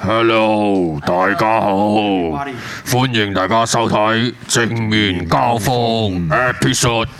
Hello， 大家好，歡迎大家收睇正面交鋒 Episode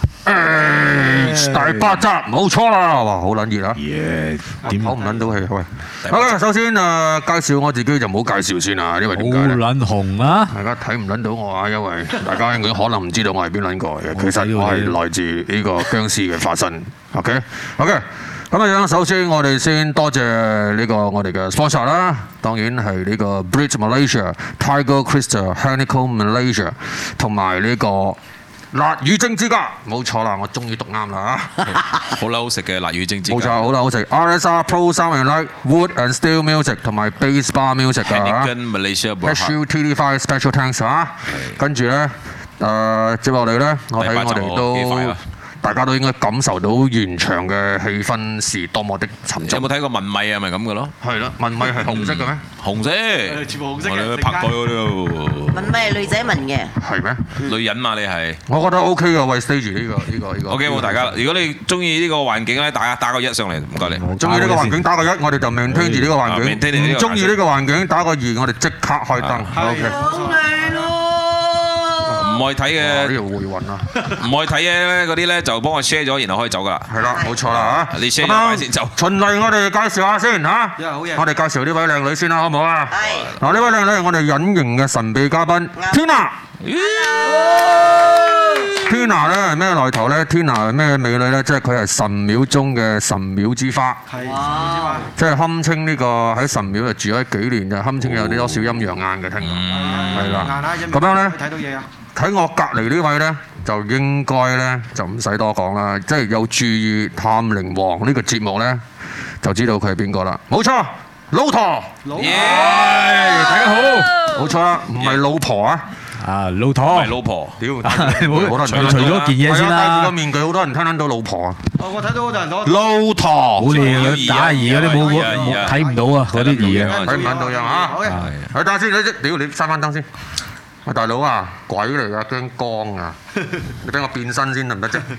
X 第8集，冇錯啦，哇，好撚熱啊！點唞唔撚到氣？喂，好啦，首先介紹我自己就唔好介紹先啦，因為點解咧？好撚紅啊！大家睇唔撚到我啊，因為大家應該可能唔知道我係邊撚個嘅，其實我係來自呢個殭屍嘅化身。OK。咁樣，首先我哋先多謝呢個我哋嘅 sponsor 啦，當然係呢個 Bridge Malaysia、Tiger Crystal、Honeycomb Malaysia 同埋呢個辣魚精之家，冇錯啦，我終於讀啱啦嚇！ 好啦，好食嘅辣魚精之家， 冇錯，好啦，好食。RSR Pro Sound and Light、Wood and Steel Music 同埋 Bass Bar Music 㗎嚇。HUTD5 Special Thanks 嚇。跟住咧，接落嚟咧，我睇我哋都。大家都應該感受到現場嘅氣氛是多麼的沉重。 有冇睇過文米啊？咪咁嘅咯。 係咯，文米係紅色嘅咩？ 紅色， 全部紅色嘅。 我哋拍過嗰度。 文米係女仔紋嘅。 係咩？ 女人嘛，你係。我覺得 OK 嘅，為 stage 呢個。 OK， 好大家。如果你中意呢個環境咧，大家打個1上嚟，唔該你。 中意呢個環境打個1，我哋就maintain住呢個環境。唔中意呢個環境打個2，我哋即刻開燈。OK。唔愛睇嘅，呢度會暈啊！ 唔愛睇嘅嗰啲咧，就幫我 share 咗，然後可以走噶啦。 係啦，冇錯啦嚇。 你 share 咗先走。 循例我哋介紹下先嚇。我哋介紹呢位靚女先啦，好唔好啊？係。嗱，呢位靚女係我哋隱形嘅神秘嘉賓 Tina。Tina 咧係咩來頭咧 ？Tina 係咩美女咧？即係佢係神廟中嘅神廟之花。係。即係堪稱呢個喺神廟就住咗幾年，就堪稱有啲多少陰陽眼嘅聽講。係啦。咁樣咧。睇到嘢啊！喺我隔離呢位咧，就應該咧就唔使多講啦，即係有注意《探靈王》呢個節目咧，就知道佢係邊個啦。冇錯，老陀。大家好。冇錯啦，唔係老婆啊。 啊，老陀。唔係老婆。屌，好多人除咗件嘢先啦。 戴住個面具，好多人聽到老婆啊。 我睇到好多人講。 老陀。 好靚，打兒嗰啲冇睇唔到啊，嗰啲兒啊。 睇唔睇到樣啊？係。等下先，屌你閂翻燈先。喂，大佬啊，鬼嚟㗎，驚光啊！你俾我變身先得唔得啫？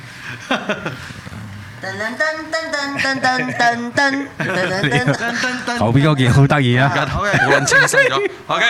後邊嗰件好得意啊！ 好撚清晰咗。OK，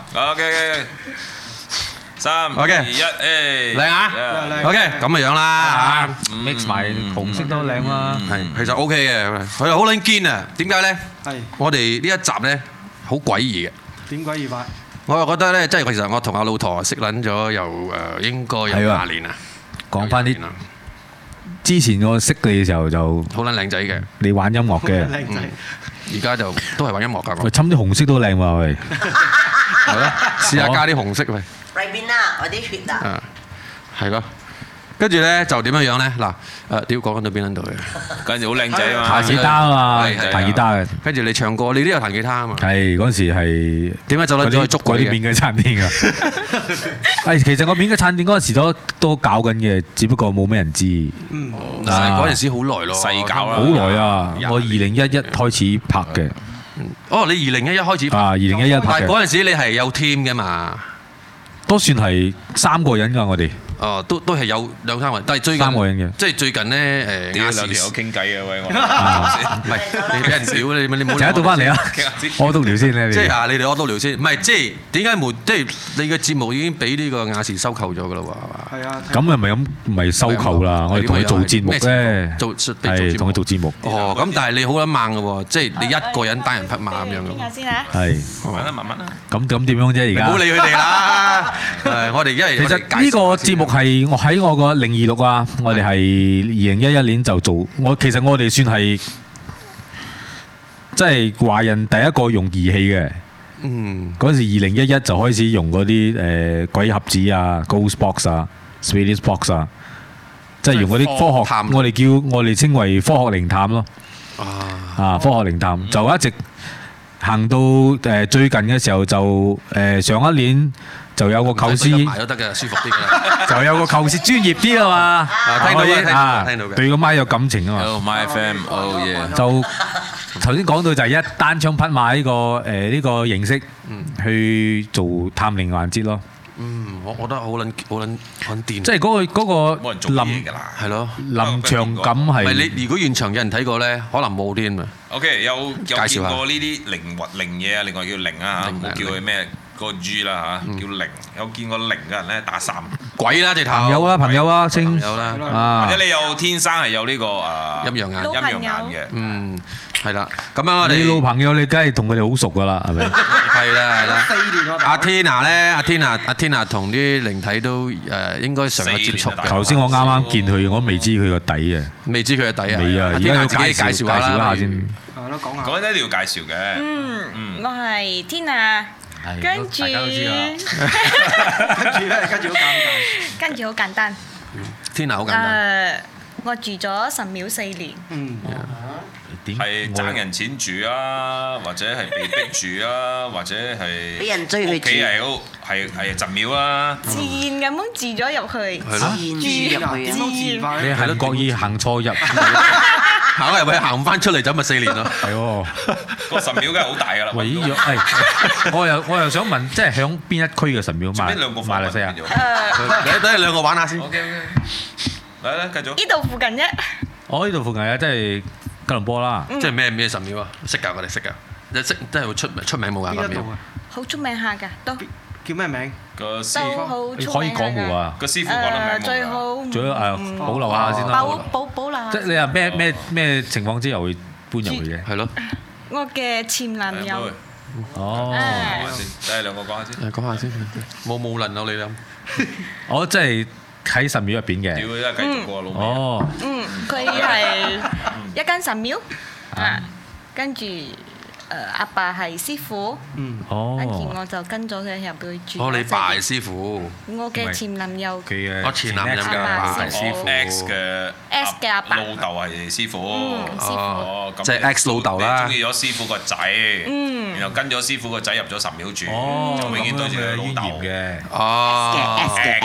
3、2、1，靚啊 ！OK， 咁嘅樣啦嚇 ，mix 埋紅色都靚啦。 係，其實 OK 嘅，佢又好撚堅啊！點解咧？係。我哋呢一集咧好詭異嘅。 點詭異法？ 我又覺得咧，即係其實我同阿老陀識撚咗又應該有20年啦。 講翻啲之前我識你嘅時候就好撚靚仔嘅， 你玩音樂嘅。 靚仔。 而家就都係玩音樂㗎。 喂，侵啲紅色都靚喎，喂。 係咯，試下加啲紅色喂。 裏邊啊，我啲血啊。 係咯。跟住咧就點樣樣咧？嗱，屌講緊到邊撚度嘅？ 跟住好靚仔啊嘛， 彈吉他啊嘛，彈吉他嘅。跟住你唱歌，你都有彈吉他啊嘛。係嗰陣時係點解走撚咗去捉鬼嘅？ 嗰啲免費餐廳啊！其實我免費餐廳嗰陣時都搞緊嘅，只不過冇咩人知。 嗰陣時好耐咯， 細搞啦。 好耐啊！我2011開始拍嘅。 哦，你2011開始拍啊？2011拍嘅。 但係嗰陣時你係有 team 嘅嘛？ 都算係3個人㗎，我哋。 哦，都係有2、3個人，但係最近 3個人嘅， 即係最近咧屌兩條友傾偈啊喂，我唔係你俾人屌你冇。 陣間到翻嚟啊！屙督聊先咧， 即係你哋屙督聊先，唔係即係點解即係你嘅節目已經俾呢個亞視收購咗㗎啦喎？係啊。咁又唔係收購啦，我哋同佢做節目咧，係同佢做節目。 哦，咁但係你好撚猛㗎喎，即係你一個人單人匹馬咁樣㗎。 傾下先啊。 係。 慢慢啦。 咁點樣啫？而家。 唔好理佢哋啦。我哋因為其實呢個節目係我喺我個026啊，我哋係2011年就做。其實我哋算係即係華人第一個用儀器嘅。嗰時2011就開始用嗰啲鬼盒子啊、Ghost Box 啊、Swedish Box 啊，即係用嗰啲科學，我哋稱為科學靈探咯。科學靈探就一直行到最近嘅時候就上一年。就有個構思， 埋都得嘅，舒服啲嘅。 就有個構思專業啲啊嘛， 聽到嘅， 對個麥有感情啊嘛。 My FM， 就頭先講到就係一單槍匹馬呢個形式去做探靈環節咯。 我覺得好撚癲。即係嗰個冇人做嘢㗎啦， 係咯， 臨場感係。 唔係你如果現場有人睇過咧，可能冇添啊。 OK，有見過介紹下呢啲靈嘢啊，另外叫靈啊嚇，冇叫佢咩個 G 啦嚇，叫靈。有見過靈嘅人咧打3， 鬼啦直頭。 朋友啊，星有啦， 啊或者你有天生係有呢個陰陽眼。 陰陽眼嘅。 係啦。咁樣我哋你老朋友你梗係同佢哋好熟噶啦，係咪？ 係啦。 4年喎。 阿 Tina 咧，阿 Tina 同啲靈體都應該常有接觸嘅。 頭先我啱啱見佢，我未知佢個底啊。 未知佢嘅底啊。 未啊，而家要自己介紹下先。 係咯，講下。 講緊一定要介紹嘅。 我係 Tina，跟住跟住好簡單。 Tina 好簡單。 我住咗神廟4年。 係爭人錢住啊，或者係被逼住啊，或者係俾人追去住屋企係神廟啊。 自然咁樣住咗入去。 係咯。 你係國意行錯入， 行入去行唔翻出嚟，就咪4年咯。 係喎。 個神廟梗係好大㗎啦。 喂，我又想問，即係響邊一區嘅神廟？馬來西亞。 等你兩個玩下先。 OK，嚟繼續。 呢度附近啫。 我呢度附近啊，即係吉隆坡啦。 即係咩神廟啊？識㗎，我哋識㗎。你識真係會出名冇㗎神廟。 好出名下㗎，都叫咩名？ 個師都傅你好出名可以講冇啊？ 個師傅講得名冇？ 最好最好保留下先啦。 保留。 即係你話咩情況之後會搬入去嘅？ 係咯。 我嘅前男友。 哦。 等你兩個講下先。 講下先。冇輪到你啦。 我即係喺神廟入邊嘅。 屌，而家繼續過老味。 哦。 佢係一間神廟啊，跟住阿爸係師傅，跟住我就跟咗佢入去住。 哦，你爸係師傅。 我嘅前男友。 我前男友嘅爸係師傅。 X 嘅阿爸老豆係師傅。 師傅。 哦，咁即係 X 老豆啦。 中意咗師傅個仔，然後跟咗師傅個仔入咗神廟住，就永遠對住佢老豆嘅。 哦。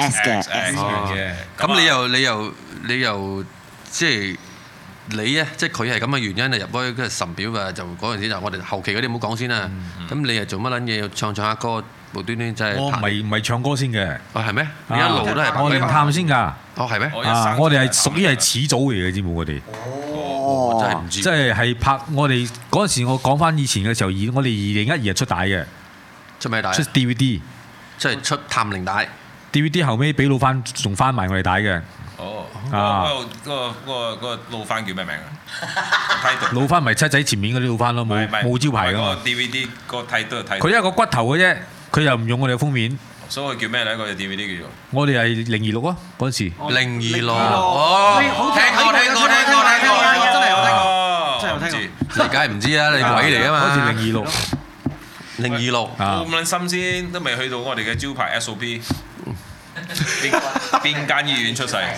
S 嘅。 咁你又即係。你咧，即係佢係咁嘅原因啊，入開神廟啊，就嗰陣時就我哋後期嗰啲唔好講先啦。咁你係做乜撚嘢？要唱下歌，無端端真係。 我唔係唱歌先嘅。 哦，係咩？你一路都係。 我靈探先㗎。 哦，係咩？ 我哋係屬於係始祖嚟嘅，知冇？我哋。 我真係唔知。 即係拍我哋嗰陣時，我講翻以前嘅時候，我哋2012出帶嘅。 出咩帶？ 出 DVD。 即係出探靈帶。 DVD 後尾俾老翻仲翻埋我哋帶嘅。 哦，嗰個老番叫咩名啊？ 老番咪七仔前面嗰啲老番咯，冇招牌噶嘛。 個 DVD 個睇都係睇。 佢一個骨頭嘅啫，佢又唔用我哋嘅封面。 所以叫咩咧？個 DVD 叫做。 我哋係026啊，嗰陣時。 026。哦，聽過， 真係有聽過，真係有聽過。 你梗係唔知啦，你鬼嚟㗎嘛？ 好似 026。 咁撚新鮮，都未去到我哋嘅招牌 SOP。邊間醫院出世？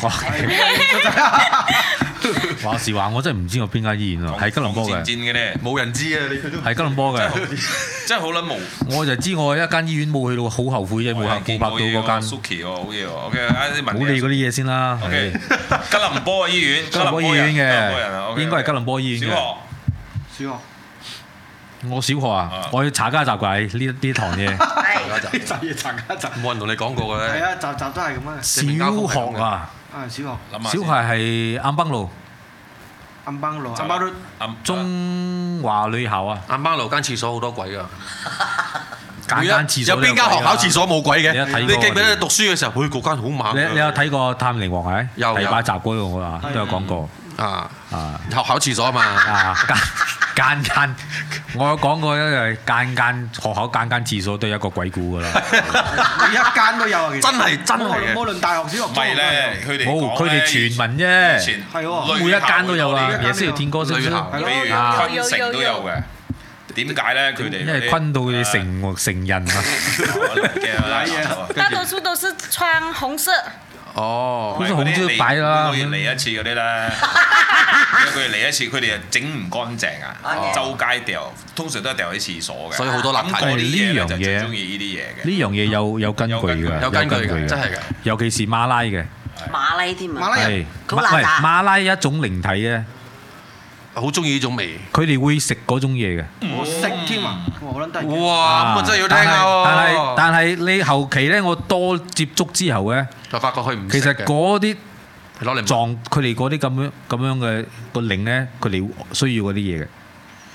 話時話，我真係唔知我邊間醫院啊，係吉隆坡嘅。 戰嘅咧， 冇人知啊！你係吉隆坡嘅， 真係好撚無。 我就知我一間醫院冇去到，好後悔啫，冇拍到嗰間。 Suki 喎，好嘢喎。OK， 冇理嗰啲嘢先啦。 OK，吉隆坡嘅醫院， 吉隆坡醫院嘅，應該係吉隆坡醫院嘅。 小學。 我小學啊，我去查家集㗎呢堂嘢。 查家集。 冇人同你講過嘅咧。 係啊，集都係咁啊。 小學啊。 小學。 小學係暗邦路。 暗邦路。 中華女校啊。 暗邦路間廁所好多鬼㗎。 間廁所有邊間學校廁所冇鬼嘅？ 你記唔記得你讀書嘅時候，嗰間好猛。 你有睇過《探靈王》係？ 有。 第8集嗰度我話都有講過。 學校廁所啊嘛。 間，我有講過咧，間學校間廁所都有一個鬼故㗎啦。 每一間都有啊，其實。真係嘅。無論大學、小學。 唔係咧， 冇，佢哋傳聞啫。 係喎。 每一間都有啊，也是有聽過，是不是？ 比如昆城都有嘅。點解咧？佢哋因為昆到佢哋成人啊。 大多數都是穿紅色。 哦， 好似紅色擺啦， 每個月嚟一次嗰啲咧，每個月嚟一次，佢哋又整唔乾淨啊，周街掉，通常都係掉喺廁所嘅。 所以好多垃圾。 呢樣嘢就最中意呢啲嘢嘅。 呢樣嘢有根據㗎， 有根據嘅，真係嘅。 尤其是馬拉嘅。 馬拉添啊！ 馬拉人。 係馬拉一種靈體咧。 好中意呢種味， 佢哋會食嗰種嘢嘅。 我食添啊！好撚得意。 哇！咁啊真係要聽下喎。 但係你後期咧，我多接觸之後咧， 就發覺佢唔。 其實嗰啲攞嚟撞佢哋嗰啲咁樣嘅個靈咧，佢哋需要嗰啲嘢嘅。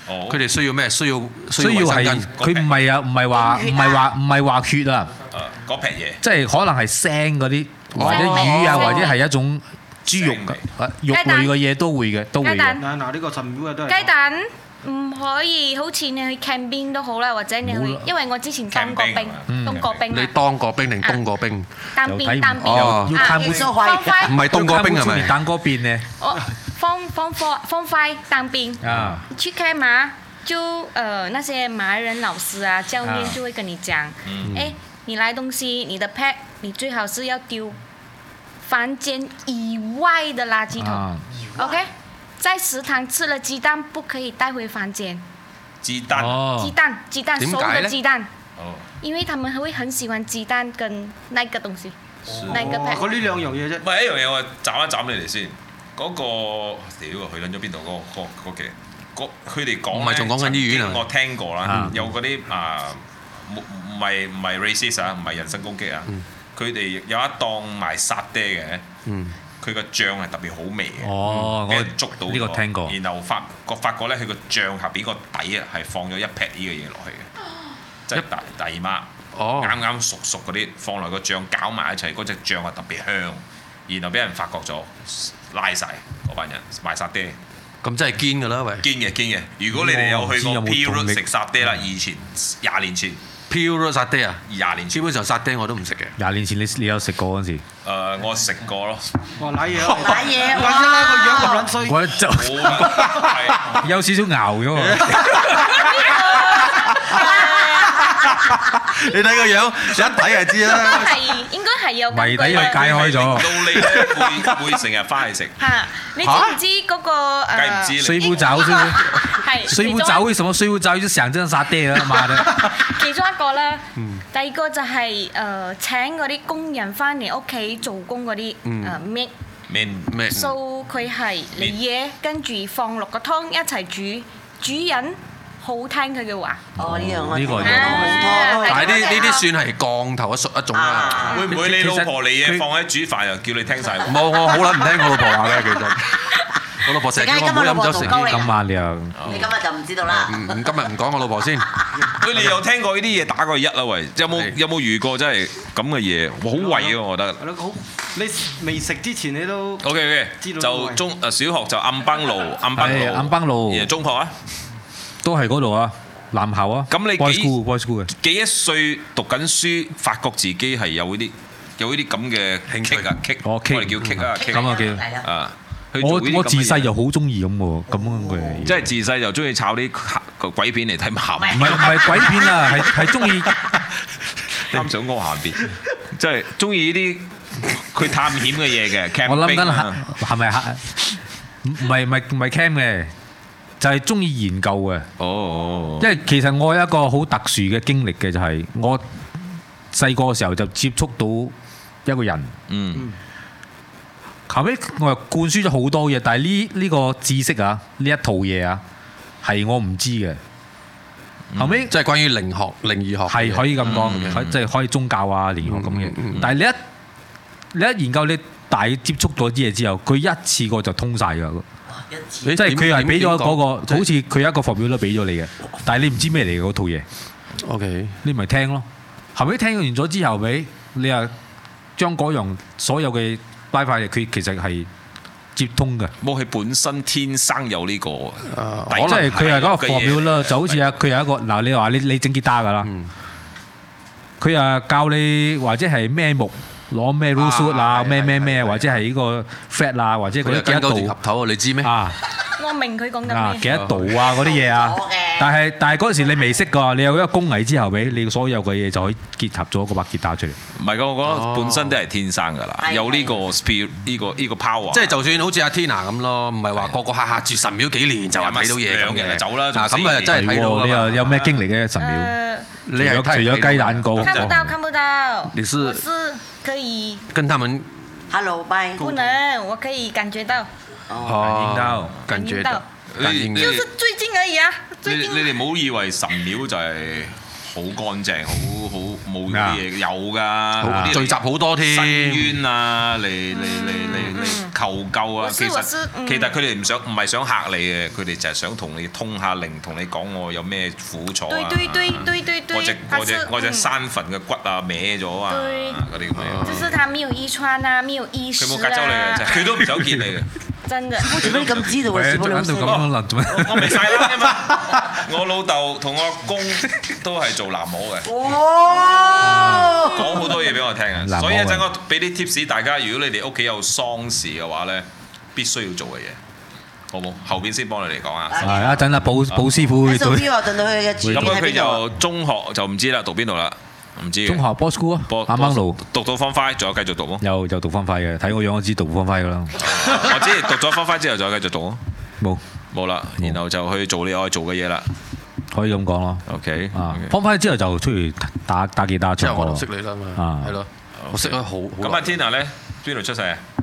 佢哋需要咩？需要係佢唔係啊，唔係話血啊， 嗰撇嘢， 即係可能係腥嗰啲，或者魚啊，或者係一種豬肉肉類嘅嘢都會嘅，都會嘅。 嗱呢個神廟嘅都係雞蛋唔可以，好似你去 camping 都好啦，或者你去，因為我之前當過兵， 你當過兵定冬過兵？ 當兵哦， 要看唔係冬過兵係咪？ 當過兵呢？ 放快當兵啊！去開馬就那些馬來人老師啊教練就會跟你講，你來東西，你的 pack 你最好是要丟房間以外的垃圾桶，OK？在食堂吃了雞蛋不可以帶回房間。 雞蛋， 熟的雞蛋。因為他們會很喜歡雞蛋跟那個東西，那個 pack。 嗰呢兩樣嘢啫。 唔係一樣嘢，我斬一斬你哋先。嗰個屌佢撚咗邊度？嗰期，佢哋講唔係仲講緊醫院啊？ 我聽過啦，有嗰啲唔係 racist 啊，唔係人身攻擊啊。佢哋有一檔賣沙爹嘅，佢個醬係特別好味嘅。 哦， 我捉到呢個聽過。 然後發覺咧，佢個醬下邊個底啊係放咗一撇呢個嘢落去嘅，即係大姨媽啱啱熟嗰啲放落個醬攪埋一齊，嗰隻醬係特別香。然後俾人發覺咗，拉曬嗰班人賣沙爹。 咁真係堅㗎啦，喂！ 堅嘅。如果你哋有去過 Pure 食沙爹啦，以前20年前 Pure 沙爹啊 ，20年前基本上沙爹我都唔食嘅。 20年前你有食過嗰陣時？ 我食過咯。 哇！瀨嘢，怪之啦，個樣咁撚衰。 我就有少少熬咗喎。 你睇個樣，一睇就知啦。 應該係有謎底佢解開咗。 到你咧會成日翻去食。 嚇！你知唔知嗰個梗唔知水壺爪先。 係。 水壺爪為什麼水壺爪就想真沙爹啊？媽的！ 其中一個啦，第二個就係請嗰啲工人翻嚟屋企做工嗰啲咩，so 佢係嚟嘢，跟住放落個湯一齊煮，主人好聽佢嘅話。 哦，呢樣我呢個但係呢啲算係降頭一種啦。 會唔會你老婆嚟嘢放喺煮飯又叫你聽晒？ 冇，我好撚唔聽我老婆話嘅其實。我老婆成日叫我唔好飲酒食煙。 今晚你又你今日就唔知道啦。 今日唔講我老婆先。 喂，你有聽過呢啲嘢打個1啦？喂，有冇遇過真係咁嘅嘢？好胃啊，我覺得。 係咯，好，你未食之前你都 OK， 就小學就暗崩路，然後中學啊， 都係嗰度啊，男校啊。 咁你 boys school 嘅幾多歲讀緊書，發覺自己係有呢啲咁嘅興趣啊，我哋叫 kick 啊， 咁啊叫啊。 我自細就好中意咁喎，咁樣嘅。 即係自細就中意炒啲鬼片嚟睇鹹。 唔係鬼片啊，係中意啱想屙下邊，即係中意呢啲佢探險嘅嘢嘅。 我諗緊係咪唔係 cam 嘅，就係中意研究嘅。哦，因為其實我有一個好特殊嘅經歷嘅，就係我細個嘅時候就接觸到一個人。後尾我又灌輸咗好多嘢，但係呢個知識啊，呢一套嘢啊，係我唔知嘅。後尾即係關於靈異學， 係可以咁講，即係可以宗教啊、靈異學咁嘅。但係你一研究，你大接觸咗啲嘢之後，佢一次過就通晒㗎。即係佢係俾咗嗰個，好似佢有一個課表都俾咗你嘅，但係你唔知咩嚟嘅嗰套嘢。 OK， 你咪聽咯。後尾聽完咗之後，你又將嗰樣所有嘅拉塊，佢其實係接通嘅。 冇，佢本身天生有呢個， 即係佢係嗰個課表啦，就好似佢有一個嗱，你話你整吉他㗎啦，佢啊教你或者係咩木攞咩 root 啊，咩，或者係呢個 fret 啊，或者嗰啲幾多度合頭，你知咩？ 我明佢講緊咩？ 幾多度啊嗰啲嘢啊，但係嗰陣時你未識㗎，你有一個工藝之後，你所有嘅嘢就可以結合咗嗰把吉他出嚟。 唔係㗎，我覺得本身都係天生㗎啦，有呢個 spirit，呢個 power。 即係就算好似阿 Tina 咁咯，唔係話個下住神廟幾年就話睇到嘢咁嘅。 走啦， 咁啊真係睇到。 你又有咩經歷嘅神廟？你係除咗雞蛋糕， 看不到。 你是？ 我是可以跟他們 Hello bye。 不能，我可以感覺到。 感覺到， 就是最近而已啊！ 你哋唔好以為神廟就係好乾淨，好冇啲嘢有㗎， 聚集好多添， 申冤啊，嚟求救啊，其實佢哋唔係想嚇你嘅，佢哋就係想同你通下靈，同你講我有咩苦楚啊，我隻山墳嘅骨啊歪咗啊，嗰啲咁樣。 就是他沒有遺傳啊，沒有意識啊。 佢冇隔走你嘅，佢都唔想見你嘅。 真的。 做咩咁知道啊？師傅老師。 我未晒啦嘛，我老豆同我阿公都係做喃嘸嘅。 哇！ 講好多嘢俾我聽啊，所以一陣我俾啲 tips 大家，如果你哋屋企有喪事嘅話咧，必須要做嘅嘢，好冇？後邊先幫你哋講啊。 係一陣啊，寶師傅會對。 咁佢就中學就唔知啦，讀邊度啦？唔知。中學 Boys School 啊，啱啱路讀到 Form 5，仲有繼續讀冇？ 有讀 Form 5嘅，睇我樣我知讀 Form 5噶啦。 我知讀咗 Form 5之後就繼續讀咯。冇啦，然後就去做你愛做嘅嘢啦。 可以咁講咯。 OK。 Form 5之後就出去打吉他唱歌。 我就識你啦嘛。係咯，我識咗好。 咁阿 Tina 咧邊度出世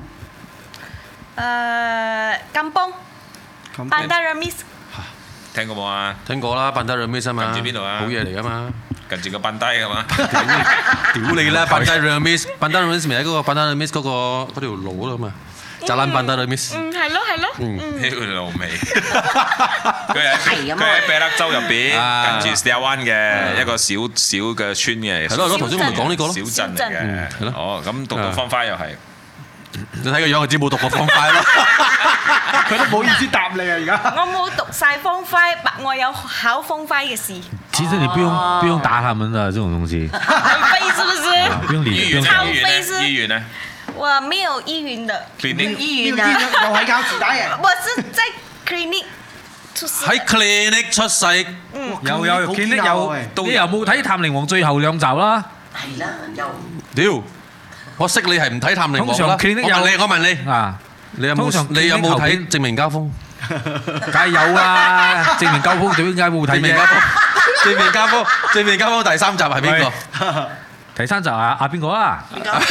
啊 ？Kampong Bandar Remis。 聽過冇啊？ 聽過啦，Bandar Remis啊嘛。 近住邊度啊？ 好嘢嚟噶嘛。 近住個賓低㗎嘛？ 屌你啦！Bandar Remis，Bandar Remis 咪喺嗰個 Bandar Remis 嗰條路咯嘛。Jalan Bandar Remis。 係咯。 呢條路尾。佢喺北德州入邊，近住 Setiawan 嘅一個小嘅村嘅。 係咯，頭先我咪講呢個咯。 小鎮嚟嘅。係咯。哦，咁讀到 Form 5又係。 你睇個樣就知冇讀過 Form 5咯。 佢都唔好意思答你啊！而家我冇讀晒 Form 5，我有考 Form 5嘅試。 其實你不用打他們的這種東西。 很飛是不是？ 不用理。 超飛是。 醫院呢？ 我沒有醫院的。 clinic 醫院啊， 又係教子彈嘅。 我是在 clinic 出世。 喺 clinic 出世。 有 clinic 有。你又冇睇《探靈王》最後2集啦？ 係啦，有。 屌！我識你係唔睇《探靈王》啦。 通常 clinic 有。 我問你啊，你有冇睇《正面交鋒》？ 梗係有啦，《正面交鋒》點解冇睇嘅？ 正面交鋒第3集係邊個？ 第3集啊邊個啊？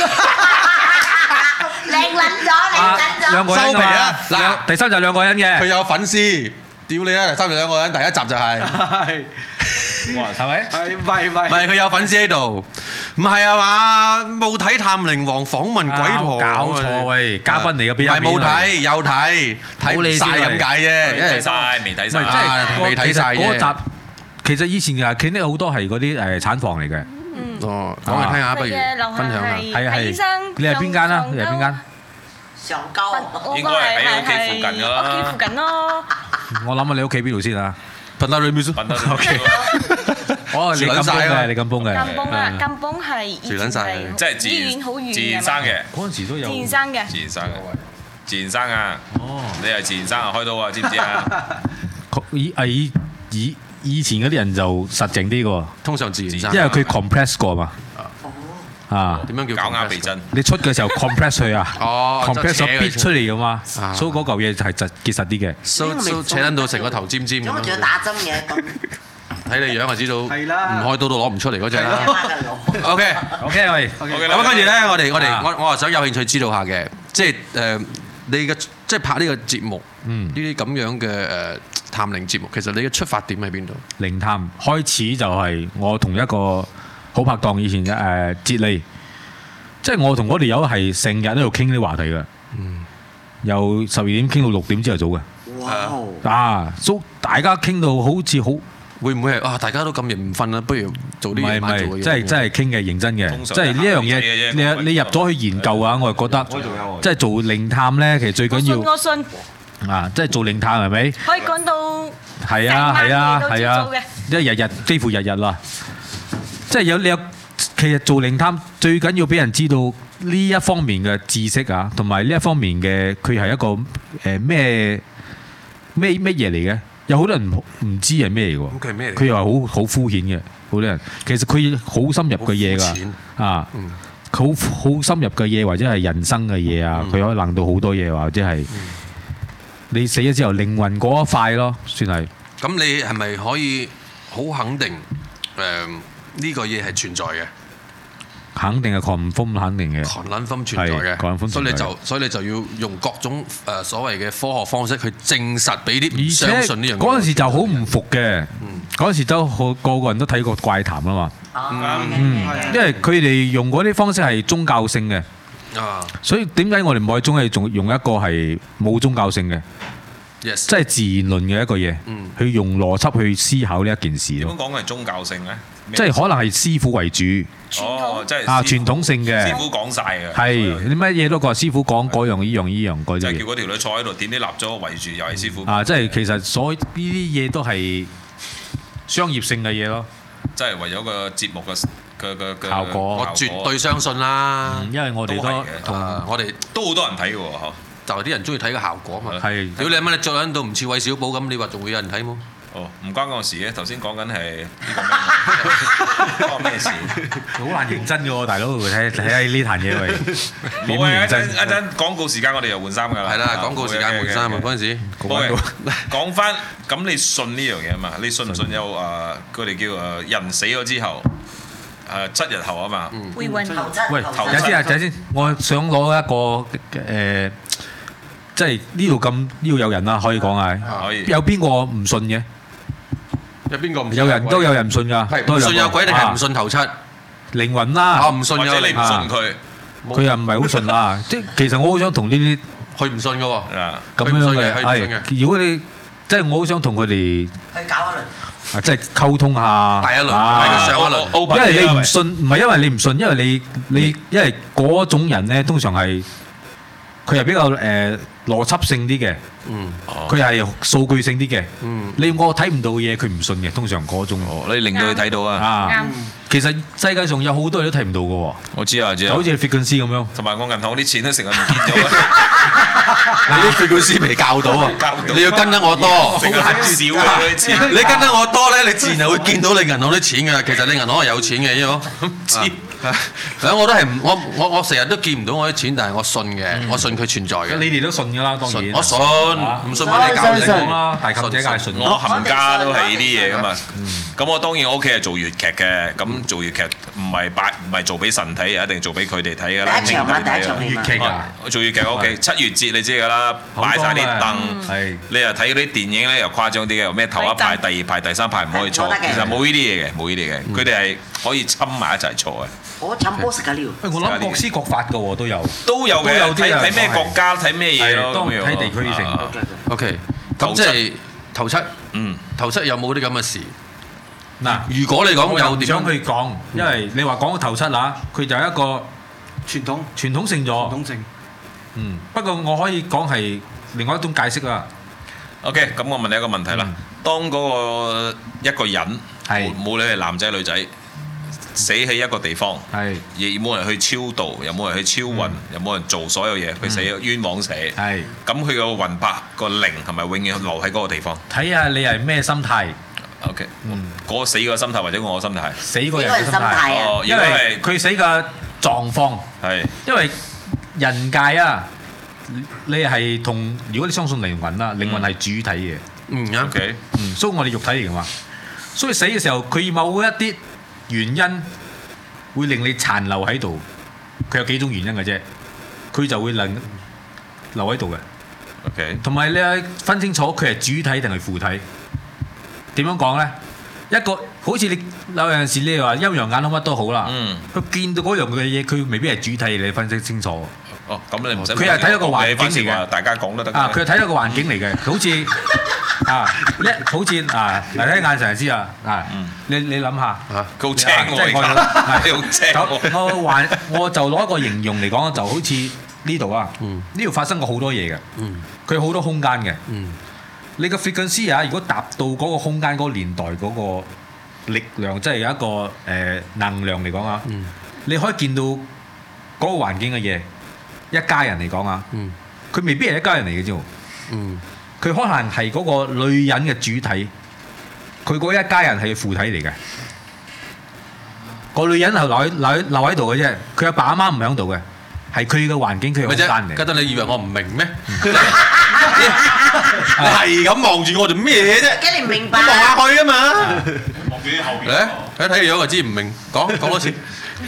靚撚咗。 兩個人㗎嘛。嗱，第3集2個人嘅。 佢有粉絲，屌你啊！第3集2個人，第1集就係。 哇，係咪？ 唔係佢有粉絲喺度，唔係啊嘛？冇睇《探靈王》訪問鬼婆， 搞錯喂，嘉賓嚟嘅邊有？ 係冇睇，有睇，睇唔晒咁解啫， 未睇晒，未睇晒， 未睇晒嗰集其實以前嘅 clinic 好多係嗰啲產房嚟嘅。 哦，講嚟聽下，不如分享下。 係。你係邊間啊？你係邊間？ 上溝。 應該係喺屋企附近㗎啦。 屋企附近咯。 我諗下你屋企邊度先啊 ？Bandar Remis。 OK。 哦，你咁崩嘅，你咁崩嘅。 咁崩啊！咁崩係以前係即係醫院好遠嘅。 自然生嘅。 嗰陣時都有。 自然生嘅。 自然生啊！哦。你係自然生啊？開刀啊？知唔知啊？ 以前嗰啲人就實淨啲嘅， 通常自然生。 因為佢 compress 過嘛。啊， 點樣叫搞啱鼻針？ 你出嘅時候 compress 佢啊，compress 咗逼出嚟嘅嘛，所以嗰嚿嘢係結實啲嘅。 so 扯撚到成個頭尖尖咁。 咁仲要打針嘅？ 睇你樣就知道，唔開刀都攞唔出嚟嗰隻啦。 OK，喂， 咁跟住咧，我係想有興趣知道下嘅，即係你嘅即係拍呢個節目，呢啲咁樣嘅探靈節目，其實你嘅出發點喺邊度？ 靈探開始就係我同一個好拍檔以前嘅哲利，即係我同嗰條友係成日喺度傾啲話題嘅，由12點傾到6點朝頭早嘅。哇！所大家傾到好似好， 會唔會係大家都咁夜唔瞓啦？不如做啲嘢。唔係， 真係傾嘅認真嘅，即係呢樣嘢你入咗去研究啊！我係覺得，即係做靈探咧，其實最緊要我信即係做靈探係咪？ 可以講到係啊，即係日幾乎日啦。即係你有，其實做靈探最緊要俾人知道呢一方面嘅知識啊，同埋呢一方面嘅佢係一個咩嘢嚟嘅？有好多人唔知係咩嚟㗎。佢又係好敷衍嘅，好多人其實佢好深入嘅嘢㗎啊，好深入嘅嘢或者係人生嘅嘢啊，佢可以諗到好多嘢，或者係你死咗之後靈魂嗰一塊咯，算係。 咁你係咪可以好肯定呢個嘢係存在嘅？ 肯定係confirm，肯定嘅。 confirm 存在嘅，所以你就要用各種所謂嘅科學方式去證實俾啲唔相信呢樣嘢。 嗰陣時就好唔服嘅，嗰陣時都個個人都睇過怪談啊嘛。因為佢哋用嗰啲方式係宗教性嘅，所以點解我哋唔可以仲係用一個係冇宗教性嘅？即係自然論嘅一個嘢，去用邏輯去思考呢一件事咯。 點講係宗教性咧？ 即係可能係師傅為主。 哦，即係傳統性嘅。 師傅講晒嘅。 係你乜嘢都講師傅講嗰樣依樣嗰啲。 就係叫嗰條女坐喺度點啲蠟燭圍住，又係師傅。 即係其實所呢啲嘢都係商業性嘅嘢咯。 即係為咗個節目嘅效果， 我絕對相信啦。 因為我哋我哋都好多人睇嘅喎， 就係啲人中意睇個效果嘛。 係。 屌你乜你著喺度唔似韋小寶咁，你話仲會有人睇冇？ 哦，唔關我事嘅。頭先講緊係呢個關我咩事？ 好難認真嘅喎，大佬，睇下呢壇嘢喂。 冇啊！一陣廣告時間，我哋又換衫㗎啦。 係啦，廣告時間換衫啊！嗰陣時。 講翻咁，你信呢樣嘢啊嘛？你信唔信有佢哋叫人死咗之後7日後啊嘛？ 會運頭七。 喂，睇先，我想攞一個即係呢度咁呢度有人啦，可以講係。 可以。 有邊個唔信嘅？ 有邊個唔信？ 有人都有人唔信㗎。 唔信有鬼定係唔信頭七？ 靈魂啦。 唔信有或者你唔信佢， 佢又唔係好信啦。即係其實我好想同呢啲， 佢唔信㗎喎。 咁樣嘅係。如果你即係我好想同佢哋去搞一輪。 即係溝通下。 第一輪，上一輪。 因為你唔信，唔係因為你唔信，因為你因為嗰種人咧，通常係佢係比較邏輯性啲嘅，佢係數據性啲嘅。我睇唔到嘅嘢，佢唔信嘅。通常嗰種， 你令到佢睇到啊。 其實世界上有好多嘢都睇唔到嘅喎。 我知啊， 就好似 frequency 咁樣。 同埋我銀行啲錢都成日唔見咗。 你啲 frequency 未教到啊！你要跟得我多， 成日少啊啲錢。 你跟得我多咧，你自然係會見到你銀行啲錢㗎。其實你銀行係有錢嘅，因為我唔知。我都係我成日都見唔到我啲錢，但係我信嘅，我信佢存在嘅。 你哋都信㗎啦，當然。 我信，唔信乜你教你講啦。 大妗姐梗係信。 我冚家都係呢啲嘢㗎嘛。咁我當然我屋企係做粵劇嘅，咁做粵劇唔係做俾神睇，一定做俾佢哋睇㗎啦。 第一場粵劇啊！ 我做粵劇屋企7月節你知㗎啦，擺晒啲凳，你又睇嗰啲電影咧又誇張啲嘅，咩頭一排、第二排、第三排唔可以坐，其實冇呢啲嘢嘅，冇呢啲嘅，佢哋係可以侵埋一齊坐嘅。 我慘波食㗎了。 我諗各施各法㗎喎，都有嘅，睇咩國家睇咩嘢咯， 睇地區性。 OK，咁即係頭七，頭七有冇啲咁嘅事？嗱，如果你講有點想去講，因為你話講個頭七啦，佢就係一個傳統性咗。傳統性。不過我可以講係另外一種解釋啦。 OK，咁我問你一個問題啦，當嗰個一個人冇理係男仔女仔，死喺一個地方，亦冇人去超度，又冇人去超運，又冇人做所有嘢，佢死冤枉死。咁佢個魂魄個靈係咪永遠留喺嗰個地方？睇下你係咩心態。 OK，嗰個死個心態或者我個心態？ 死個人嘅心態。因為佢死嘅狀況。因為人界啊，你係同如果你相信靈魂啦，靈魂係主體嘅。 OK。 所以我哋肉體嚟㗎嘛。所以死嘅時候，佢某一啲原因會令你殘留喺度，佢有幾種原因嘅啫，佢就會留喺度嘅。 OK。同埋你係分清楚佢係主體定係負體。點樣講咧？一個好似你有陣時你話陰陽眼好乜都好啦，佢見到嗰樣嘅嘢，佢未必係主體，你分析清楚。 咁你唔使。 佢係睇到個環境嚟嘅， 大家講都得。 佢係睇到個環境嚟嘅，好似好似嚟睇眼神就知啊！你諗下， 佢好青喎， 好青。我就攞一個形容嚟講，就好似呢度啊，呢度發生過好多嘢嘅，佢好多空間嘅。你個 frequency 啊，如果達到嗰個空間嗰個年代嗰個力量，即係有一個能量嚟講啊，你可以見到嗰個環境嘅嘢。一家人嚟講啊，佢未必係一家人嚟嘅啫。佢可能係嗰個女人嘅主體，佢嗰一家人係負體嚟嘅。個女人係留喺度嘅啫，佢阿爸阿媽唔喺度嘅，係佢嘅環境，佢嘅空間嚟。 覺得你以為我唔明咩？你係咁望住我做咩嘢啫？ 驚你唔明白。 望下去啊嘛。 望住啲後邊。 睇睇個樣就知唔明。講多次。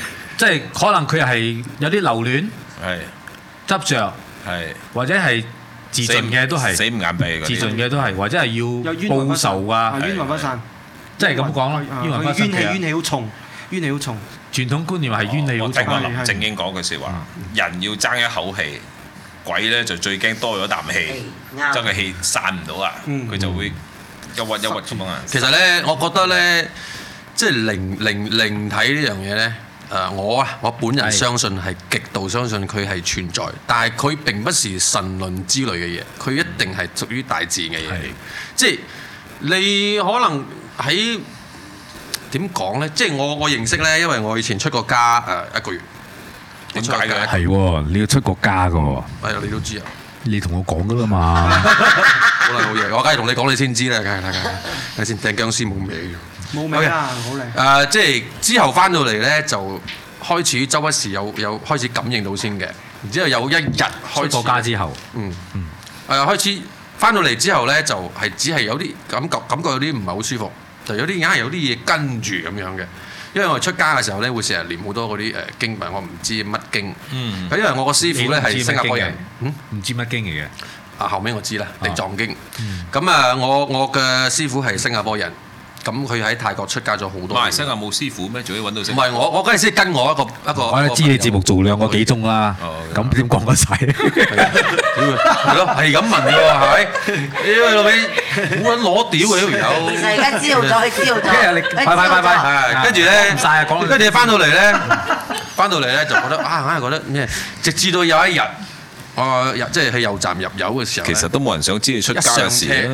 即係可能佢係有啲留戀，執着，或者係自盡嘅都係， 死唔眼閉自盡嘅都係，或者係要報仇啊， 冤魂不散， 即係咁講咯，冤魂不散。 冤氣好重，冤氣好重。 傳統觀念係冤氣好重。 我林正英講句説話，人要爭一口氣，鬼咧就最驚多咗啖氣，將個氣散唔到啊，佢就會憂鬱咁樣啊。 其實咧，我覺得咧，即係靈體呢樣嘢咧，我本人相信係極度相信佢係存在，但係佢並不是神論之類嘅嘢，佢一定係屬於大自然嘅嘢。即係你可能喺點講咧？即係我認識咧，因為我以前出過家1個月。 點解嘅？ 係喎，你要出國家㗎喎。 係啊，你都知啊。 你同我講㗎啦嘛。 好啦，好嘢，我梗係同你講，你先知啦，梗係。睇先，掟僵屍冇味。 冇味啊，好靚。 即係之後翻到嚟咧，就開始周不時有開始感應到先嘅。然之後有一日開始出國家之後， 開始翻到嚟之後咧，就係只係有啲感覺有啲唔係好舒服，就有啲硬係有啲嘢跟住咁樣嘅。因為我出家嘅時候咧，會成日念好多嗰啲經文，我唔知乜經。因為我個師傅咧係新加坡人， 唔知乜經嚟嘅。 後尾我知啦，地藏經。咁啊，我嘅師傅係新加坡人，咁佢喺泰國出家咗好多。馬來西亞冇師傅咩？仲要揾到師傅？唔係我嗰陣時跟我一個。 我知你節目做2個幾鐘啦，咁點講得晒？ 係咯，係咁問㗎喎，係咪？屌老味，好撚攞屌嘅呢條友。 其實而家知道咗， 快，跟住咧，跟住翻到嚟咧，就覺得硬係覺得咩？直至到有一日，即係去油站入油嘅時候， 其實都冇人想知你出家嘅事。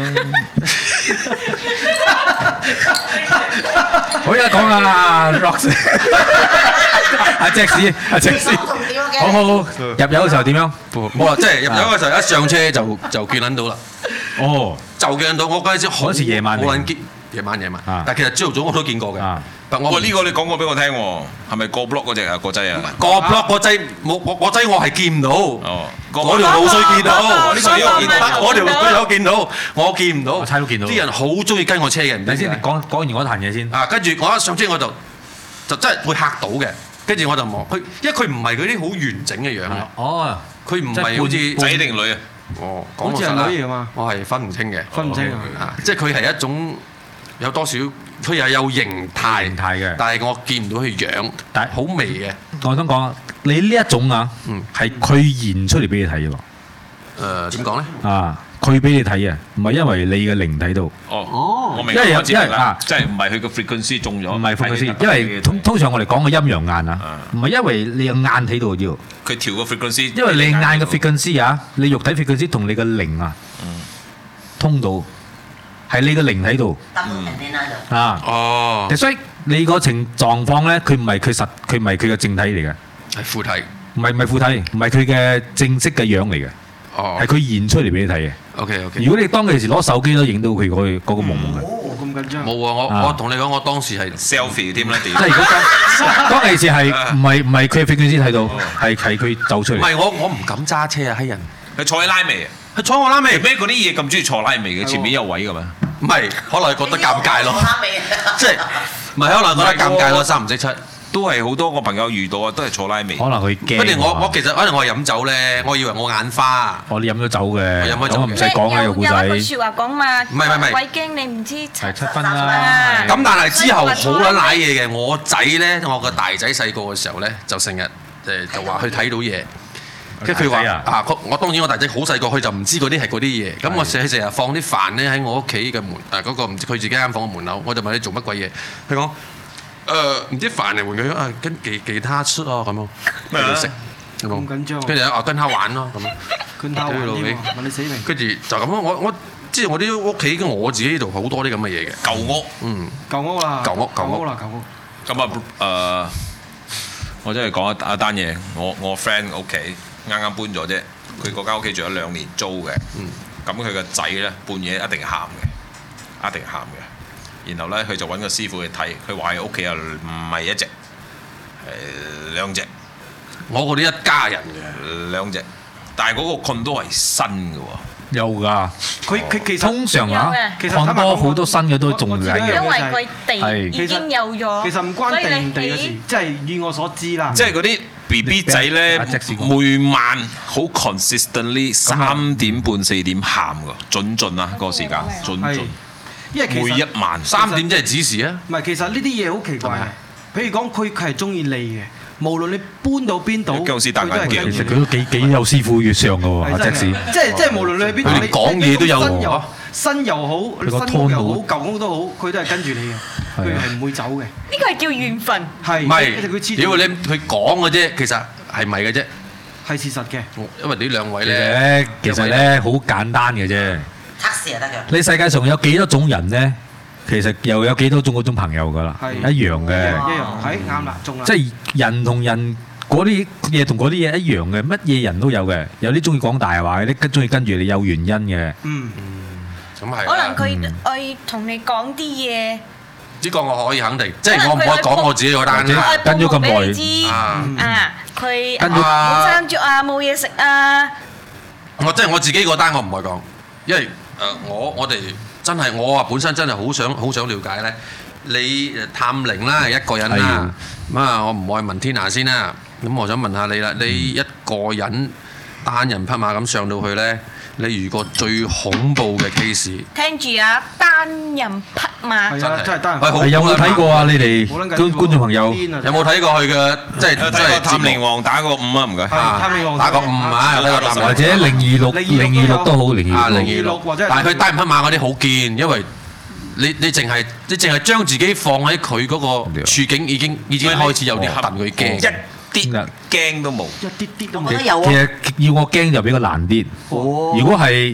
好嘢講啊 ，Rox， 阿隻屎，好，入油嘅時候點樣？ 冇啦，即係入油嘅時候一上車就見撚到啦。哦，就見到我嗰陣時好夜晚， 夜晚，但係其實朝頭早我都見過嘅。 喂，呢個你講過俾我聽喎，係咪過 block 嗰隻啊？個劑啊？ 過 block 個劑冇，我劑我係見唔到。哦，嗰條路水見到，我條路有見到，我見唔到。 我猜都見到。啲人好中意跟我車嘅，唔知先。 講完嗰壇嘢先。 跟住我一上車我就真係會嚇到嘅，跟住我就望佢，因為佢唔係嗰啲好完整嘅樣啊。哦，佢唔係好似仔定女啊？ 哦， 好似係女嚟㗎嘛。 我係分唔清嘅， 分唔清啊！即係佢係一種有多少。佢又有形態嘅，但係我見唔到佢樣，但係好微嘅。 我想講，你呢一種啊，係佢現出嚟俾你睇嘅喎。 點講咧？ 佢俾你睇啊，唔係因為你嘅靈睇到。 哦，我明。因為即係唔係佢個 frequency 中咗。 唔係 frequency，因為通常我哋講嘅陰陽眼啊，唔係因為你嘅眼睇到要。 佢調個 frequency。因為你眼嘅 frequency 啊，你肉體 frequency 同你嘅靈啊，通到。係你個靈喺度，所以你個情狀況咧，佢唔係佢嘅正體嚟嘅， 係附體， 唔係附體，唔係佢嘅正式嘅樣嚟嘅，係佢現出嚟俾你睇嘅。 OK。 如果你當其時攞手機都影到佢嗰個朦朦嘅， 咁緊張。 冇啊！我同你講，我當時係 selfie 添啦， 即係如果當其時係唔係佢嘅 frequency 先睇到，係佢走出嚟。 唔係我唔敢揸車啊！閪人， 佢坐喺拉尾啊！ 佢坐我拉尾， 咩嗰啲嘢咁中意坐拉尾嘅？前面有位㗎嘛？ 唔係，可能覺得尷尬咯。即係唔係可能覺得尷尬咯？三唔識七， 都係好多個朋友遇到啊，都係坐拉尾。 可能佢驚。 不如我其實可能我係飲酒咧，我以為我眼花。 你飲咗酒嘅， 飲咗酒唔使講嘅個故仔。 有一句説話講嘛， 唔係， 鬼驚你唔知係7分啦。 咁但係之後好撚賴嘢嘅，我仔咧，我個大仔細個嘅時候咧，就成日就話去睇到嘢。跟住佢話我當然我大仔好細個，佢就唔知嗰啲係嗰啲嘢。咁我成日放啲飯咧喺我屋企嘅門嗰個唔知佢自己間房嘅門口，我就問你做乜鬼嘢？佢講唔知飯嚟換佢跟其他出咯咁咯，跟住食咁緊張。 跟住跟他玩咯咁。 跟他玩添喎，問你死未？ 跟住就咁咯，我即係我啲屋企我自己呢度好多啲咁嘅嘢嘅舊屋， 舊屋啦，舊屋。 咁我真係講一單嘢，我 friend 屋企。啱啱搬咗啫，佢嗰間屋企住咗2年租嘅，咁佢個仔咧半夜一定喊嘅，然後咧佢就揾個師傅去睇，佢話佢屋企又唔係1隻，係2隻， 我嗰啲一家人嘅 2隻，但係嗰個 condo 係新嘅喎， 有㗎。 佢其實通常啊， 其實看多好多新嘅都仲係因嘅。 為佢地已經有咗， 其實唔關地唔地嘅事，即係以我所知啦。 即係嗰啲 BB 仔咧，每晚好 consistently 3點半4點喊㗎，準啊個時間，準。 因為其實每一晚 3點即係指示啊。 唔係，其實呢啲嘢好奇怪嘅。譬如講，佢係中意你嘅。無論你搬到邊度， 僵屍大眼鏡， 其實佢都幾有師傅月相嘅喎，阿隻屎。 即係無論你去邊度， 你講嘢都有喎。 新又好，新屋又好，舊屋都好，佢都係跟住你嘅，佢係唔會走嘅。呢個係叫緣分。 係。 唔係，屌你佢講嘅啫，其實係咪嘅啫？ 係事實嘅。 因為呢兩位咧， 其實咧好簡單嘅啫。 測試就得㗎。 你世界上有幾多種人咧？其實又有幾多種嗰種朋友㗎啦，一樣嘅。 一樣，係啱啦，中啦。 即係人同人嗰啲嘢同嗰啲嘢一樣嘅，乜嘢人都有嘅。有啲中意講大話，有啲中意跟住你有原因嘅。 咁係。 可能佢愛同你講啲嘢。 呢個我可以肯定，即係我唔可以講我自己嗰單啫。 跟咗咁耐。 佢冇生著啊，冇嘢食啊。 即係我自己嗰單，我唔可以講，因為我哋。真係我啊本身真係好想了解咧，你探靈啦一個人啦，咁啊我唔愛問天涯先啦，咁我想問下你啦，你一個人單人匹馬咁上到去咧，你遇過最恐怖嘅 case？ 聽住啊，單人匹馬。 係啊，真係單人。 有冇睇過啊？你哋觀眾朋友有冇睇過佢嘅即係探靈王打個5啊？唔該。 打個5啊！ 或者026都好 026或者。但係佢單人匹馬嗰啲好堅，因為你淨係將自己放喺佢嗰個處境已經開始有啲戥佢驚。 啲驚都冇， 一啲啲都冇。 其實要我驚就比較難啲。如果係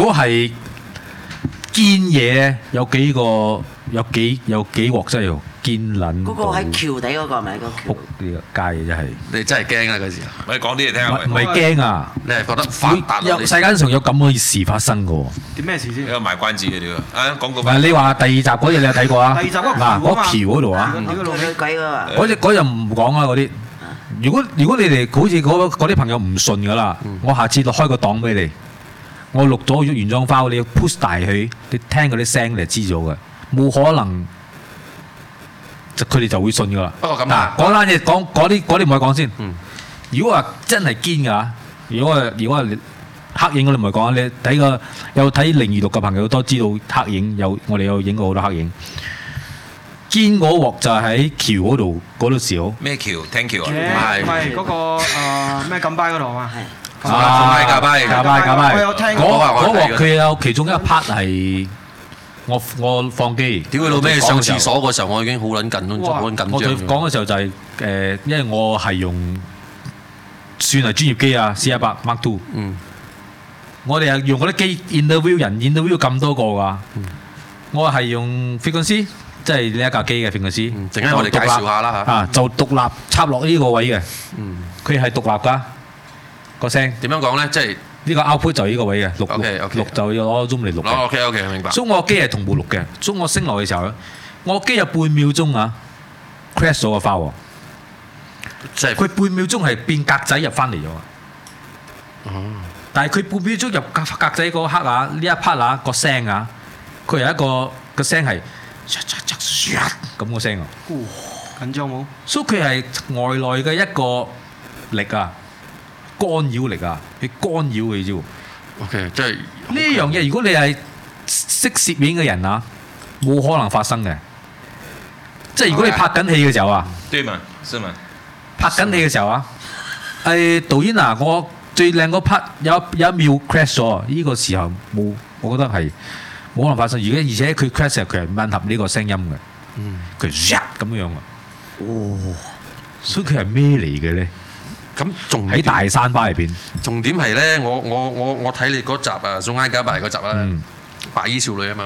堅嘢咧，有幾鑊真係堅撚。 嗰個喺橋底嗰個係咪？ 仆呢個街真係。 你真係驚啊！嗰時， 我哋講啲嚟聽下。 唔係驚啊！ 你係覺得發達？ 世界上有咁嘅事發生嘅喎。 點咩事先？ 呢個賣關子嘅呢個。廣告。 唔係你話第2集嗰嘢你有睇過啊？ 第2集嗰橋嗰度啊。嗰日唔講啊嗰啲。如果你哋好似嗰啲朋友唔信㗎啦，我下次開個檔俾你，我錄咗原裝 file，你要 push 大佢，你聽嗰啲聲你就知咗嘅，冇可能，佢哋就會信㗎啦。 不過咁啊， 嗰單嘢講嗰啲唔可以講先。如果話真係堅㗎，如果係黑影嗰啲唔係講，你有睇026嘅朋友都知道黑影我哋有影過好多黑影。堅嗰鑊就係喺橋嗰度少。 咩橋？聽橋啊？ 唔係嗰個咩錦巴嗰度啊嘛。 架巴。 我有聽過。 嗰鑊佢有其中一 part 係我放機。 屌佢老味！上廁所嗰時候我已經好撚緊張。我講嘅時候就係因為我係用算係專業機啊 C100 Mark II。我哋係用嗰啲機 interview 咁多個㗎。我係用 frequency。即係呢一架機嘅 frequency， 陣間我哋介紹下啦嚇。 就獨立插落呢個位嘅，佢係獨立㗎個聲。點樣講咧？即係呢個 output 就呢個位嘅，錄就要攞 zoom 嚟錄嘅。 OK，明白。 所以我機係同步錄嘅，所以我升落嘅時候咧，我機有半秒鐘啊 crash 咗個 file，即係佢半秒鐘係變格仔入翻嚟咗。但係佢半秒鐘入格仔嗰刻啊，呢一 part 啊個聲啊，佢係一個聲係。咁個聲啊！ 緊張冇？ 所以佢係外來嘅一個力啊，干擾力啊，去干擾佢啫喎。 OK， 即係呢樣嘢，如果你係識攝影嘅人啊，冇可能發生嘅。即係如果你拍緊戲嘅時候啊， 對嘛，是嘛？ 拍緊戲嘅時候啊，導演啊，我最靚嗰 part 有一秒 crash 咗，呢個時候冇，我覺得係。冇可能發生，而且佢 crash 佢係吻合呢個聲音嘅，佢咁樣啊，所以佢係咩嚟嘅咧？ 咁仲喺大山巴入邊。重點係咧，我睇你嗰集啊，宋埃加白嗰集啦，白衣少女啊嘛。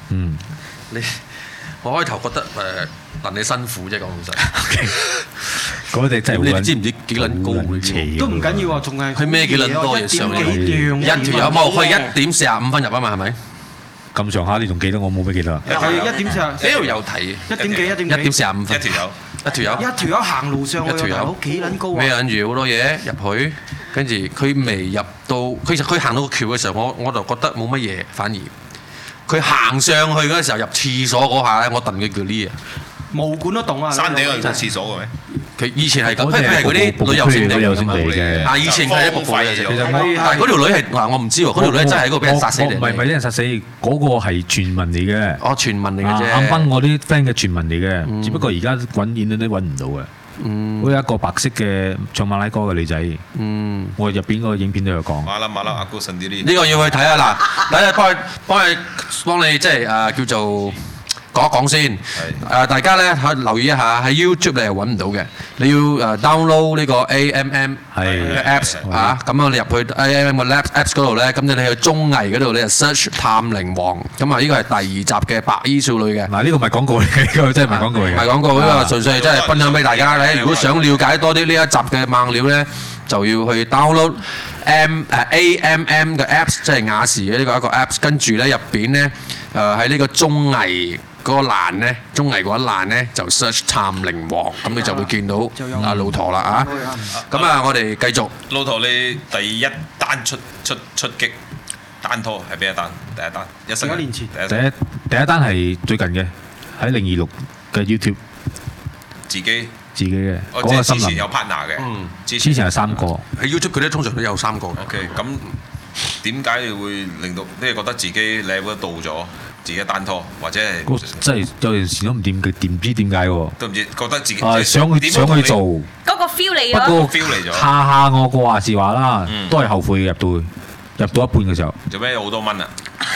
我開頭覺得戥你辛苦啫，講老實。 嗰隻真係你知唔知幾撚高？ 都唔緊要啊，仲係佢孭幾撚多嘢上嚟？一條友冇去1:45啊嘛，係咪？ 咁上下你仲記得我冇咩記得啊？ 係1:45。 呢度有睇。 1:45。一條友行路上去，大佬幾撚高啊！ 咩撚住好多嘢入去？ 跟住佢未入到，佢行到個橋嘅時候，我就覺得冇乜嘢，反而佢行上去嗰陣時候入廁所嗰下咧，我戥佢叫呢啊！ 毛管都動啊！ 山頂有廁所嘅咩？ 佢以前係咁，佢係嗰啲旅遊勝地嘅。啊，以前係一個廢嘅。其實但係嗰條女係嗱，我唔知喎。嗰條女真係喺嗰個俾人殺死嚟。 唔係俾人殺死，嗰個係傳聞嚟嘅。 哦，傳聞嚟嘅啫。 啱啱我啲 friend 嘅傳聞嚟嘅，只不過而家揾演都揾唔到嘅。好有一個白色嘅唱馬拉歌嘅女仔。我入邊嗰個影片都有講。 馬拉阿哥神啲呢？ 呢個要去睇下嗱，等下幫你即係叫做。講一講先，大家咧留意一下，喺 YouTube 你係揾唔到嘅，你要download 呢個 AMM 嘅 Apps 嚇，咁你入去 AMM 嘅 Apps 嗰度咧，咁你去綜藝嗰度你就 search 探靈王，咁啊呢個係第2集嘅白衣少女嘅。嗱呢個唔係廣告嚟嘅，呢個真係唔係廣告嚟嘅。唔係廣告，呢個純粹真係分享俾大家咧。如果想了解多啲呢一集嘅猛料咧，就要去 download AMM 嘅 Apps， 即係亞視嘅呢個一個 Apps， 跟住咧入邊咧喺呢個綜藝嗰個欄咧，綜藝嗰一欄咧就 search 探靈王，咁你就會見到阿老陀啦嚇。咁啊，我哋繼續。 老陀，你第一單出擊單拖係邊一單？第一單1年前。 第一單係最近嘅，喺026嘅 YouTube。自己嘅。 嗰個之前有 partner 嘅。 之前係3個。 喺 YouTube 佢哋通常都有3個。 OK， 咁點解你會令到你係覺得自己 level 到咗？自己單拖或者係真係有陣時都唔掂，唔知點解喎？ 都唔知覺得自己想去做嗰個 feel 嚟咗。 不過 feel 嚟咗。下我個話是話啦，都係後悔入到一半嘅時候。 做咩有好多蚊啊？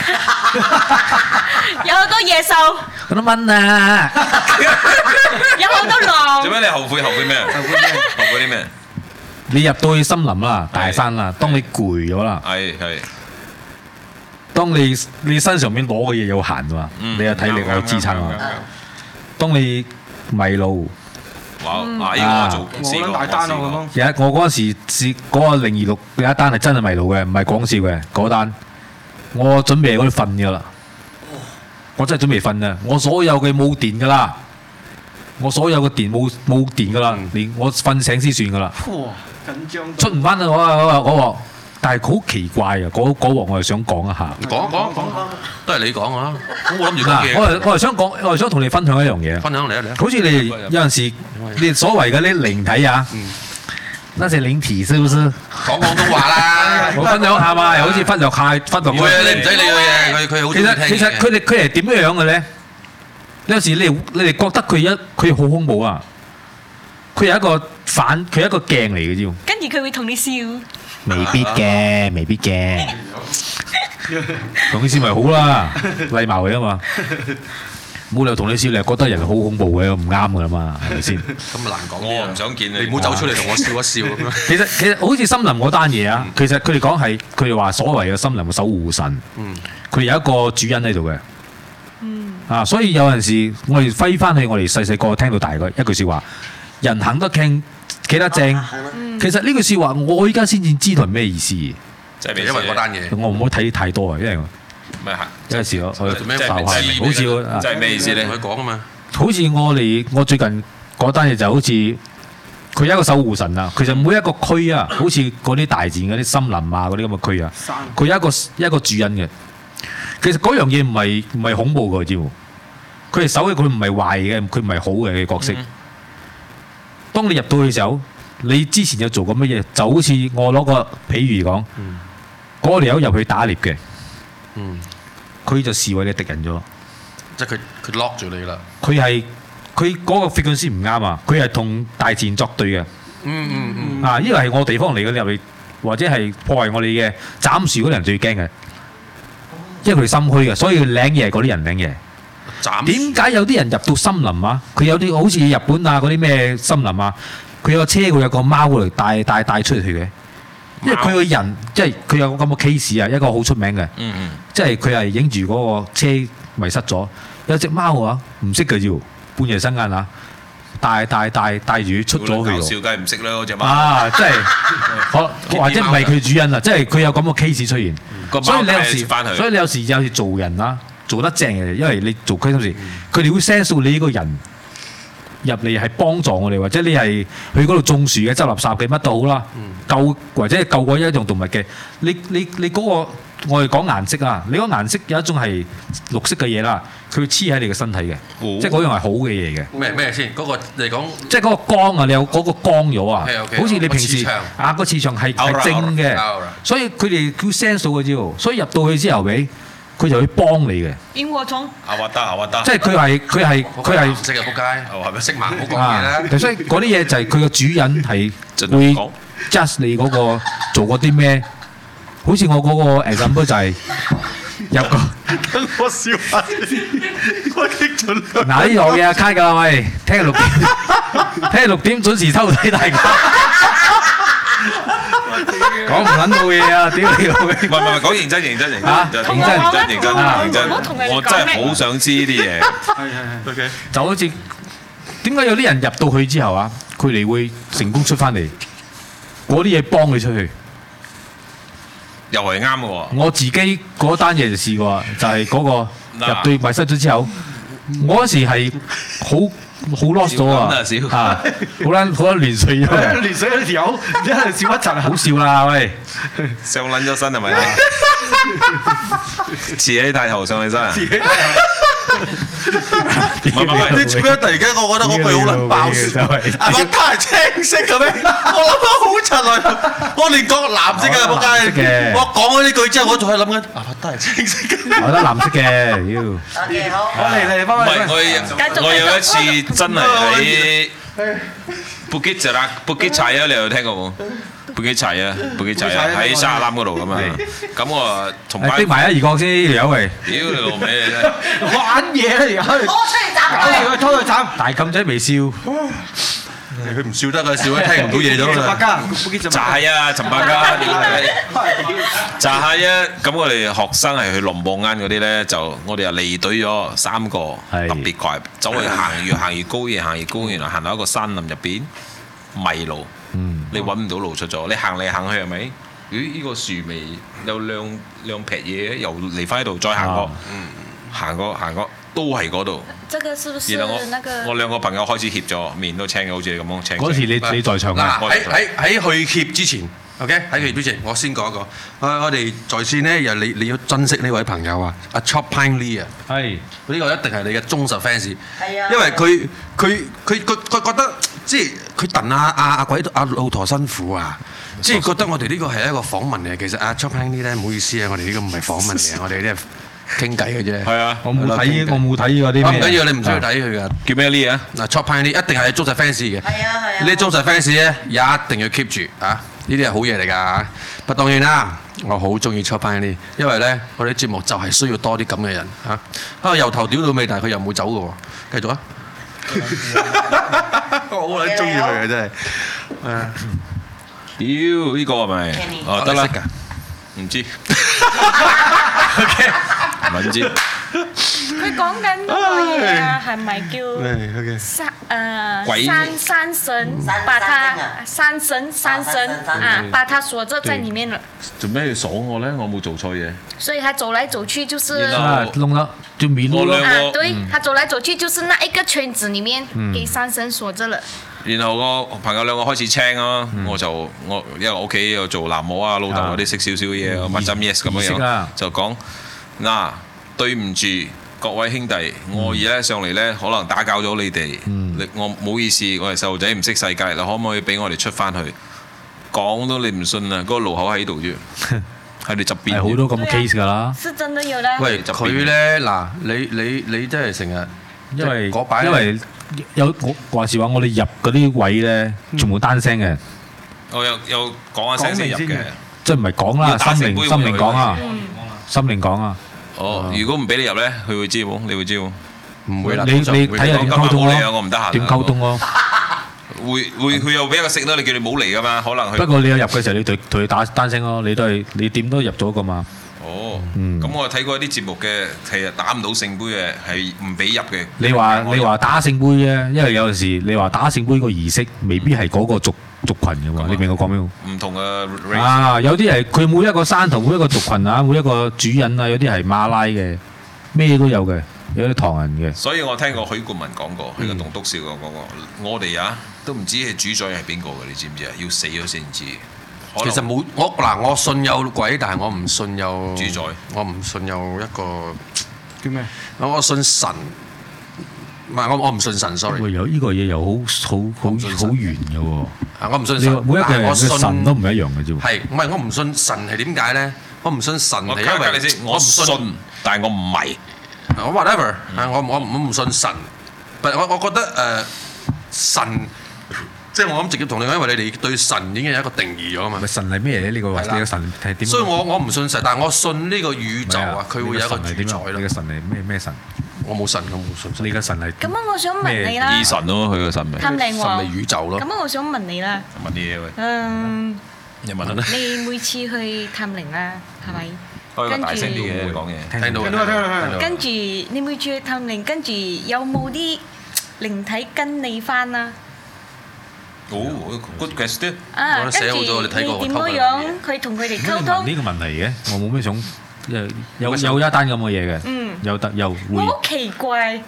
有好多野獸。 好多蚊啊！ 有好多狼。 做咩你後悔咩？後悔啲咩？ 你入到去森林啦，大山啦，當你攰咗啦。 係。 當你身上面攞嘅嘢有限嘛，你有體力有支撐嘛。當你迷路， 哇！呢個我試過大單咯咁。 我嗰陣時試嗰個026有一單係真係迷路嘅，唔係講笑嘅嗰單。我準備喺嗰度瞓㗎啦，我真係準備瞓啊！我所有嘅冇電㗎啦，我所有嘅電冇電㗎啦，連我瞓醒先算㗎啦。 哇！緊張出唔翻啊！我但係好奇怪啊！嗰鑊我係想講一下。 講，都係你講啊！我諗住講嘢。 我係想講，我係想同你分享一樣嘢。 分享嚟啊！ 好似你哋有陣時，你所謂嘅啲靈體啊，那些靈體是不是？ 講廣東話啦， 我分享下嘛，又好似忽略。 唔會啊！你唔使理佢嘅，佢好中意聽嘅。 其實佢係點樣嘅咧？有時你哋覺得佢好恐怖啊！佢係一個鏡嚟嘅啫。 跟住佢會同你笑。 未必嘅，同你笑咪好啦，禮貌嘅嘛。冇理由同你笑，你係覺得人好恐怖嘅，唔啱㗎啦嘛，係咪先？ 咁難講。 我唔想見你。 你唔好走出嚟同我笑一笑咁樣。 其實好似森林嗰單嘢啊，其實佢哋講係佢哋話所謂嘅森林嘅守護神，佢有一個主人喺度嘅。所以有陣時我哋揮翻去我哋細個聽到大嘅一句説話：人行得傾，企得正。其實呢句説話，我依家先至知道係咩意思。 即係因為嗰單嘢， 我唔好睇太多啊，因為有陣時我做咩浮下，好似即係咩意思咧？ 同佢講啊嘛。 好似我最近嗰單嘢就好似佢有一個守護神啊。其實每一個區啊，好似嗰啲大自然嗰啲森林啊，嗰啲咁嘅區啊，佢有一個主人嘅。其實嗰樣嘢唔係恐怖嘅，知冇？佢係守嘅，佢唔係壞嘅，佢唔係好嘅角色。當你入到去嘅時候，你之前有做過乜嘢？就好似我攞個譬如講，嗰條友入去打獵嘅，佢就視為你敵人咗。 即係佢 lock 住你啦。 佢嗰個 frequency 唔啱啊！佢係同大自然作對嘅。呢個係我地方嚟嘅，你入去或者係破壞我哋嘅斬樹嗰啲人最驚嘅，因為佢哋心虛嘅，所以領嘢係嗰啲人領嘢。點解有啲人入到森林啊？佢有啲好似日本啊嗰啲咩森林啊，佢有個車，佢有個貓嚟帶出去嘅。因為佢個人即係佢有個咁嘅 case 啊，一個好出名嘅。即係佢係影住嗰個車迷失咗，有隻貓啊，唔識嘅要半夜三更啊，帶住出咗去。 笑梗係唔識啦嗰隻貓。 即係或者唔係佢主人啊，即係佢有咁嘅 case 出現。所以你有時做人啦。做得正嘅，因為你做虧心事，佢哋會 sense 到你呢個人入嚟係幫助我哋，或者你係去嗰度種樹嘅、執垃圾嘅乜都好啦，救或者係救過一樣動物嘅，你嗰個我哋講顏色啊，你嗰個顏色有一種係綠色嘅嘢啦，佢會黐喺你嘅身體嘅，即係嗰樣係好嘅嘢嘅。咩先？嗰個你講即係嗰個光啊，你有嗰個光咗啊，好似你平時個磁場係正嘅，所以佢哋叫 sense 到嘅啫，所以入到去之後俾。佢就會幫你嘅。螢火蟲。 即係佢係唔識嘅仆街，係咪識盲好講嘢啦？ 所以嗰啲嘢就係佢個主人係會 judge 你嗰個做過啲咩。好似我嗰個 example 就係入個。 等我笑下先，我激咗兩。 嗱呢度嘢 cut 㗎啦，喂，聽日6點準時收睇大家。講唔撚到嘢啊！屌你老味！ 唔係講認真嚇，認真，我真係好想知呢啲嘢。係 ，OK。 就好似點解有啲人入到去之後啊，佢哋會成功出翻嚟，嗰啲嘢幫你出去， 又係啱嘅喎。 我自己嗰單嘢就試過，就係嗰個入到迷失咗之後，我嗰時係好 lost 咗啊！好撚亂水咗嘅， 亂水嗰條友，一係笑一陣， 好笑啦喂！ 上撚咗身係咪啊？遲起大頭上起身啊！ 你做咩突然間我覺得嗰句好撚爆笑？阿伯他係青色嘅咩？我諗到好柒啊！我連講藍色嘅仆街，我講咗呢句之後，我仲係諗緊阿伯他係青色嘅。 我覺得藍色嘅，妖。 我嚟翻返嚟。我有一次真係喺布基柴啊！你有聽過冇？布基柴啊喺沙灘嗰度咁啊！咁我同班逼埋一二個先，有喂！ 屌你老味你真係玩嘢嚟㗎！拖出去斬！ 大禁仔微笑， 佢唔笑得㗎，笑得聽唔到嘢咗啦。 就係啊，陳百家就係啊！咁我哋學生係去龍邦間嗰啲咧，就我哋又離隊咗3個，特別快，走去行越行越高，越行越高，原來行到一個山林入邊迷路。你揾唔到路出咗，你行嚟行去係咪？咦？呢個樹尾有兩撇嘢，又嚟翻喺度，再行過，行過，都係嗰度。 這個是不是然後我兩個朋友開始協咗，面都青嘅，好似你咁樣青。 嗰時你在場啊？ 喺去協之前 ，OK， 喺去協之前，我先講一個。我哋在線呢，又你要珍惜呢位朋友啊，阿 Chop Pine Lee 啊，係呢個一定係你嘅忠實 fans。係啊，因為佢覺得。即係佢戥阿鬼阿老陀辛苦啊！即係覺得我哋呢個係一個訪問嚟，其實阿 Chop Pine Lee 咧，唔好意思啊，我哋呢個唔係訪問嚟，我哋呢係傾偈嘅啫。係啊，我冇睇嗰啲咩。唔緊要，你唔需要睇佢噶。叫咩 Lee 啊？嗱 Chop Pine Lee 一定係忠實 fans 嘅。係啊係啊。呢啲忠實 fans 咧，一定要 keep 住啊！呢啲係好嘢嚟㗎嚇。不過當然啦，我好中意 Chop Pine Lee，因為咧我哋節目就係需要多啲咁嘅人嚇。由頭屌到尾，但係佢又冇走嘅喎。繼續啊！我好撚中意佢嘅真係， 屌呢個係咪？哦得啦，唔知。OK，唔知。 佢講緊嗰個嘢啊，係咪叫山神把他山神啊，把他鎖着在裡面了。 做咩要鎖我咧？我冇做錯嘢。 所以他走來走去就是弄了就迷路了。 對，他走來走去就是那一個圈子裡面，給山神鎖着了。 然後我朋友兩個開始青啊，我因為我屋企又做喃嘸啊，老豆嗰啲識少少嘢，我問針 yes 咁樣就講嗱，對唔住各位兄弟，我而家上嚟咧可能打攪咗你哋，我唔好意思，我係細路仔唔識世界，你可唔可以俾我哋出翻去？講都你唔信啊，嗰個路口喺度啫，喺你側邊。係好多咁嘅 case 㗎啦。 是真的有啦。 喂，佢咧嗱，你真係成日因為有我話時話，我哋入嗰啲位咧，全部單聲嘅。 我有講下聲先入嘅， 即係唔係講啦，心靈講啊，心靈講啊。 哦，如果唔俾你入咧，佢會知冇？你會知冇？ 唔會啦。 你睇下點溝通咯？ 我唔得閒。 點溝通咯？ 會佢又俾一個食啦，你叫你唔好嚟噶嘛，可能佢。 不過你有入嘅時候，你同佢打單聲咯，你點都入咗噶嘛。 哦，咁我睇過一啲節目嘅，其實打唔到聖杯嘅，係唔俾入嘅。 你話打聖杯啫，因為有陣時你話打聖杯個儀式未必係嗰個族群嘅喎，你明我講咩？ 唔同嘅 race 啊，有啲係佢每一個山頭每一個族群啊，每一個主人啊，有啲係馬拉嘅，咩都有嘅。 有啲唐人嘅。 所以我聽過許冠文講過，喺個棟篤笑講過，我哋都唔知係主宰係邊個嘅，你知唔知啊？要死咗先知。 其實冇我信有鬼，但係我唔信有主宰， 我唔信有一個叫咩？ 我信神，唔係我唔信神，sorry。 有呢個嘢又好圓嘅喎。 我唔信神， 每一個人嘅神都唔一樣嘅啫。 係唔係我唔信神係點解咧？我唔信神係因為我信，但係我唔迷。 我 whatever，我唔信神，但我覺得神。即係我諗直接同你講，因為你哋對神已經有一個定義咗啊嘛。 咪神係咩咧？呢個你嘅神係點？ 所以我唔信神，但係我信呢個宇宙啊，佢會有一個主宰咯。 你嘅神係咩神？ 我冇神，我冇信。你嘅神係咁啊！我想問你啦。 二神咯，佢嘅神明。 探靈喎。 神明宇宙咯。 咁啊！我想問你啦。 問啲嘢喂。你問啦。 你每次去探靈啦，係咪？ 開個大聲啲嘅講嘢。 聽到。 跟住你每次去探靈，跟住有冇啲靈體跟你翻啊？ good question。 跟住你點樣去同佢哋溝通？ 呢個問題嘅，我冇咩想有一單咁嘅嘢嘅，有得又會。 我好奇怪，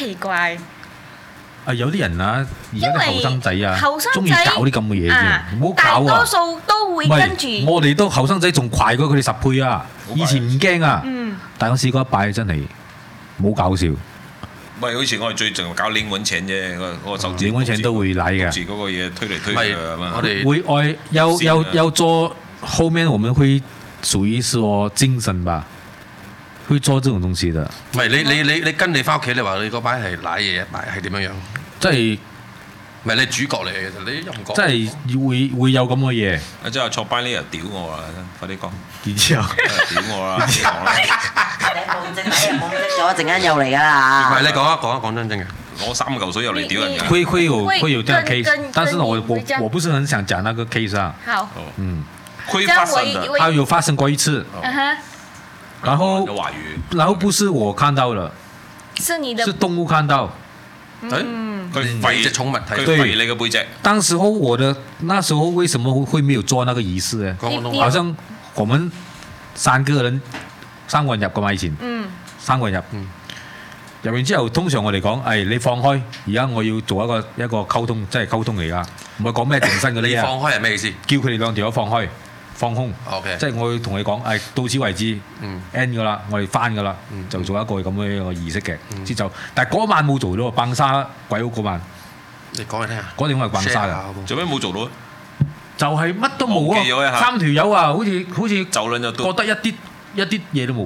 有啲人啊，而家啲後生仔啊，中意搞啲咁嘅嘢啫，唔好搞啊！ 大多數都會跟住。 我哋都後生仔仲快過佢哋10倍啊！以前唔驚啊，但我試過一擺真係冇搞笑。 喂，好似我哋最近搞領揾錢啫，嗰個手指。 領揾錢都會嚟嘅。 嗰個嘢推嚟推去啊嘛。 我哋會要做，後面我們會屬於說精神吧，會做這種東西的。 唔係你跟你翻屋企，你話你嗰擺係瀨嘢，係點樣樣？ 即係唔係你主角嚟嘅，其實你又唔講。 即係會有咁嘅嘢。 即係坐班呢又屌我啦，快啲講。 然之後屌我啦， 你冇證咗，一陣間又嚟㗎啦。 唔係你講真嘅。 攞3嚿水入嚟屌人㗎。 會有這樣 case，但是我不是很想講那個 case 啊。 好。 會發生的。 它有發生過一次。然後不是我看到了，是動物看到。 佢吠隻寵物睇，佢吠你個背脊。 當時候那時候為什麼會沒有做那個儀式呢？好像我們3個人入㗎嘛以前，3個人入完之後，通常我哋講，你放開，而家我要做一個溝通，即係溝通嚟㗎，唔係講咩定身嗰啲啊。 你放開係咩意思？ 叫佢哋2條友放開。放空，即係我要同你講，到此為止，end 㗎啦，我哋翻㗎啦，就做一個咁樣一個儀式嘅，先走。但係嗰晚冇做到，崩沙鬼屋嗰晚。 你講嚟聽下。 嗰點我係崩沙㗎。 做咩冇做到？ 就係乜都冇啊！3條友啊，好似就兩就覺得一啲嘢都冇。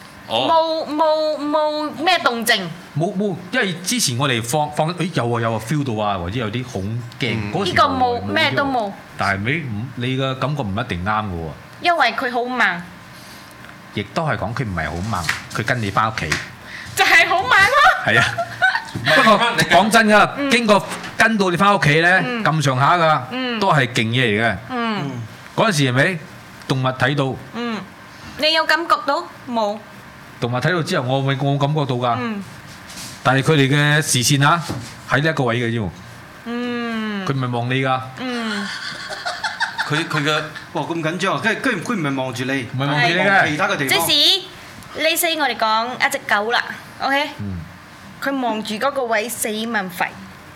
冇咩動靜。 冇，因為之前我哋放，有啊 feel 到啊，或者有啲恐驚。 呢個冇咩都冇。但係你嘅感覺唔一定啱嘅喎。 因為佢好猛。 亦都係講佢唔係好猛，佢跟你翻屋企。 就係好猛咯。係啊。 不過講真㗎，經過跟到你翻屋企咧，咁上下㗎，都係勁嘢嚟嘅。嗰陣時係咪動物睇到？ 你有感覺到冇？ 動物睇到之後，我感覺到㗎。但係佢哋嘅視線啊，喺呢一個位嘅啫喎。佢唔係望你㗎。 佢嘅哇咁緊張，佢唔係望住你， 唔係望住你嘅， 其他嘅地方。 即使你死我哋講一隻狗啦 ，OK？佢望住嗰個位死問吠，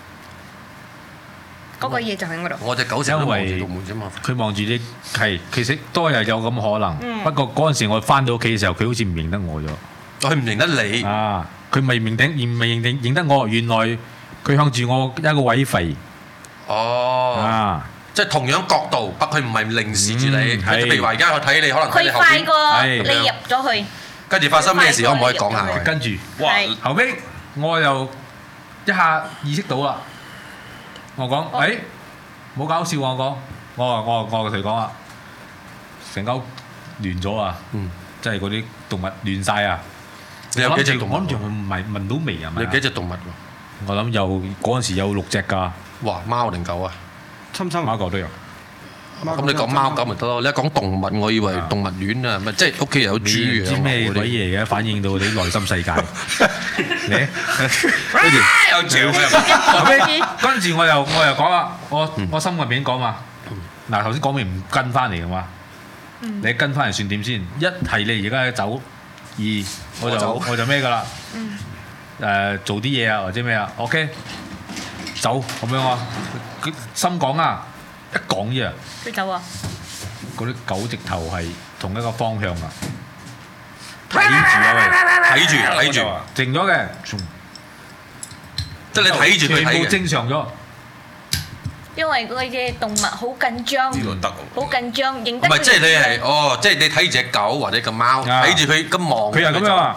嗰個嘢就喺嗰度。 我隻狗成日都望住道門啫嘛。 佢望住你係，其實都係有咁可能。不過嗰陣時我翻到屋企嘅時候，佢好似唔認得我咗。 佢唔認得你啊！佢未認得我，原來佢向住我一個位吠。 哦。即係同樣角度，不過佢唔係凝視住你。譬如話而家我睇你，可能睇你後邊。 佢快過你入咗去。 跟住發生咩事，可唔可以講下？ 跟住，哇！後尾我又一下意識到啦。我講，冇搞笑啊！我同佢講啊，成間屋亂咗啊！即係嗰啲動物亂晒啊！ 你有幾隻動物？ 我諗住唔係聞到味啊！ 你幾隻動物喎？ 我諗嗰陣時有6隻㗎。 哇！貓定狗啊？ 貓狗都有。 咁你講貓狗咪得咯？你一講動物，我以為動物園啊，咪即係屋企有豬啊！ 唔知咩鬼嘢嘅，反映到你內心世界。你有照跟住我又講啦，我心入面講嘛。嗱頭先講明唔跟翻嚟嘅嘛，你跟翻嚟算點先？一係你而家走，二我就咩㗎啦。 做啲嘢啊或者咩啊 ，OK， 走咁樣啊，佢心講啊，一講啫， 佢走啊， 嗰啲狗直頭係同一個方向啊，睇住啊喂， 睇住， 靜咗嘅， 即係你睇住佢全部睇嘅。 正常咗。 因為佢嘅動物好緊張，好緊張，認得。 唔係，即係你係即係你睇住隻狗或者隻貓，睇住佢咁望。 佢係咁樣啊。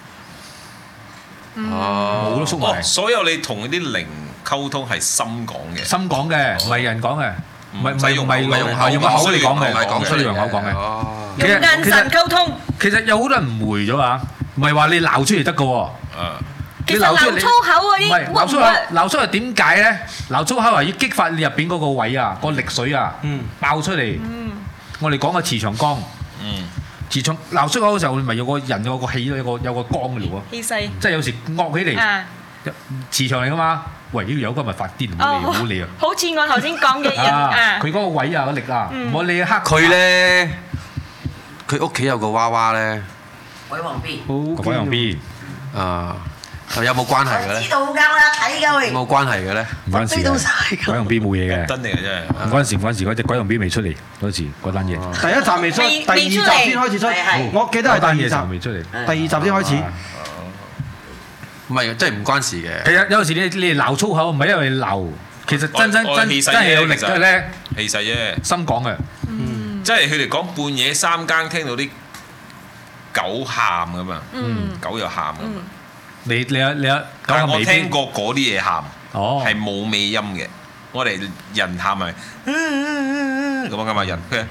哦， 冇都縮埋。 所有你同啲靈溝通係心講嘅， 心講嘅，唔係人講嘅，唔係用個口嚟講嘅， 唔係講出嚟用口講嘅。 用眼神溝通。 其實有好多人誤會咗啊，唔係話你鬧出嚟得嘅喎。 其實鬧粗口嗰啲， 鬧粗口點解咧？鬧粗口係要激發你入邊嗰個位啊，個力水啊，爆出嚟。我哋講個磁場光。磁場鬧出口嘅時候，咪有個人有個氣有個光嘅喎。 氣勢。 即係有時惡起嚟，磁場嚟噶嘛。喂，呢條友今日發癲，唔好理啊！ 好似我頭先講嘅人啊。 佢嗰個位啊，個力啊，唔好理黑。 佢咧，佢屋企有個娃娃咧。 鬼王 B。 鬼王 B。 啊。有冇關係嘅咧？ 知道㗎啦，睇㗎喂。 冇關係嘅咧？ 唔關事嘅。鬼王 B 冇嘢嘅。 真定係真係。 唔關事，嗰隻鬼王 B 未出嚟嗰時嗰單嘢。 第一集未出，第二集先開始出。我記得係第二集未出嚟。 第二集先開始。 唔係，真係唔關事嘅。 其實有時你鬧粗口唔係因為鬧，其實真係有力嘅咧。 氣勢啫。 心講嘅。 即係佢哋講半夜三更聽到啲狗喊咁嘛，狗又喊咁。 你但係我聽過嗰啲嘢喊，係冇尾音嘅。我哋人喊咪咁樣噶嘛，人佢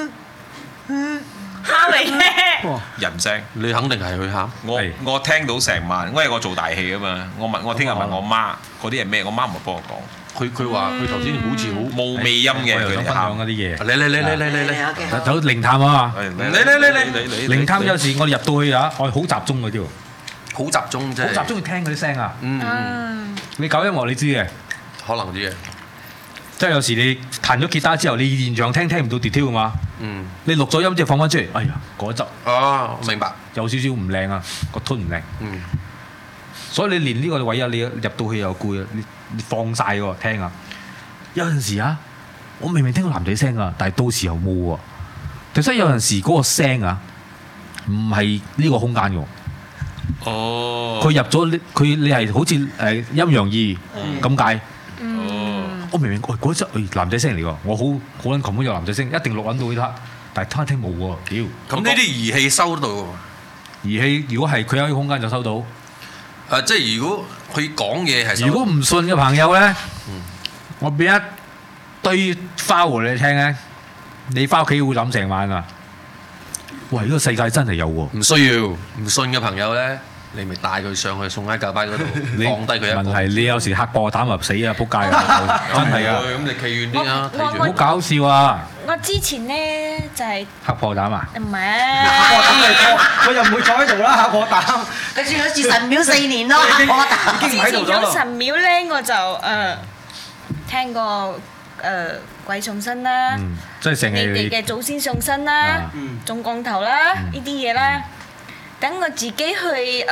喊嚟嘅人聲。 你肯定係佢喊。 我聽到成晚，因為我做大戲噶嘛。我聽日問我媽嗰啲係咩，我媽唔係幫我講。 佢話佢頭先好似好冇尾音嘅，佢哋喊嗰啲嘢。 嚟， 走靈探啊嘛！ 嚟， 靈探有時我哋入到去啊，我係好集中嗰啲喎。 好集中啫， 好集中去聽嗰啲聲啊！你搞音樂你知嘅， 可能知嘅。 即係有時你彈咗吉他之後，你現場聽唔到 detail 㗎嘛？你錄咗音之後放翻出嚟，哎呀嗰一執。 哦，明白。 有少少唔靚啊，個 tone 唔靚。所以你連呢個位啊，你入到去又攰啊，你放晒喎聽啊。有陣時啊，我明明聽到男仔聲啊，但係到時候冇喎。其實有陣時嗰個聲啊，唔係呢個空間㗎。佢入咗你係好似陰陽二咁解。我明明嗰隻男仔聲嚟㗎，我好撚琴日有男仔聲，一定錄揾到呢刻，但係聽冇喎，屌！ 咁呢啲儀器收到喎。 儀器如果係佢有啲空間就收到。 即係如果佢講嘢係。 如果唔信嘅朋友咧，我俾一堆花胡你聽咧，你翻屋企會諗成晚啊！喂，呢個世界真係有喎。 唔需要，唔信嘅朋友咧，你咪帶佢上去送喺教班嗰度，放低佢一個。 問題你有時嚇破膽入死啊！仆街啊！真係啊！ 咁你企遠啲啊！睇住。 好搞笑啊！ 我之前咧就係嚇破膽啊！ 唔係， 佢又唔會坐喺度啦，嚇破膽。 佢住咗住神廟4年咯，嚇破膽。 已經唔喺度咗之前有神廟咧，我就聽過鬼上身啦， 即係成日你哋嘅祖先上身啦，種降頭啦，呢啲嘢啦。等我自己去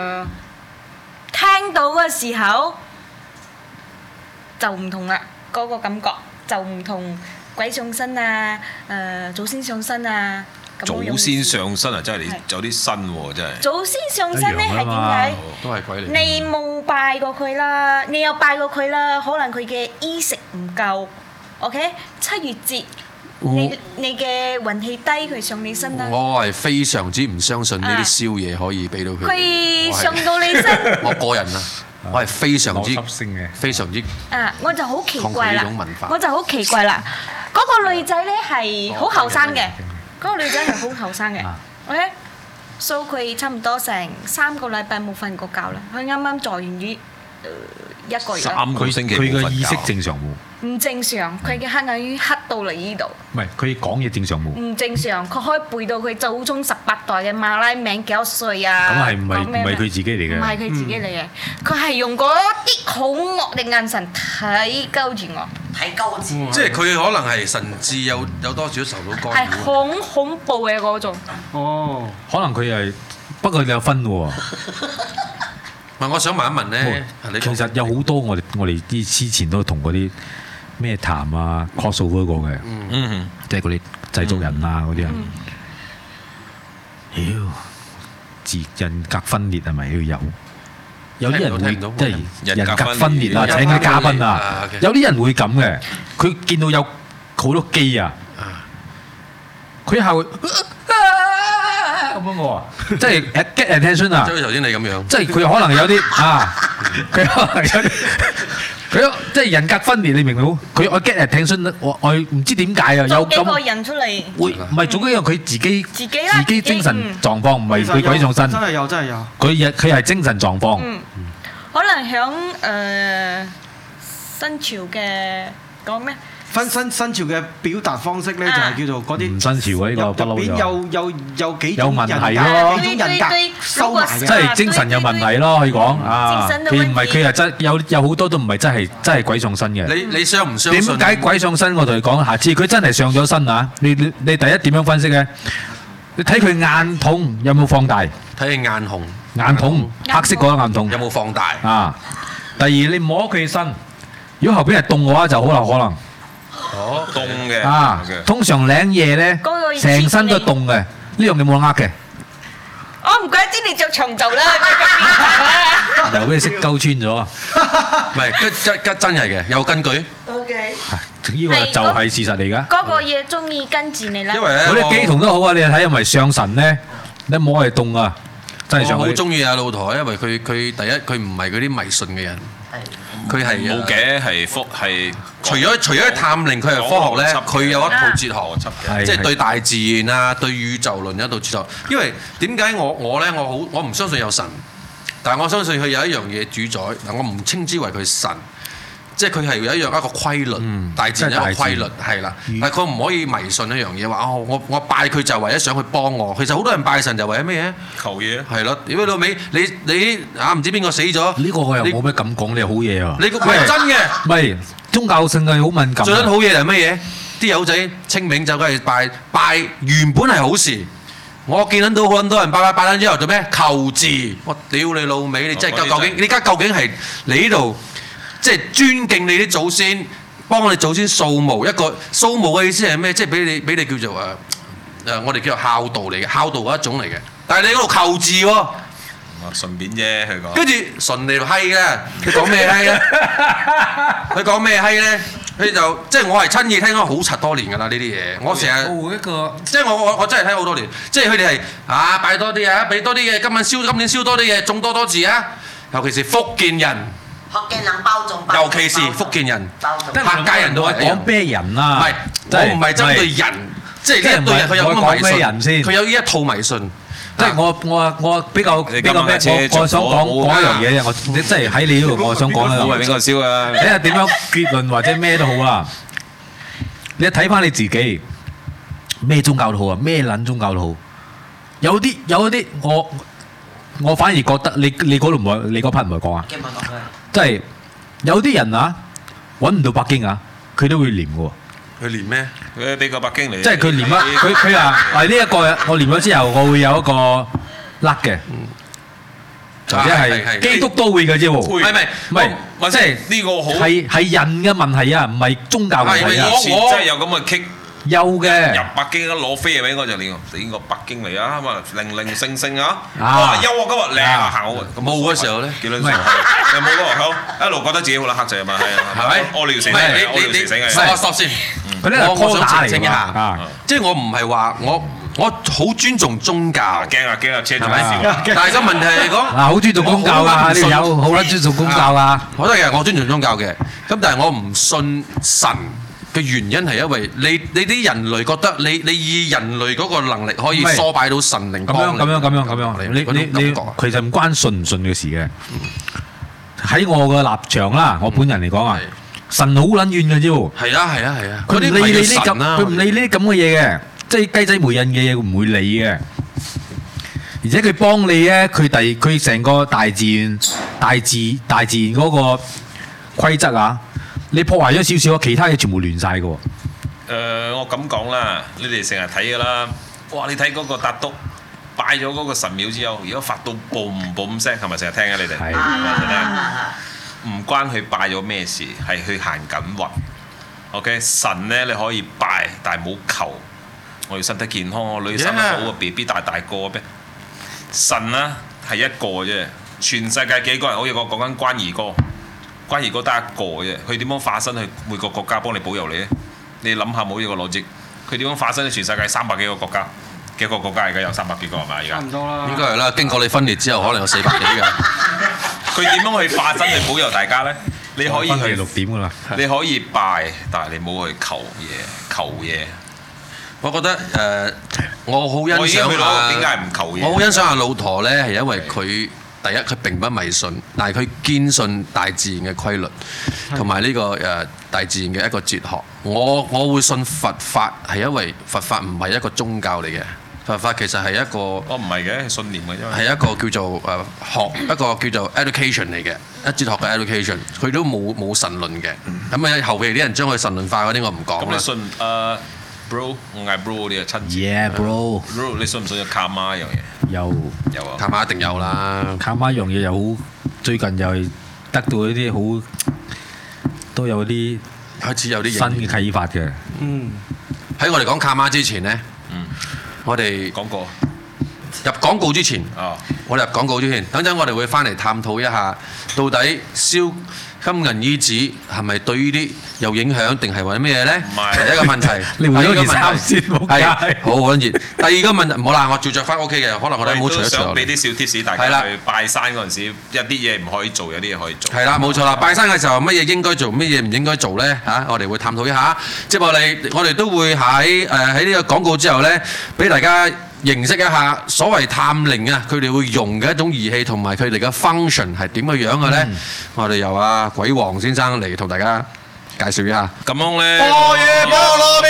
聽到嘅時候就唔同啦，嗰個感覺就唔同鬼上身啊，祖先上身啊。 祖先上身啊，真係你有啲新喎，真係。 祖先上身咧係點解？ 都係鬼嚟。 你冇拜過佢啦，你有拜過佢啦，可能佢嘅衣食唔夠。OK， 7月節，你嘅運氣低，佢上你身啦。 我係非常之唔相信呢啲宵嘢可以俾到佢。 佢上到你身。 我個人啊，我係非常之我就好奇怪啦，我就好奇怪啦。嗰個女仔咧係好後生嘅，嗰個女仔係好後生嘅。OK，所以佢差唔多成3個禮拜冇瞓過覺啦。佢啱啱坐完月1個月啦。 3個星期冇瞓覺。 佢嘅意識正常冇？ 唔正常，佢嘅黑眼圈黑到嚟呢度。 唔係，佢講嘢正常冇？ 唔正常，佢可以背到佢祖宗18代嘅馬拉名幾多歲啊？ 咁係唔係佢自己嚟嘅？ 唔係佢自己嚟嘅，佢係用嗰啲好惡嘅眼神睇鳩住我。 睇鳩住。 即係佢可能係神智有多少受到干擾。 係好恐怖嘅嗰種。 可能佢係，不過你有分喎。 唔係，我想問一問咧， 其實有好多我哋之前都同嗰啲咩談啊 crossover 過嘅，即係嗰啲製作人啊嗰啲人，人格分裂係咪要有？有啲人會即係人格分裂啊！請啲嘉賓啊，有啲人會咁嘅，佢見到有好多機啊，佢係會咁樣喎，即係 get attention 啊！ 即係頭先你咁樣， 即係佢可能有啲啊，佢可能有啲，佢即係人格分裂，你明唔明？佢我 get attention，我唔知點解啊，有幾個人出嚟， 會唔係總之因為佢自己精神狀況唔係佢鬼上身， 真係有真係有。 佢係精神狀況， 可能響新潮嘅講咩？ 新潮嘅表達方式咧，就係叫做嗰啲唔新潮啊！呢個不嬲有幾有問題咯， 幾種人格收埋嘅， 即係精神有問題咯，可以講啊！佢唔係佢係真有好多都唔係真係鬼上身嘅。 你相唔相信？ 點解鬼上身？我同你講，下次佢真係上咗身啊！你第一點樣分析咧？你睇佢眼筒有冇放大？ 睇佢眼紅， 眼筒黑色嗰個眼筒有冇放大？ 啊！第二你摸佢身，如果後邊係凍嘅話，就好有可能。 哦，凍嘅啊，通常領嘢咧，成身都凍嘅，呢樣你冇得呃嘅。 我唔怪知你着長袖啦， 又俾你識鳩穿咗。 唔係，真係嘅，有根據。 OK。 呢個就係事實嚟㗎。 嗰個嘢中意跟住你啦。 因為嗰啲機童都好啊，你睇係咪上神咧？你摸係凍啊，真係上。 我好中意阿露台，因為佢第一佢唔係嗰啲迷信嘅人。佢係冇嘅，係除咗探靈，佢係科學咧，佢有一套哲學，即係對大自然啊、對宇宙論有一套哲學。因為點解我唔相信有神，但係我相信佢有一樣嘢主宰。嗱，我唔稱之為佢神，即係佢係有一個規律，大自然有一個規律係啦。但係佢唔可以迷信一樣嘢，話我拜佢就為咗想去幫我。其實好多人拜神就為咗咩嘢？ 求嘢。 係咯，屌你老味，你啊唔知邊個死咗？ 呢個我又冇咩咁講，你好嘢啊！ 你係真嘅， 唔係宗教性係好敏感。 最撚好嘢係乜嘢？啲友仔清明就梗係拜，原本係好事。我見到好多人拜撚之後做咩？求字。我屌你老味，你真係你而家究竟係你呢度？即係尊敬你啲祖先，幫我哋祖先掃墓。一個掃墓嘅意思係咩？即係俾你叫做我哋叫做孝道嚟嘅，孝道嗰一種嚟嘅。但係你嗰度求字喎， 順便啫，佢講。 跟住順你條閪嘅，佢講咩閪咧？佢講咩閪咧？佢就即係我係親耳聽咗好柒多年㗎啦呢啲嘢。我成日即係我真係聽好多年。即係佢哋係拜多啲啊，俾多啲嘅，今年燒多啲嘢，種多字啊。尤其是福建人。 福建人包粽， 尤其是福建人，客家人都係講咩人啊？ 唔係，我唔係針對人，即係呢一對人佢有咁嘅迷信，佢有呢一套迷信。 即係我比較咩？我想講一樣嘢啫。我即係喺你呢度，我想講咧。 冇係邊個燒啊？ 睇下點樣結論或者咩都好啦。你睇翻你自己，咩宗教都好啊，咩撚宗教都好。有一啲我反而覺得你嗰度唔係你嗰 part 唔係講啊。即係有啲人啊，揾唔到北京啊，佢都會念嘅喎。 佢念咩？ 佢俾個北京嚟。 即係佢念啊！佢話係呢一個，我念咗之後，我會有一個甩嘅，或者係基督都會嘅啫喎。唔係，即係呢個好係人嘅問題啊，唔係宗教問題啊。 我真係有咁嘅傾。 有嘅入北京攞飛嘅俾我就練個北京嚟啊！咁啊零星啊！哇優啊！今日靚啊行好啊！ 冇嗰時候咧， 幾撚時候？有冇嗰個好？一路覺得自己好撚黑仔啊嘛，係咪？屙尿死嘅， stop 先。我想澄清一下，即係我唔係話我好尊重宗教。 驚啊！車住咪笑。 但係個問題係講好尊重宗教啊！你有好撚尊重宗教啊！ 我都係我尊重宗教嘅，咁但係我唔信神。嘅原因係因為你啲人類覺得你以人類嗰個能力可以梳擺到神靈光咁樣，你其實唔關信唔信嘅事嘅。喺我嘅立場啦，我本人嚟講啊，神好撚遠嘅啫喎。 係啊， 佢唔理呢啲咁，佢唔理呢啲咁嘅嘢嘅，即係雞仔媒人嘅嘢，佢唔會理嘅。而且佢幫你咧，佢成個大自然嗰個規則啊！你破壞咗少少，其他嘢全部亂晒嘅喎。 我咁講啦，你哋成日睇嘅啦。哇！你睇嗰個達督拜咗嗰個神廟之後，如果發到 boom boom 聲，係咪成日聽啊？你哋係唔關佢拜咗咩事，係佢行緊運。OK， 神咧你可以拜，但係冇求。我要身體健康，我女生好啊 ，BB 大個咩？神啊係一個啫，全世界幾個人？好似我講緊關兒哥，關兒哥得一個啫。佢點樣化身去每個國家幫你保佑你咧？你諗下冇呢個邏輯，佢點樣化身去全世界300幾個國家？幾個國家而家有300幾個係咪？而家差唔多啦。應該係啦，經過你分裂之後，可能有400幾㗎。佢點樣去化身去保佑大家咧？你可以去 6點㗎啦。 你可以拜，但係你冇去求嘢。 我覺得我好欣賞點解唔求嘢？ 我好欣賞阿老陀咧，係因為佢第一佢並不迷信，但係佢堅信大自然嘅規律，同埋呢個大自然嘅一個哲學。我會信佛法係因為佛法唔係一個宗教嚟嘅，佛法其實係一個唔係嘅，係信念嘅，因為係一個叫做學一個叫做 education 嚟嘅，哲學嘅 education， 佢都冇神論嘅。咁後期啲人將佢神論化嗰啲我唔講啦。咁你信Bro， 我嗌 Bro 啲啊親子。 Yeah bro。 Bro， 你信唔信有卡媽一樣嘢？有啊。 卡媽一定有啦。 卡媽一樣嘢又好，最近又係得到一啲好，都有啲開始有啲新嘅啟發嘅。 喺我哋講卡媽之前呢，我哋講過入廣告之前，我哋入廣告之前，等陣我哋會翻嚟探討一下，到底燒金銀衣紙係咪對呢啲有影響，定係為咩嘢咧？第一個問題， 你換咗件衫先， 係好緊熱。第二個問題，唔好啦，我照着翻 OK 嘅，可能我哋冇除一除。 想俾啲小貼士大家去拜山嗰陣時，有啲嘢唔可以做，有啲嘢可以做。 係啦，冇錯啦。拜山嘅時候，乜嘢應該做，乜嘢唔應該做咧？嚇，我哋會探討一下。接落嚟，我哋都會喺呢個廣告之後咧，俾大家認識一下所謂探靈啊，佢哋會用嘅一種儀器同埋佢哋嘅 function 係點嘅樣嘅咧？我哋由阿鬼王先生嚟同大家介紹一下。 咁樣咧， 波耶菠蘿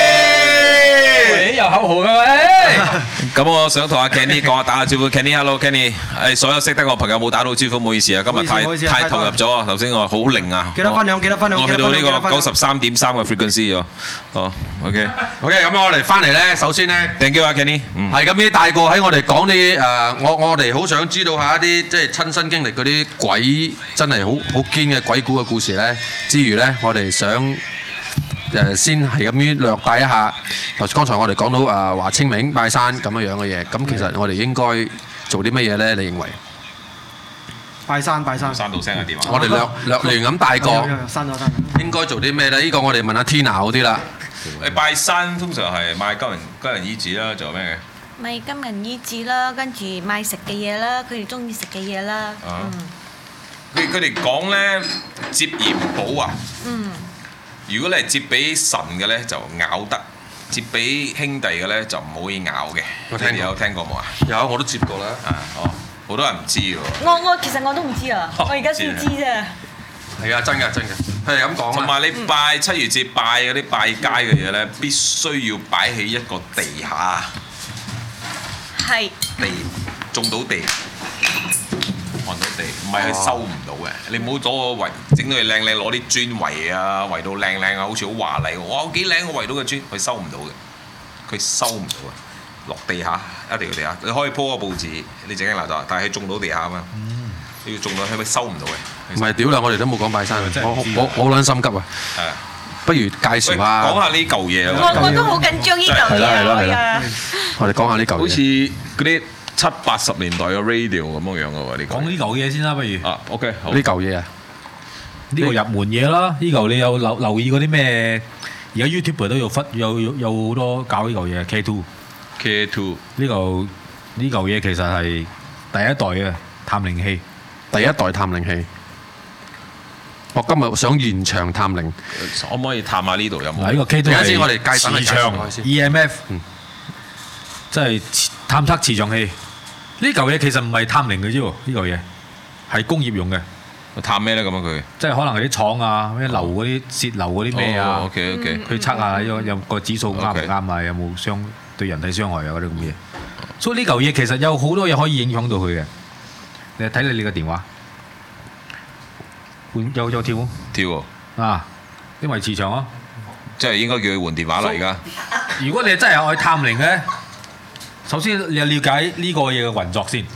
有口號嘅喂。 咁我想同阿 Kenny 講下，打下招呼。Kenny，hello Kenny。所有識得我朋友冇打到招呼，唔好意思啊，今日太投入咗啊。頭先我話好靈啊。 記得分享。 我去到呢個93.3嘅 frequency 咗。哦 ，OK， 咁我哋翻嚟咧，首先咧 ，thank you 啊 Kenny。 係咁呢大個喺我哋講啲我哋好想知道下一啲即係親身經歷嗰啲鬼真係好堅嘅鬼故嘅故事咧，之餘咧，我哋想先係咁樣略帶一下。剛才我哋講到華清明拜山咁樣嘅嘢，咁其實我哋應該做啲乜嘢咧？你認為？ 拜山。 山到聲嘅電話。 我哋略亂咁帶過。應該做啲咩咧？呢個我哋問下 Tina 好啲啦。 你拜山通常係買金銀衣紙啦，仲有咩嘅？ 買金銀衣紙啦，跟住買食嘅嘢啦，佢哋中意食嘅嘢啦。 佢哋講咧，接元寶啊。如果你係接俾神嘅咧，就咬得；接俾兄弟嘅咧，就唔可以咬嘅。你有聽過冇啊？ 有，我都接過啦。 好多人唔知喎。 其實我都唔知啊，我而家先知啫。 係啊，真嘅，係咁講。 同埋你拜7月節拜嗰啲拜街嘅嘢咧，必須要擺喺一個地下。 係。 地種到地。看到地，唔係佢收唔到嘅。你唔好攞個圍整到佢靚靚，攞啲磚圍啊，圍到靚靚啊，好似好華麗喎。哇，幾靚個圍到嘅磚，佢收唔到嘅，佢收唔到嘅。落地下，一定要地下。你可以鋪個報紙，你整緊垃圾，但係佢種到地下啊嘛。你要種到，係咪收唔到嘅？ 唔係屌啦！我哋都冇講拜山，我好撚心急啊！不如介紹下。 講下呢嚿嘢。 我都好緊張呢嚿嘢。係啊。 我哋講下呢嚿嘢。 好似嗰啲70-80年代嘅 radio 咁樣樣嘅喎，呢個。 講呢嚿嘢先啦，不如。 OK，好。 呢嚿嘢啊？ 呢個入門嘢啦，呢嚿你有留意嗰啲咩？而家 YouTube 都有好多搞呢嚿嘢 K2。呢嚿嘢其實係第一代嘅探靈器。 第一代探靈器。我今日想現場探靈， 可唔可以探下呢度有冇？ 嗱，呢個 K2 係我哋介磁場 EMF，即係探測磁場器。呢嚿嘢其實唔係探靈嘅啫喎，呢嚿嘢係工業用嘅。 探咩咧咁啊佢？ 即係可能係啲廠啊，咩流嗰啲泄漏嗰啲咩啊 ，OK， 去測下有個指數啱唔啱啊，有冇對人體傷害啊嗰啲咁嘅嘢。所以呢嚿嘢其實有好多嘢可以影響到佢嘅。你睇你個電話，有跳喎啊！因為磁場啊， 即係應該叫佢換電話啦而家。 如果你真係愛探靈嘅， 首先你要了解呢個嘢嘅運作先。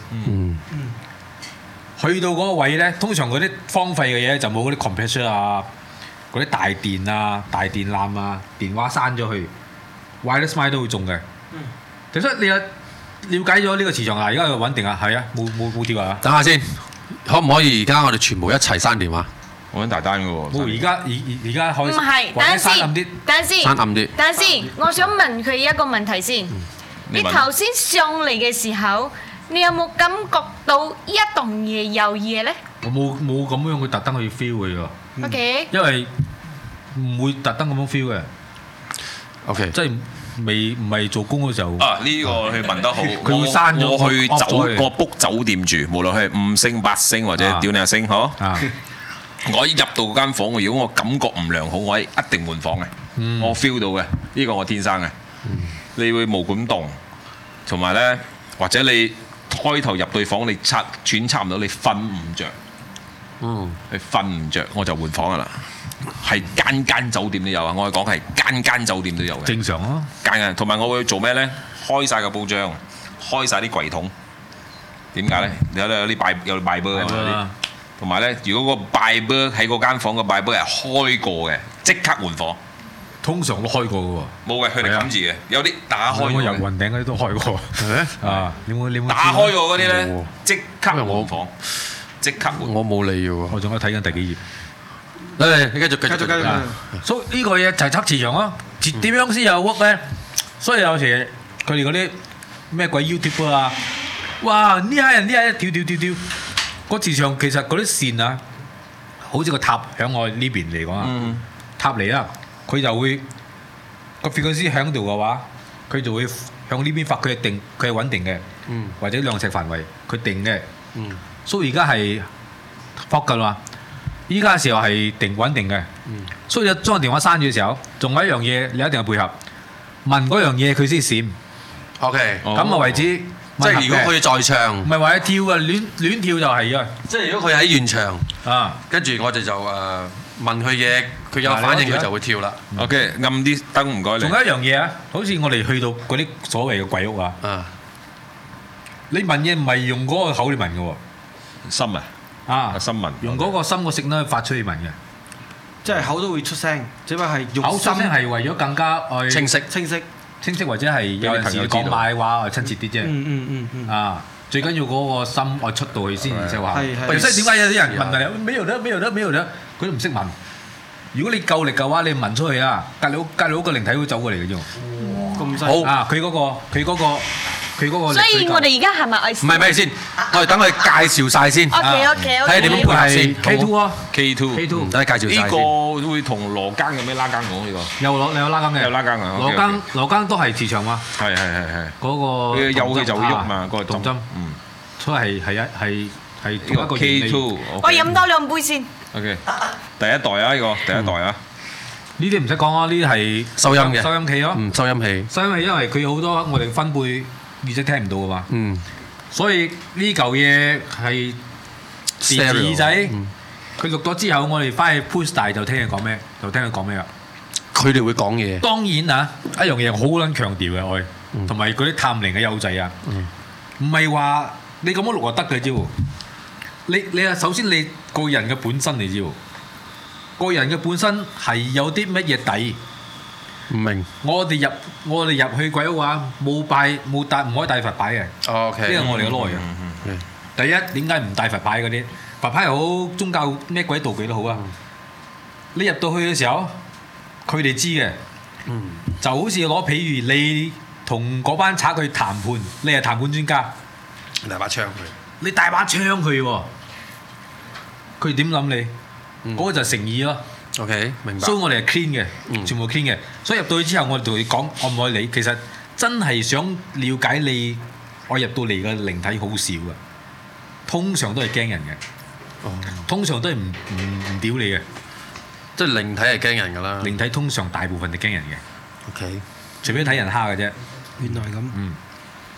去到嗰個位咧，通常嗰啲荒廢嘅嘢就冇嗰啲 compressor 啊，嗰啲大電啊、大電纜啊、電話閂咗去 wireless line 都會中嘅。其實你有了解咗呢個磁場啊，而家又穩定啊，係啊，冇跳啊。 等下先，可唔可以而家我哋全部一齊刪電話？ 我揾大單嘅喎。 冇，而家可以。 唔係，等陣先， 刪暗啲。 等陣先，我想問佢一個問題先。你頭先上嚟嘅時候，你有冇感覺到一棟嘢有嘢咧？ 我冇咁樣去特登去 feel 佢喎。 OK。 因為唔會特登咁樣 feel 嘅。 OK。 即係唔係做工嘅時候。 啊，呢個佢問得好。 佢會刪咗。 我去book 酒店住，無論係5星、8星或者屌你1星，嗬。我一入到嗰間房，如果我感覺唔良好，我一定換房嘅。我 feel 到嘅，呢個我天生嘅。你會毛管動，同埋咧，或者你開頭入對房，你轉差唔到，你瞓唔着。你瞓唔着，我就換房噶啦。係間酒店都有啊，我係講係間酒店都有嘅。 正常啊。 間，同埋我會做咩咧？開晒個報章，開晒啲櫃桶。點解咧？有啲賣波啊。同埋咧，如果個拜波喺嗰間房個拜波係開過嘅，即刻換房。 通常都開過嘅喎。冇嘅， 佢哋冚住嘅。有啲打開。 我入雲頂嗰啲都開過。啊，你冇打開過嗰啲咧，即刻換房，即刻換。 我冇理嘅喎。 我仲喺睇緊第幾頁。 你繼續。 所以呢個嘢就係測磁場咯。點樣先有 work 咧？所以有時佢哋嗰啲咩鬼 YouTube 啊，哇！呢下人跳。個磁場其實嗰啲線啊，好似個塔響我呢邊嚟講啊，塔嚟啦，佢就會個 frequency 響度嘅話，佢就會向呢邊發，佢係穩定嘅，或者量尺範圍佢定嘅，所以而家係 fog 㗎啦，依家嘅時候係穩定嘅，所以你將個電話閂住嘅時候，仲有一樣嘢你一定要配合，問嗰樣嘢佢先閃 ，OK， 咁啊為止。 即係如果佢在場， 唔係話佢跳啊，亂跳就係啊！ 即係如果佢喺現場啊， 跟住我哋就問佢嘢，佢有反應佢就會跳啦。 OK，暗啲燈唔該你。 仲有一樣嘢啊，好似我哋去到嗰啲所謂嘅鬼屋啊，你問嘢唔係用嗰個口嚟問嘅喎， 心啊，心問， 用嗰個心個聲咧發出去問嘅， 即係口都會出聲，只不過係用口出聲係為咗更加清晰或者係有陣時講買話親切啲啫。啊，最緊要嗰個心愛出到去先，而且話。所以點解有啲人問你咩有得，佢都唔識問。如果你夠力嘅話，你問出去啊，隔離屋個靈體會走過嚟嘅啫。 咁犀利。 好啊，佢嗰個。 所以我哋而家係咪愛？ 唔係先，我哋等佢介紹晒先。 OK。 睇下點樣配合先。 K2 啊 ，K2， 等佢介紹晒先。 呢個會同羅庚有咩拉更講呢個？ 有拉更嘅。 有拉更啊。 羅庚都係磁場嘛。 係。 嗰個有氣就會喐嘛，嗰個動針。所以係呢個 K2。 我飲多2杯先。 OK，第一代啊，呢個第一代啊。 呢啲唔使講啊，呢啲係收音嘅。 收音器咯。 收音器。 收音器因為佢好多我哋分貝。耳仔聽唔到㗎嘛，所以呢嚿嘢係電子耳仔，佢錄咗之後，我哋翻去 push 大就聽佢講咩，啦。 佢哋會講嘢。當然啊，一樣嘢好撚強調嘅我，同埋嗰啲探靈嘅幼稚啊，唔係話你咁樣錄就得嘅啫喎。你啊，首先你個人嘅本身嚟啫喎，個人嘅本身係有啲乜嘢底。 唔明。我哋入去鬼屋啊，唔可以帶佛牌嘅。 OK。 呢個我哋嘅內容。第一，點解唔帶佛牌嗰啲？佛牌又好，宗教咩鬼道具都好啊。你入到去嘅時候，佢哋知嘅。就好似攞譬如你同嗰班賊去談判，你係談判專家。 大把槍佢。 你帶把槍佢喎，佢點諗你？嗰個就係誠意咯。 OK，明白。 所以我哋係 clean 嘅，全部 clean 嘅。所以入到去之後，我哋同你講愛唔愛你，其實真係想了解你。我入到嚟嘅靈體好少嘅，通常都係驚人嘅，通常都係唔屌你嘅。 即係靈體係驚人㗎啦。 靈體通常大部分係驚人嘅。 OK， 除非睇人蝦嘅啫。 原來咁。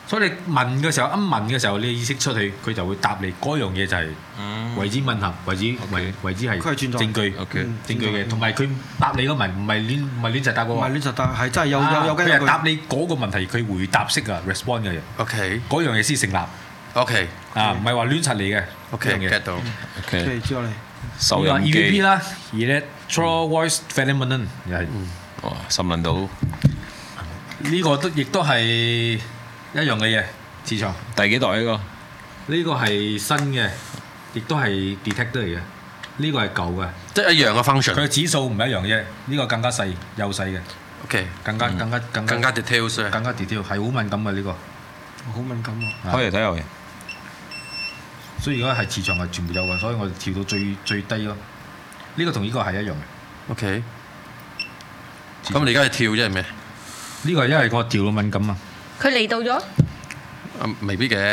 所以你問嘅時候，問嘅時候，你意識出去，佢就會答你嗰樣嘢就係為之吻合，為之係證據，證據嘅。同埋佢答你個問唔係亂就答個， 唔係亂就答，係真係有根據。 佢係答你嗰個問題，佢回答式啊 respond 嘅嘢。 OK， 嗰樣嘢先成立。 OK， 啊，唔係話亂柒你嘅。 OK，get 到。 OK，知道你。 收音機 EVP 啦 ，Electro Voice Phenomenon 又係。 哇，心諗到呢個亦都係一樣嘅嘢，磁場。 第幾代呢個？ 呢個係新嘅，亦都係 detector 嚟嘅。呢個係舊嘅， 即係一樣嘅 function。 佢嘅指數唔係一樣啫，呢個更加細，幼細嘅。 OK， 更加 details， 更加 detail，係好敏感嘅呢個。 好敏感喎。 開嚟睇下嘅。 所以而家係磁場係全部有嘅，所以我哋調到最低咯。呢個同呢個係一樣嘅。 OK。咁你而家係跳啫係咩？ 呢個係因為個調到敏感啊。 佢嚟到咗？ 未必嘅。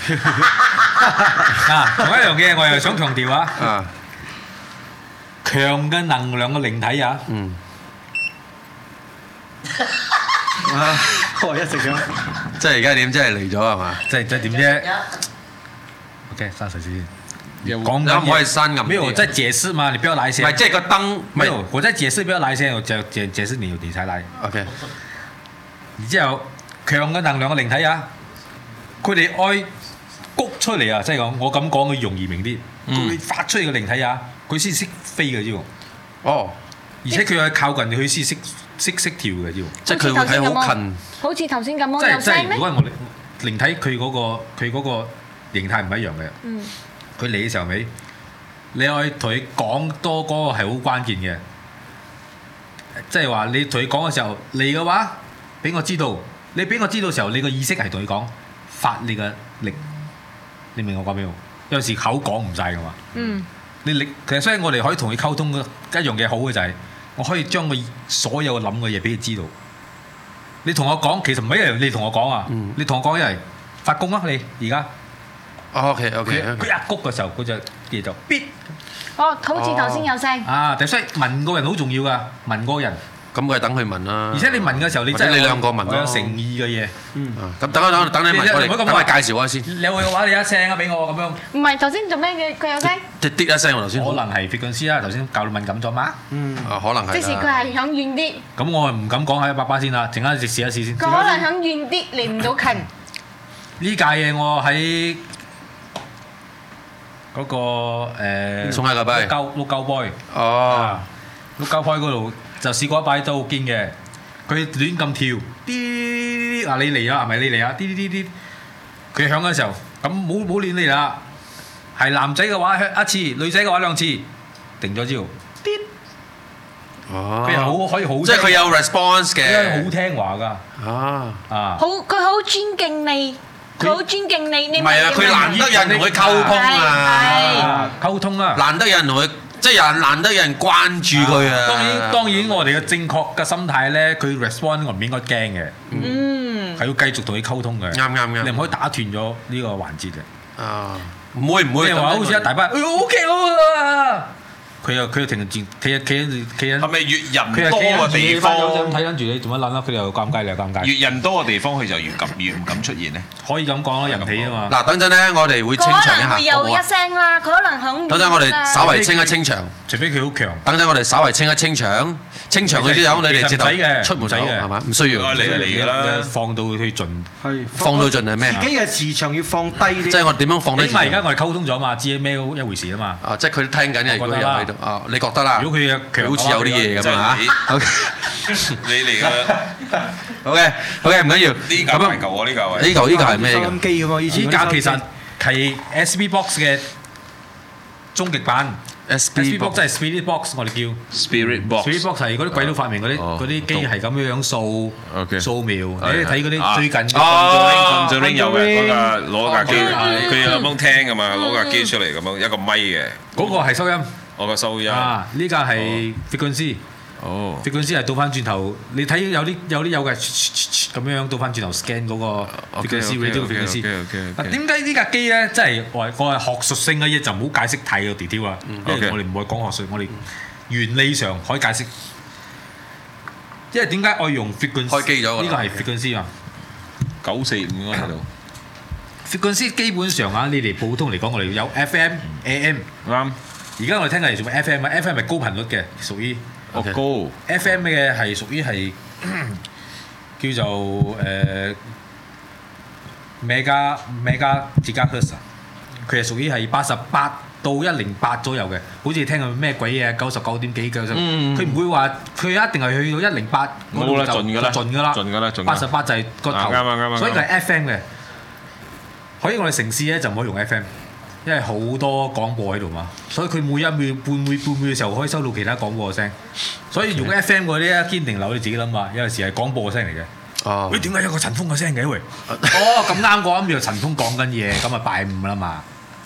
同一樣嘢，我又想強調啊。強嘅能量嘅靈體啊。 我一直咁。 即係而家點？即係嚟咗係嘛？ 即係點啫 ？OK，刪水先。 講緊可以刪咁。 沒有，我在解釋嘛，你不要來先。 唔係，即係個燈。 沒有，我在解釋，不要來先，我解釋你才來。 OK。 然之後，強嘅能量嘅靈體啊，佢哋愛谷出嚟啊，即係講我咁講佢容易明啲。佢發出嚟嘅靈體啊，佢先識飛嘅啫喎。 哦。 而且佢係靠近佢先識跳嘅啫喎。 即係佢會睇好近。 好似頭先咁樣有聲咩？ 如果係我靈體，佢嗰個形態唔一樣嘅。佢嚟嘅時候尾，你可以同佢講多嗰個係好關鍵嘅，即係話你同佢講嘅時候嚟嘅話，俾我知道。你俾我知道嘅時候，你個意識係同佢講發你嘅力，你明我講咩？有時口講唔晒㗎嘛。你力其實所以我哋可以同佢溝通嘅一樣嘢好嘅就係，我可以將佢所有諗嘅嘢俾佢知道。你同我講，其實唔係一樣，你同我講啊，你同我講一係發功啊，你而家。 OK， 佢一谷嘅時候，嗰隻嘢就必。 哦，好似頭先有聲。 所以問個人好重要㗎，問個人。 咁佢係等佢問啦。 而且你問嘅時候，你真係你兩個問我有誠意嘅嘢。 咁等你問我哋，等我介紹下先。 你有嘅話，你一聲啊俾我咁樣。 唔係頭先做咩嘅？佢有聲。 滴一聲我頭先。 可能係 frequency 啦，頭先教到敏感咗嘛。 可能係。 即是佢係響遠啲。 咁我唔敢講喺100%先啦，陣間試一試先。 佢可能響遠啲，嚟唔到近。 呢屆嘢我喺嗰個送下個幣。 碌鳩 boy。碌鳩 boy 嗰度就試過一擺都好堅嘅，佢亂咁跳，啲嗱你嚟啊，係咪你嚟啊？啲，佢響嘅時候，咁冇亂嚟啦。係男仔嘅話一次，女仔嘅話兩次，定咗之後，啲，佢又可以好， 即係佢有 response 嘅， 好聽話㗎。 佢好尊敬你，佢好尊敬你。 唔係啊，佢難得有人同佢溝通啊， 溝通啊， 難得有人同佢。即係難得有人關注佢啊！ 當然我哋嘅正確嘅心態咧，佢 respond 我唔應該驚嘅，係要繼續同佢溝通嘅。 啱， 你唔可以打斷咗呢個環節嘅。 唔會。 你話好似一大班，OK 喎。佢又停住，企緊。 係咪越人多嘅地方？ 睇緊住你做乜撚啦？佢又尷尬，你又尷尬。 越人多嘅地方，佢就越唔敢出現咧。 可以咁講啦，人氣啊嘛。 嗱，等陣咧，我哋會清場一下。 可能會有一聲啦，佢可能響。 等陣我哋稍為清一清場， 除非佢好強。 等陣我哋稍為清一清場，清場嗰啲友你哋直頭出門口係嘛？唔需要。 嚟㗎啦， 放到去盡。 放到盡係咩？ 自己嘅磁場要放低啲。 即係我點樣放低？ 因為而家我哋溝通咗嘛，知咩一回事啊嘛。 即係佢聽緊嘅，如果有喺度。你覺得啦？ 如果佢強， 好似有啲嘢咁啊嚇。 你嚟㗎。 OK，唔緊要。 呢嚿係舊啊，呢嚿係。 呢嚿係咩㗎？ 收音機咁嘛，以前。 呢架其實係 SB box 嘅終極版。SB box 即係 Spirit box， 我哋叫 Spirit box。 Spirit box 係嗰啲鬼佬發明嗰啲機係咁樣掃描。你睇嗰啲最近。 Conjuring 有嘅，嗰架攞架機，佢有咁聽㗎嘛，攞架機出嚟咁樣一個咪嘅。 嗰個係收音。 我個收音。 呢架係 frequency。frequency 係倒翻轉頭，你睇有嘅咁樣倒翻轉頭 scan 嗰個 frequency。點解呢架機咧，真係我係學術性嘅嘢就唔好解釋太個 detail 啦，因為我哋唔會講學術，我哋原理上可以解釋。因為點解我用 frequency？開機咗㗎啦。呢個係 frequency 嘛。 945喺度。 frequency 基本上啊，你哋普通嚟講，我哋有 FM、AM。啱。而家我哋聽嘅係做 FM 啊 ，FM 係高頻率嘅，屬於。 高。 FM 嘅係屬於係叫做mega gigahertz，佢係屬於係88到108左右嘅，好似聽過咩鬼嘢99點幾嘅，佢唔會話佢一定係去到108嗰度就盡㗎啦，88就係個頭， 啱， 所以佢係 FM 嘅。喺我哋城市咧就唔可以用 FM， 因為好多廣播喺度嘛，所以佢每一秒半秒嘅時候可以收到其他廣播嘅聲，所以用 FM 嗰啲咧堅定流你自己諗下，有陣時係廣播嘅聲嚟嘅。喂，點解有個陳峰嘅聲嘅喂？咁啱嗰一秒陳峰講緊嘢，咁啊拜五啦嘛。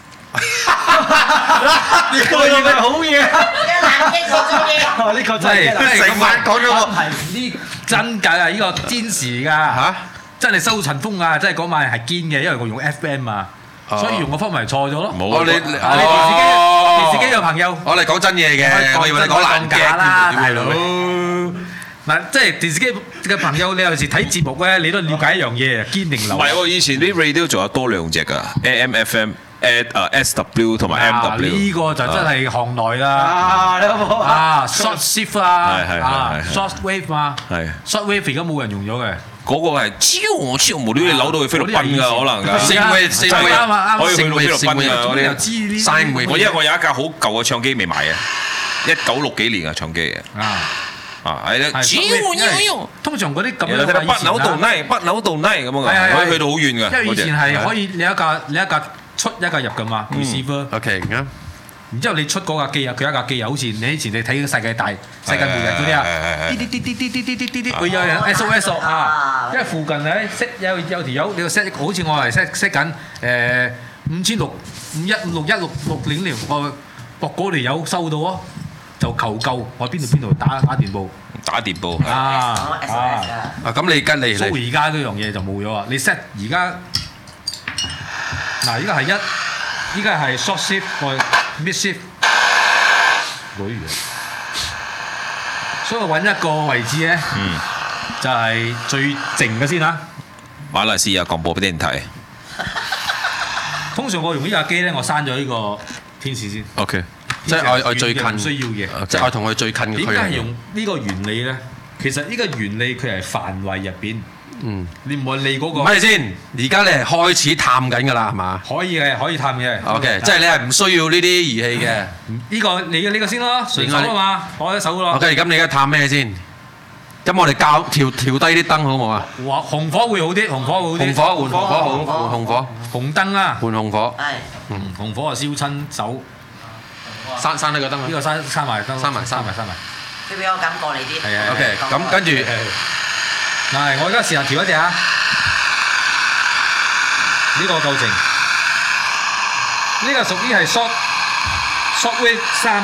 呢個嘢係好嘢，呢個真係成晚講咗個呢真㗎啊！呢個堅持㗎嚇，真係收陳峰啊！真係嗰晚係堅嘅，因為我用 FM 啊，所以用個方法係錯咗咯。 冇你電視機有朋友， 我哋講真嘢嘅，我以為你講爛嘅啦，大佬。 嗱，即係電視機嘅朋友，你有時睇節目咧，你都了解一樣嘢，堅定流。 唔係喎，以前啲 radio 仲有多兩隻㗎 ，AM、FM。SW 同埋 MW 呢個就真係行內啦，short shift 啊，short wave 嘛，short wave 而家冇人用咗嘅， 嗰個係超無端端扭到去菲律賓㗎，可能㗎， 四 wave 可以去到菲律賓㗎嗰啲 ，sine wave。 因為我有一架好舊嘅唱機未買嘅，1960幾年嘅唱機嘅，係啦， 通常嗰啲咁樣北扭到拉咁樣，可以去到好遠㗎。 因為以前係可以你一架出一架入㗎嘛 receiver。 OK 啱。 然之後你出嗰架機啊，佢一架機啊，好似你以前你睇世界末日嗰啲啊，啲會有人 SOS 啊，因為附近咧 set 有條友你個 set 好似我係 set 緊5651 5161600我駁嗰條友收到啊，就求救，我邊度打電報。 咁你跟你。 所以而家嗰樣嘢就冇咗啊！你 set 而家。嗱，依家係依家係 short shift 或 mid shift，所以我揾一個位置咧，就係最靜嘅先啦。 馬來西亞廣播電台。 通常我用呢架機咧，我刪咗呢個天使先。 OK， 即係我最近唔需要嘅， 即係我同佢最近嘅。 點解係用呢個原理咧？其實呢個原理佢係範圍入邊。你唔好理嗰個。 咪先，而家你係開始探緊㗎啦，係嘛？ 可以嘅，可以探嘅。 OK，即係你係唔需要呢啲儀器嘅。 呢個你嘅呢個先咯，順手啊嘛，攞一手咯。 OK，咁你而家探咩先？咁我哋調低啲燈好冇啊？ 紅火會好啲，紅火會好啲。 紅火換紅火好，紅火。 紅燈啊！ 換紅火。 係。 紅火啊，燒親手。 閂呢個燈啊！ 呢個閂埋燈。閂埋。 佢俾我感覺你啲。 係啊。OK，咁跟住。 嗱，我而家試下調一隻啊！呢個夠靜，呢個屬於係 short wave 3。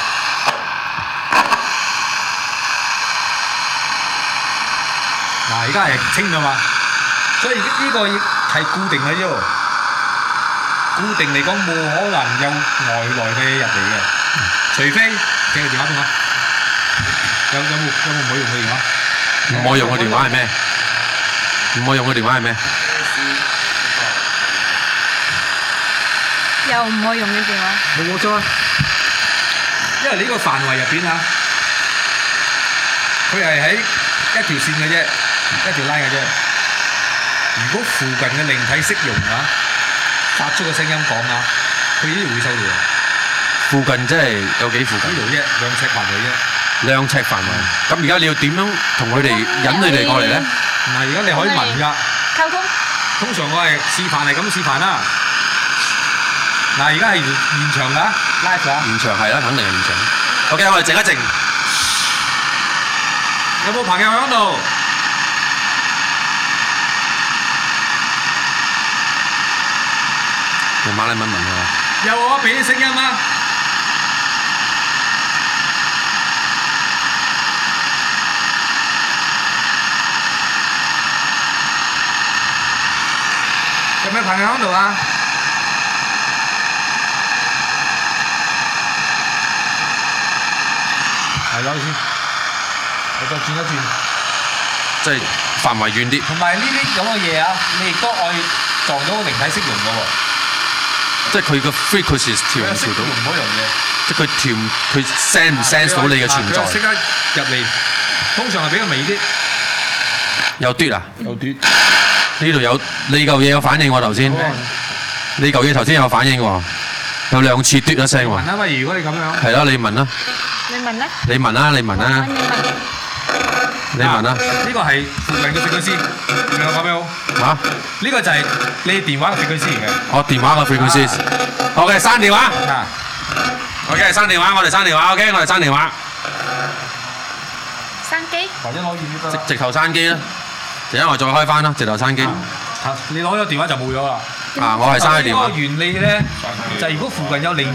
嗱，而家係清㗎嘛，所以呢個係固定嘅啫喎。固定嚟講冇可能有外來嘅嘢入嚟嘅，除非借個電話俾我。有冇唔可以用佢電話？ 唔可以用嘅電話係咩？唔可以用嘅電話係咩？ 又唔可以用嘅電話。 冇錯啊，因為呢個範圍入邊啊，佢係喺一條線嘅啫，一條 line 嘅啫。如果附近嘅靈體識用啊，發出個聲音講啊，佢呢度會收到。 附近真係有幾附近？ 呢度啫，2尺範圍啫。 2尺範圍，咁而家你要點樣同佢哋引佢哋過嚟咧？ 唔係，而家你可以問㗎。 溝通。 通常我係示範係咁示範啦。嗱，而家係現場㗎，live 啊。 現場係啦，肯定係現場。OK， 我哋靜一靜。 有冇朋友喺度？ 用馬來文問下。 有我俾啲聲音啊！有咩朋友喺度啊？係攞先，我再轉一轉。 即係範圍遠啲。 同埋呢啲咁嘅嘢啊，你亦都可以撞到靈體識用嘅喎。 即係佢個 frequency 調唔調到？ 用嗰樣嘢。 即係佢 sense 唔 sense 到你嘅存在？ 佢識得入嚟，通常係比較微啲。 有嘟啊？ 有嘟。 呢度有你嚿嘢有反應喎頭先。你嚿嘢頭先有反應喎，有2次嘟一聲喎。 問啊，喂，如果你咁樣。係咯，你問啦。 你問啦。 你問啦，你問啦。你問啦。 呢個係附近嘅frequency，明我講咩好？ 嚇？ 呢個就係你電話嘅frequency嚟嘅。 哦，電話嘅frequency。OK，刪電話。OK，刪電話，我哋刪電話。OK，我哋刪電話。 閂機。 或者攞遠啲得。 直頭閂機啦，陣間我再開翻啦，直頭閂機。 你攞咗電話就冇咗啦。 我係閂咗電話。 呢個原理咧，就係如果附近有一個，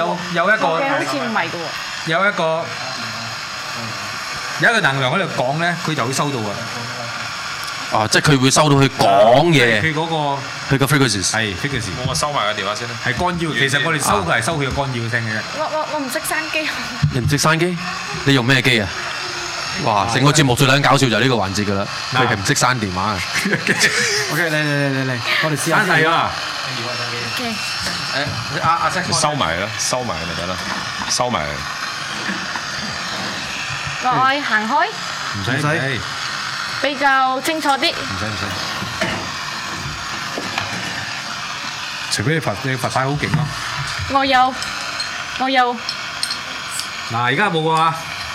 有一個能量喺度講咧，佢就會收到啊。 哦，即係佢會收到佢講嘢。 佢嗰個佢個 frequency 係 frequency。 我收埋個電話先啦。 係干擾，其實我哋收嘅係收佢嘅干擾聲嘅啫。 我唔識閂機。 你唔識閂機？你用咩機啊？哇！成個節目最撚搞笑就係呢個環節㗎啦，佢係唔識閂電話啊。 OK，嚟，我哋試下。 閂係啊。 OK。 阿 Sir 收埋啦，收埋咪得啦，收埋。 我愛行開。 唔使。 比較清楚啲。 唔使。除非你佛牌好勁咯。 我有。 嗱，而家冇喎。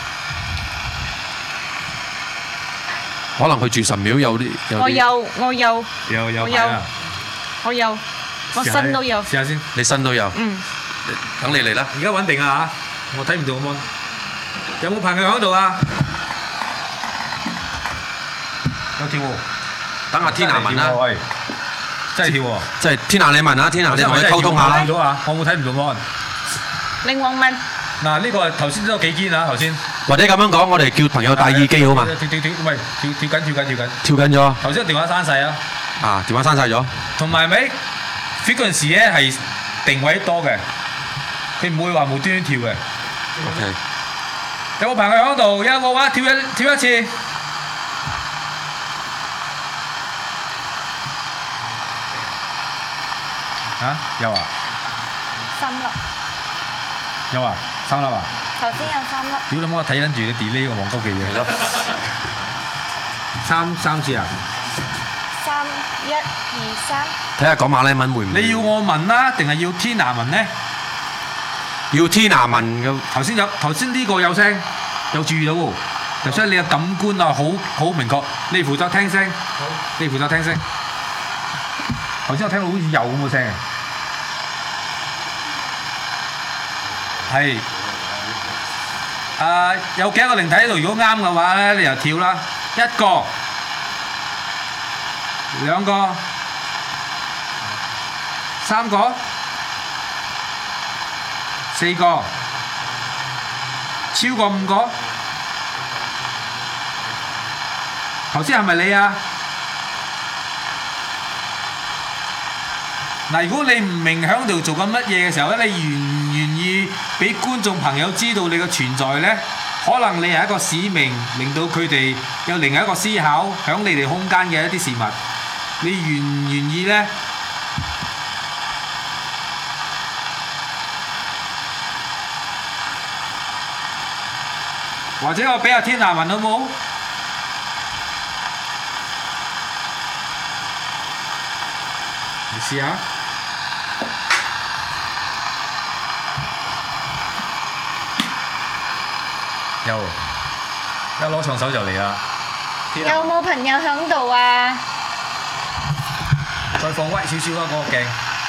可能佢住神廟有啲。 我有。我身都有。 試下先。 你身都有。等你嚟啦。 而家穩定啊嚇！我睇唔到個 mon。有冇朋友喺度啊？有跳喎。 等下天娜問啦。 喂，真係跳喎。 即係天娜你問啦，天娜你同佢溝通下啦。 我冇睇唔到 mon。 靈王問。 嗱，呢個頭先都有幾堅啊，頭先。 或者咁樣講，我哋叫朋友戴耳機好嘛？ 喂，跳緊。 跳緊咗。 頭先電話閂曬啊。 啊，電話閂曬咗。 同埋咪 frequency 咧係定位多嘅，佢唔會話無端端跳嘅。 OK。 有冇朋友喺度？有冇話跳一次？嚇？有啊。 3粒。 有啊，3粒啊。 頭先有3粒。 屌你媽！睇緊住你 delay 個黃高記嘢咯。三次啊 ？3、1、2、3。 睇下講馬來文會唔會？ 你要我問啦，定係要天娜問咧？ 要天娜問嘅。 頭先呢個有聲，有注意到喎。就所以你嘅感官啊，好明確。你負責聽聲。你負責聽聲。頭先我聽到好似有咁嘅聲。係。有幾個靈體喺度？如果啱嘅話咧，你就跳啦。1個、2個、3個、4個，超過5個。頭先係咪你啊？嗱，如果你唔明喺度做緊乜嘢嘅時候咧，你願唔願意俾觀眾朋友知道你嘅存在咧？可能你係一個使命，令到佢哋有另一個思考，響你哋空間嘅一啲事物，你願唔願意咧？或者我俾阿天娜問好冇？你試下。一攞長手就嚟啦！ 有冇朋友響度啊？ 再放威少少啦，嗰個鏡。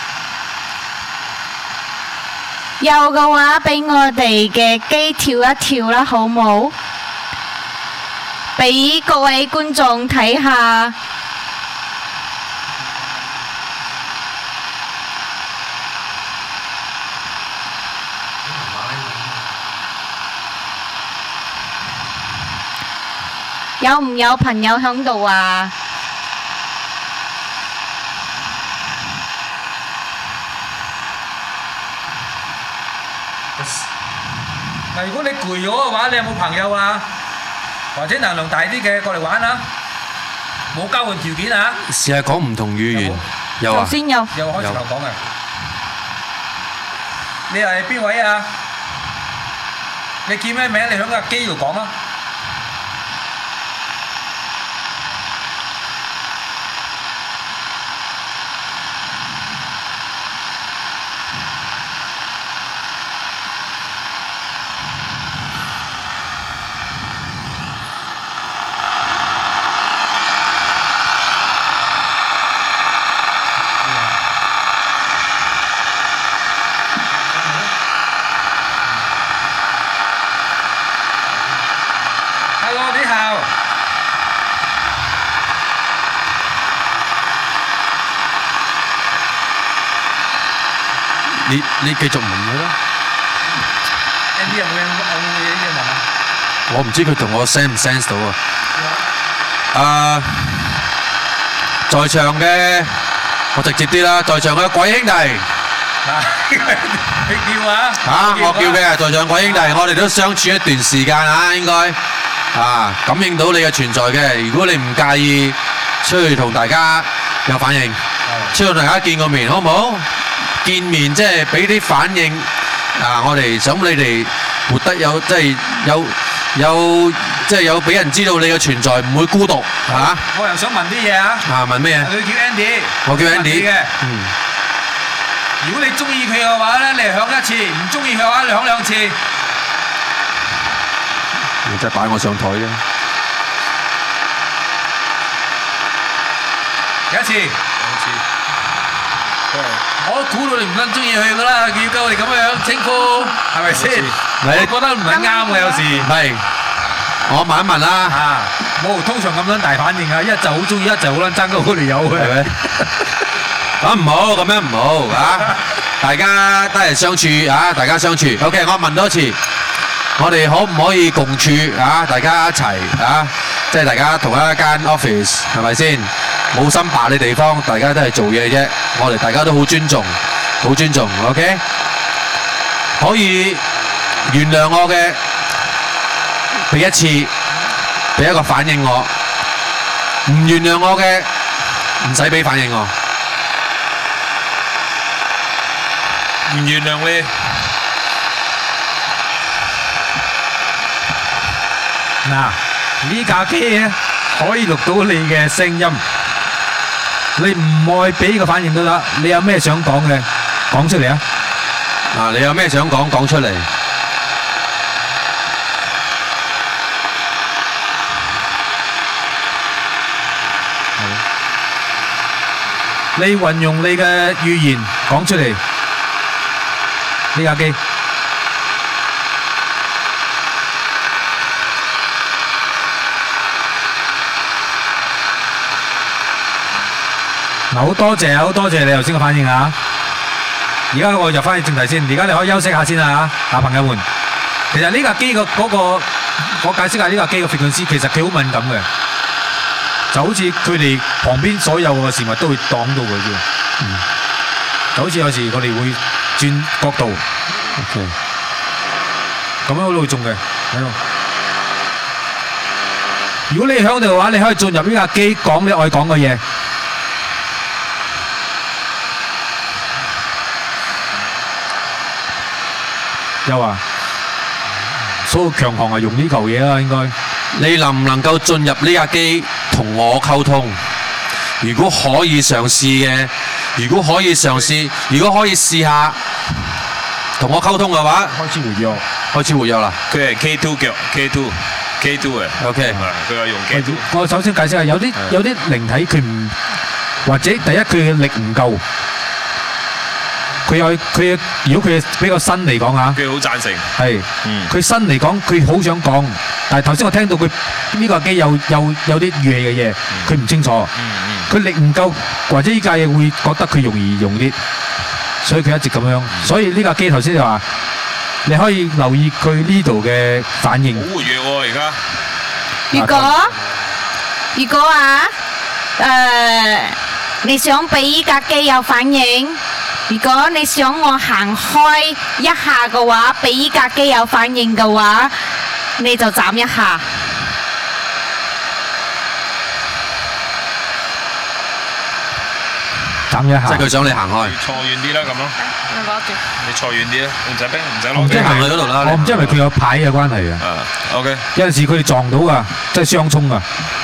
有嘅話，俾我哋嘅機跳一跳啦，好冇？俾各位觀眾睇下。有唔有朋友響度啊？ 嗱，如果你攰咗嘅話，你有冇朋友啊？或者能量大啲嘅過嚟玩啊？ 冇交換條件啊！ 試下講唔同語言，有啊， 先有開始頭講嘅。你係邊位啊？你叫咩名？你響個機度講啊！ 你繼續問佢啦。 Andy 有冇嘢問啊？ 我唔知佢同我 sense 唔 sense 到啊。在場嘅我直接啲啦，在場嘅鬼兄弟。 你叫啊？ 我叫嘅，在場鬼兄弟，我哋都相處一段時間啊，應該感應到你嘅存在嘅。如果你唔介意，出去同大家有反應，出去同大家見個面，好唔好？見面即係俾啲反應我哋想你哋活得有即係有俾人知道你嘅存在，唔會孤獨嚇。 我又想問啲嘢啊！ 問咩啊？ 佢叫 Andy， 我叫 Andy 嘅。如果你中意佢嘅話咧，你響一次；唔中意佢嘅話，你響兩次。 你真係擺我上台啫！ 幾多次？我估到你唔撚中意佢噶啦，要夠我哋咁樣稱呼，係咪先？你覺得唔撚啱嘅有時。 係，我問一問啦。 冇通常咁樣大反應啊！一就好中意，一就好撚爭嗰條友嘅。係咪？ 咁唔好，咁樣唔好啊！大家得閒相處啊，大家相處。OK， 我問多次，我哋可唔可以共處啊？大家一齊啊，即係大家同一間 office， 係咪先？冇心白嘅地方，大家都係做嘢啫。我哋大家都好尊重，好尊重。OK， 可以原諒我嘅，俾一次，俾一個反應我。唔原諒我嘅，唔使俾反應我。 唔原諒你。 嗱，呢架機咧可以錄到你嘅聲音。你唔愛俾個反應都得，你有咩想講嘅，講出嚟啊！ 你有咩想講，講出嚟。 你運用你嘅語言講出嚟，呢架機。好多謝你頭先嘅反應啊！而家我入翻去正題先，而家你可以休息下先啊，朋友們。其實呢架機我解釋下呢架機嘅 frequency，其實佢好敏感嘅，就好似佢哋旁邊所有嘅事物都會擋到佢啫。就好似有時我哋會轉角度，咁樣好會中嘅。如果你響度嘅話，你可以進入呢架機講你愛講嘅嘢。有啊，所有強項係用呢嚿嘢啦，應該。 你能唔能夠進入呢架機同我溝通？如果可以嘗試嘅，如果可以試下同我溝通嘅話，開始活躍啦。 佢係 K2 腳 K2 嘅。 OK， 佢有用 K2。 我首先解釋下，有啲靈體佢唔，或者第一佢嘅力唔夠。如果佢比較新嚟講嚇， 佢好贊成。 係，佢新嚟講，佢好想講，但係頭先我聽到佢呢個機有啲語氣嘅嘢，佢唔清楚，佢力唔夠，或者呢架嘢會覺得佢容易用啲，所以佢一直咁樣。所以呢架機頭先就話，你可以留意佢呢度嘅反應。 好活躍喎而家。 如果你想俾呢架機有反應？如果你想我行開一下嘅話，俾依架機有反應嘅話，你就斬一下。 斬一下。 即係佢想你行開。 坐遠啲啦，咁咯。你坐遠啲啦，唔使逼，唔使攞。 即係行去嗰度啦。 我唔知係咪佢有牌嘅關係啊 ？OK。 有陣時佢哋撞到㗎，即係相衝㗎。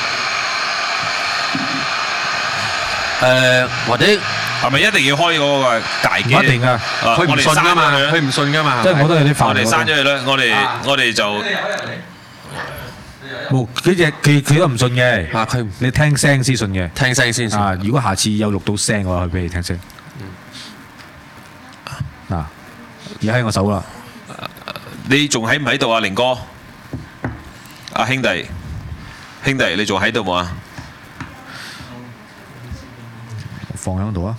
或者係咪一定要開嗰個大機？ 唔一定㗎， 佢唔信㗎嘛，佢唔信㗎嘛。 即係我都有啲煩。 我哋刪咗佢啦，我哋就。 冇，佢都唔信嘅。 佢你聽聲先信嘅。 聽聲先信。 如果下次有錄到聲嘅話，佢俾你聽聲。嗱，而家喺我手啦。 你仲喺唔喺度啊，凌哥？啊兄弟，你仲喺度冇啊？ 放喺度啊！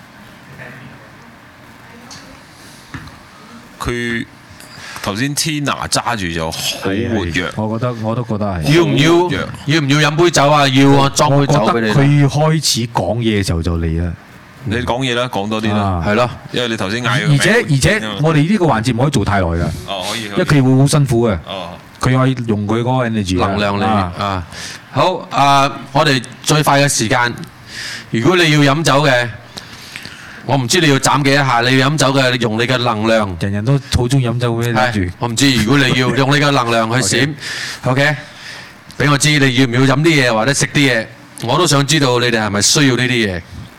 佢頭先 Tina 揸住就好活躍， 我都覺得係。 要唔要飲杯酒啊？要啊，裝杯酒俾你。 佢開始講嘢嘅時候就嚟啦。 你講嘢啦，講多啲啦， 係咯， 因為你頭先嗌。 而且我哋呢個環節唔可以做太耐㗎。 哦，可以。因為佢會好辛苦嘅。 哦。 佢可以用佢嗰個 energy 能量嚟啊！好我哋最快嘅時間，如果你要飲酒嘅，我唔知你要斬幾多下。你要飲酒嘅，你用你嘅能量。 人人都好中意飲酒嘅，諗住。 我唔知，如果你要用你嘅能量去閃，OK，俾我知你要唔要飲啲嘢或者食啲嘢，我都想知道你哋係咪需要呢啲嘢。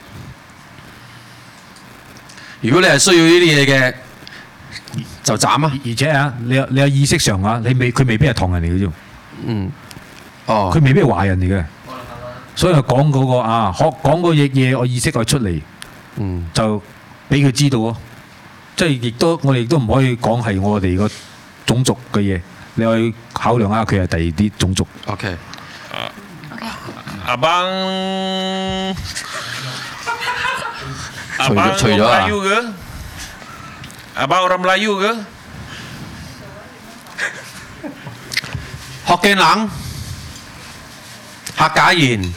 如果你係需要呢啲嘢嘅，就斬啊！ 而且啊，你有意識上啊，佢未必係唐人嚟嘅啫。 嗯。哦。 佢未必係華人嚟嘅。所以講嗰個講嗰嘢，我意識佢出嚟。 嗯。 就俾佢知道咯。即係我哋亦都唔可以講係我哋個種族嘅嘢。你可以考量下佢係第二啲種族。 OK。 阿邦。 除咗啊。 Abang orang Melayu ke? Hokkien冷、客家言，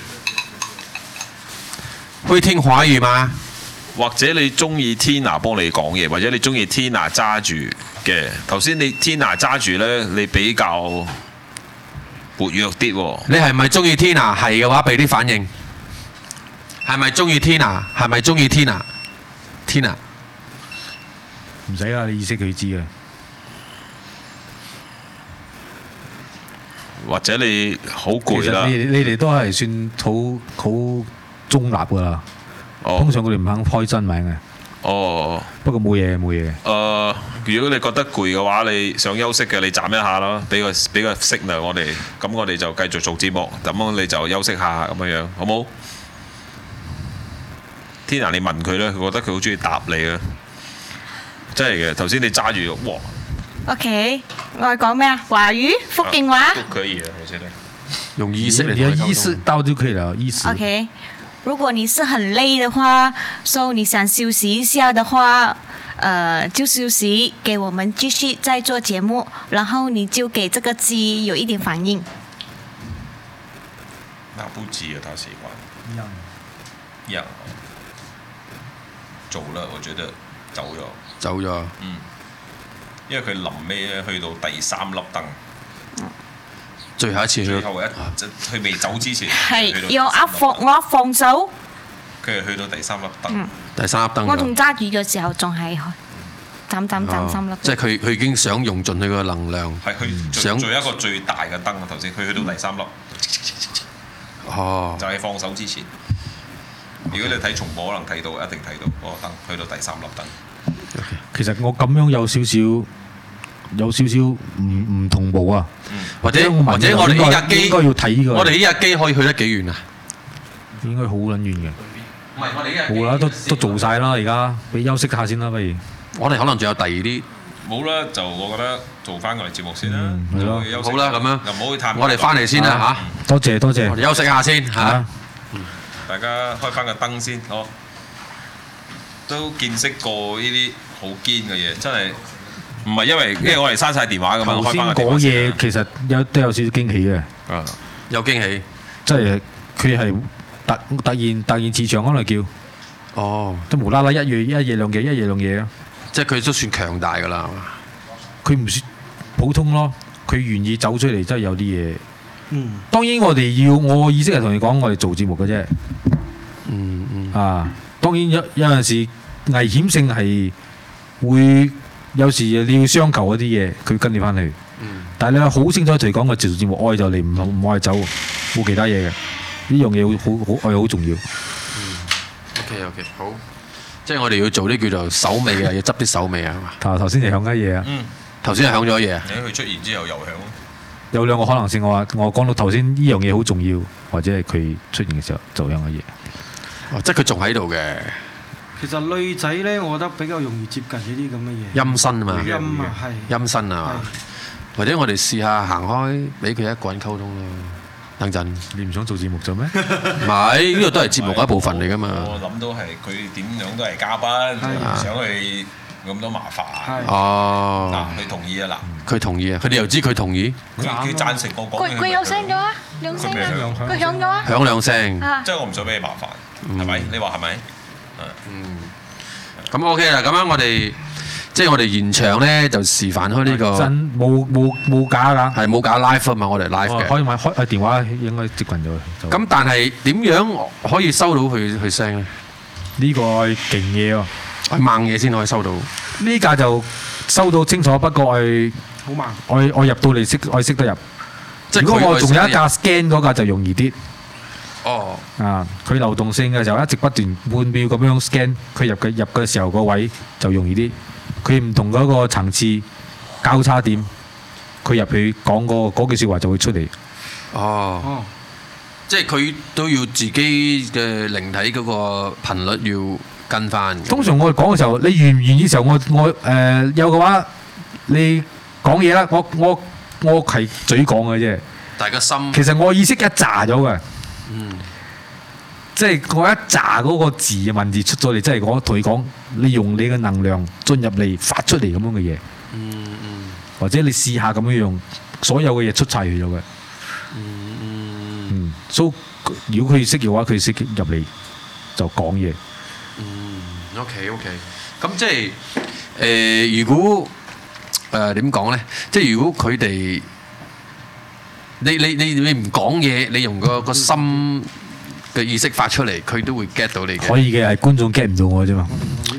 會聽華語嗎？ 或者你中意 Tina 幫你講嘢，或者你中意 Tina 揸住嘅。頭先你 Tina 揸住咧，你比較活躍啲喎。 你係咪中意 Tina？ 係嘅話，俾啲反應。係咪中意 Tina？ 係咪中意 Tina？Tina。 唔使啦，你意識佢知嘅。 或者你好攰啦。 其實你哋都係算好中立㗎啦。通常佢哋唔肯開真名嘅。 哦。 不過冇嘢。 如果你覺得攰嘅話，你想休息嘅，你斬一下咯，俾個 signal 我哋，咁我哋就繼續做節目，咁你就休息下咁樣，好冇 ？Tina， 你問佢咧，佢覺得佢好中意答你啊！真係嘅，頭先你揸住哇 OK， 我係講咩啊？華語、福建話都可以啊，我覺得。 用意識嚟你有意識到就可以了，意識。 OK， 如果你是很累的話，所以你想休息一下的話，就休息，給我們繼續再做節目，然後你就給這個雞有一點反應。 那不急啊，他喜歡。一樣。走了，我覺得走咗。 走咗。 嗯。因為佢臨尾咧去到第3粒燈。 最後一次去。 最後佢未走之前。 係要我放手。 佢係去到第3粒燈。 第3粒燈。 我仲揸住嘅時候仲係斬3粒。 即係佢已經想用盡佢個能量。 係佢想做一個最大嘅燈啊！頭先佢去到第3粒。 哦。 就係放手之前。如果你睇重播，可能睇到，一定睇到嗰個燈去到第3粒燈。 其實我咁樣有少少唔同步啊。 或者我哋呢架機應該要睇呢個。 我哋呢架機可以去得幾遠啊？ 應該好撚遠嘅。 唔係我哋呢架機。 冇啦，都做晒啦，而家俾休息下先啦，不如。 我哋可能仲有第二啲。 冇啦，就我覺得做翻我哋節目先啦。 係咯。 好啦，咁樣。 又唔好去探。 我哋翻嚟先啦嚇。 多謝。 我哋休息下先嚇。 大家開翻個燈先，都見識過呢啲好堅嘅嘢，真係唔係因為我哋刪晒電話㗎嘛。 頭先嗰嘢其實都有少少驚喜嘅。 有驚喜， 即係佢係突然磁場可能叫。 哦。 都無啦啦一夜兩夜啊！ 即係佢都算強大㗎啦。 佢唔算普通咯，佢願意走出嚟，真係有啲嘢。當然我意識係同你講，我哋做節目嘅啫。當當然有陣時危險性係會有時你要相求嗰啲嘢，佢跟你翻去。但係你好清楚同佢講，我做節目愛就嚟，唔愛走，冇其他嘢嘅。呢樣嘢好愛好重要。 OK， 好。即係我哋要做啲叫做手尾啊，要執啲手尾啊，係嘛？頭先就響緊嘢啊。頭先係響咗嘢啊。 佢出現之後又響。 有兩個可能性，我講到頭先呢樣嘢好重要，或者係佢出現嘅時候就響嘅嘢。 即係佢仲喺度嘅。 其實女仔咧，我覺得比較容易接近呢啲咁嘅嘢。 陰身啊嘛。 陰啊，係。 陰身啊嘛。或者我哋試下行開，俾佢一個人溝通咯。等陣， 你唔想做節目做咩？ 唔係，呢個都係節目嘅一部分嚟噶嘛。 我諗到係佢點樣都係嘉賓，唔想去咁多麻煩。 哦。 嗱，佢同意啊嗱。 佢同意啊！佢哋又知佢同意。 佢贊成我講。 佢有聲咗啊，兩聲啊，佢響咗啊。 響兩聲。 即係我唔想俾你麻煩，係咪？你話係咪？ 咁 OK 啦，咁樣我哋。即係我哋現場咧就示範開呢個真冇假㗎， 係冇假 live 啊嘛，我哋 live 嘅。 可以買開電話應該接近咗。 咁但係點樣可以收到佢聲咧？ 呢個係勁嘢喎， 係猛嘢先可以收到。 呢架就收到清楚，不過係好慢。 我入到嚟我識得入。 即係如果我仲有一架 scan 嗰架就容易啲。 哦。 啊，佢流動性嘅時候一直不斷半秒咁樣 scan，佢入嘅時候個位就容易啲。佢唔同嗰個層次交叉點，佢入去講嗰句説話就會出嚟。 哦，即係佢都要自己嘅靈體嗰個頻率要跟翻。 通常我哋講嘅時候，你願唔願意嘅時候，我有嘅話，你講嘢啦，我係嘴講嘅啫。 大家心其實我意識一炸咗嘅。即係我一揸嗰個字嘅文字出咗嚟，即係我同你講，你用你嘅能量進入嚟發出嚟咁樣嘅嘢，或者你試下咁樣用，所有嘅嘢出晒去咗嘅。所以如果佢識嘅話，佢識入嚟就講嘢。 OK， 咁即係如果點講咧？即係如果佢哋你唔講嘢，你用個心嘅意識發出嚟，佢都會 get 到你嘅。 可以嘅，係觀眾 get 唔到我啫嘛。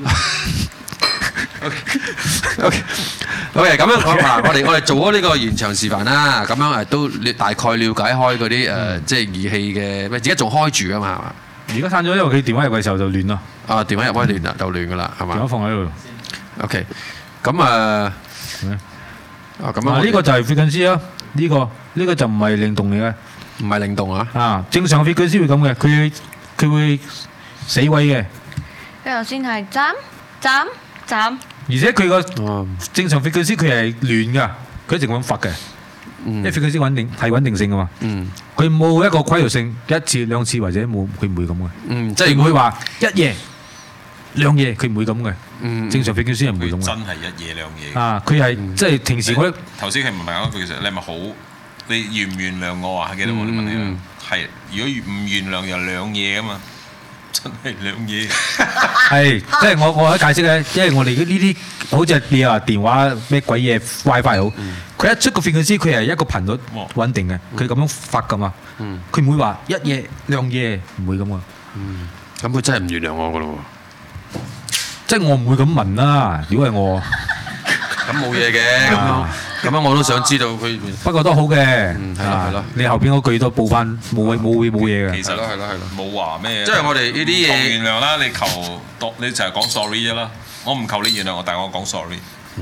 OK， 咁樣我哋做咗呢個現場示範啦。咁樣都大概了解開嗰啲即係儀器嘅，而家仲開住㗎嘛，係嘛？ 而家閂咗，因為佢電話入嘅時候就亂咯。 啊，電話入開亂啦，就亂㗎啦，係嘛？ 電話放喺度。 OK， 咁咁呢個就係 frequency 咯。呢個就唔係靈動嚟嘅。 唔係靈動啊！ 啊，正常 frequency 會咁嘅，佢會死位嘅。 佢頭先係斬， 而且佢個正常 frequency 佢係亂㗎，佢一直咁發嘅。因為 frequency 穩定性㗎嘛。佢冇一個規律性，一次兩次或者冇，佢唔會咁嘅。即係唔會話一夜兩夜，佢唔會咁嘅。正常 frequency 係唔會咁嘅。 真係一夜兩夜。 啊，佢係即係平時我頭先佢唔係講句，其實你係咪好？你原唔原諒我啊？記得我問你啦。係，如果唔原諒又兩嘢啊嘛，真係兩嘢。係， 即係我喺解釋咧，因為我哋呢啲好似你話電話咩鬼嘢 WiFi 好，佢一出個 frequency，佢係一個頻率穩定嘅，佢咁樣發噶嘛。佢唔會話一夜兩夜，唔會咁噶。 咁佢真係唔原諒我噶咯喎。 即係我唔會咁問啦，如果係我。 咁冇嘢嘅，咁樣我都想知道佢。 不過都好嘅， 係咯。 你後邊嗰句都報翻，冇嘢嘅。 其實係咯，冇話咩。 即係我哋呢啲嘢原諒啦，你你就係講 sorry 啫啦。我唔求你原諒我，但係我講 sorry。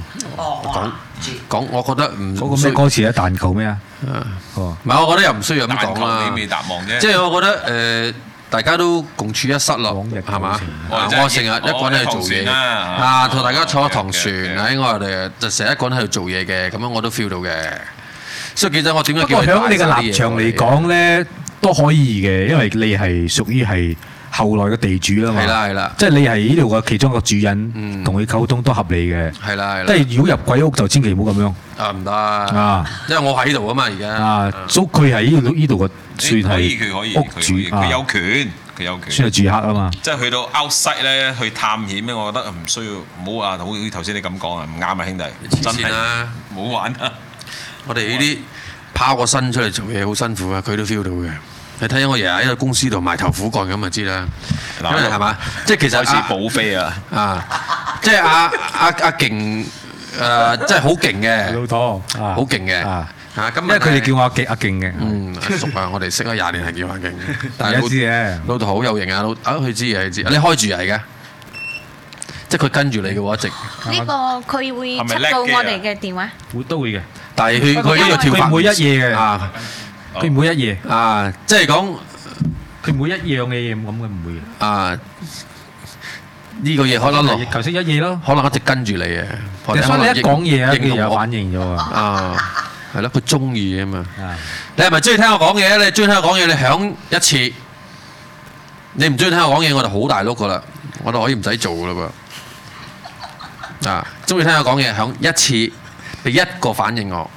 講，我覺得唔嗰個咩歌詞啊？但求咩啊？ 唔係，我覺得又唔需要咁講啦。 你未答望啫。 即係我覺得大家都共處一室咯，係嘛？我成日一個人喺度做嘢，同大家坐一堂船喺我哋就成日一個人喺度做嘢嘅，咁樣我都 feel 到嘅。所以記者，我點解叫佢？ 不過喺你嘅立場嚟講咧，都可以嘅，因為你係屬於係後來嘅地主啊嘛。 係啦， 即係你係呢度嘅其中一個主人，同佢溝通都合理嘅。 係啦。 即係如果入鬼屋就千祈唔好咁樣。 唔得因為我喺度啊嘛，而家。 所以佢係呢度嘅。算係佢可以， 屋主， 佢有權， 算係住客啊嘛。 即係去到 outside 咧，去探險咧，我覺得唔需要，唔好話好似頭先你咁講啊，唔啱啊，兄弟，真係唔好玩啊！ 我哋呢啲拋個身出嚟做嘢好辛苦啊，佢都 feel 到嘅。你睇下我日日喺個公司度埋頭苦幹咁就知啦。 因為係嘛？即係其實開始補飛啊！ 即係阿勁即係好勁嘅老拖好勁嘅咁因為佢哋叫我阿勁嘅。 阿叔啊，我哋識咗20年係叫阿勁嘅，但係知嘅。 老豆好有型啊！佢知嘅，佢知。你開住嚟嘅，即係佢跟住你嘅話，一直呢個佢會出到我哋嘅電話， 都會嘅。 但係佢呢個跳法佢每一夜嘅佢每一夜即係講佢每一樣嘅嘢咁嘅唔會呢個嘢可能頭先一夜咯， 可能一直跟住你嘅。 所以你一講嘢佢有反應咗係咯，佢中意啊嘛。你係咪中意聽我講嘢？你中意聽我講嘢，你響一次。你唔中意聽我講嘢，我就好大碌噶啦，我就可以唔使做噶啦噃。中意聽我講嘢，響一次俾一個反應我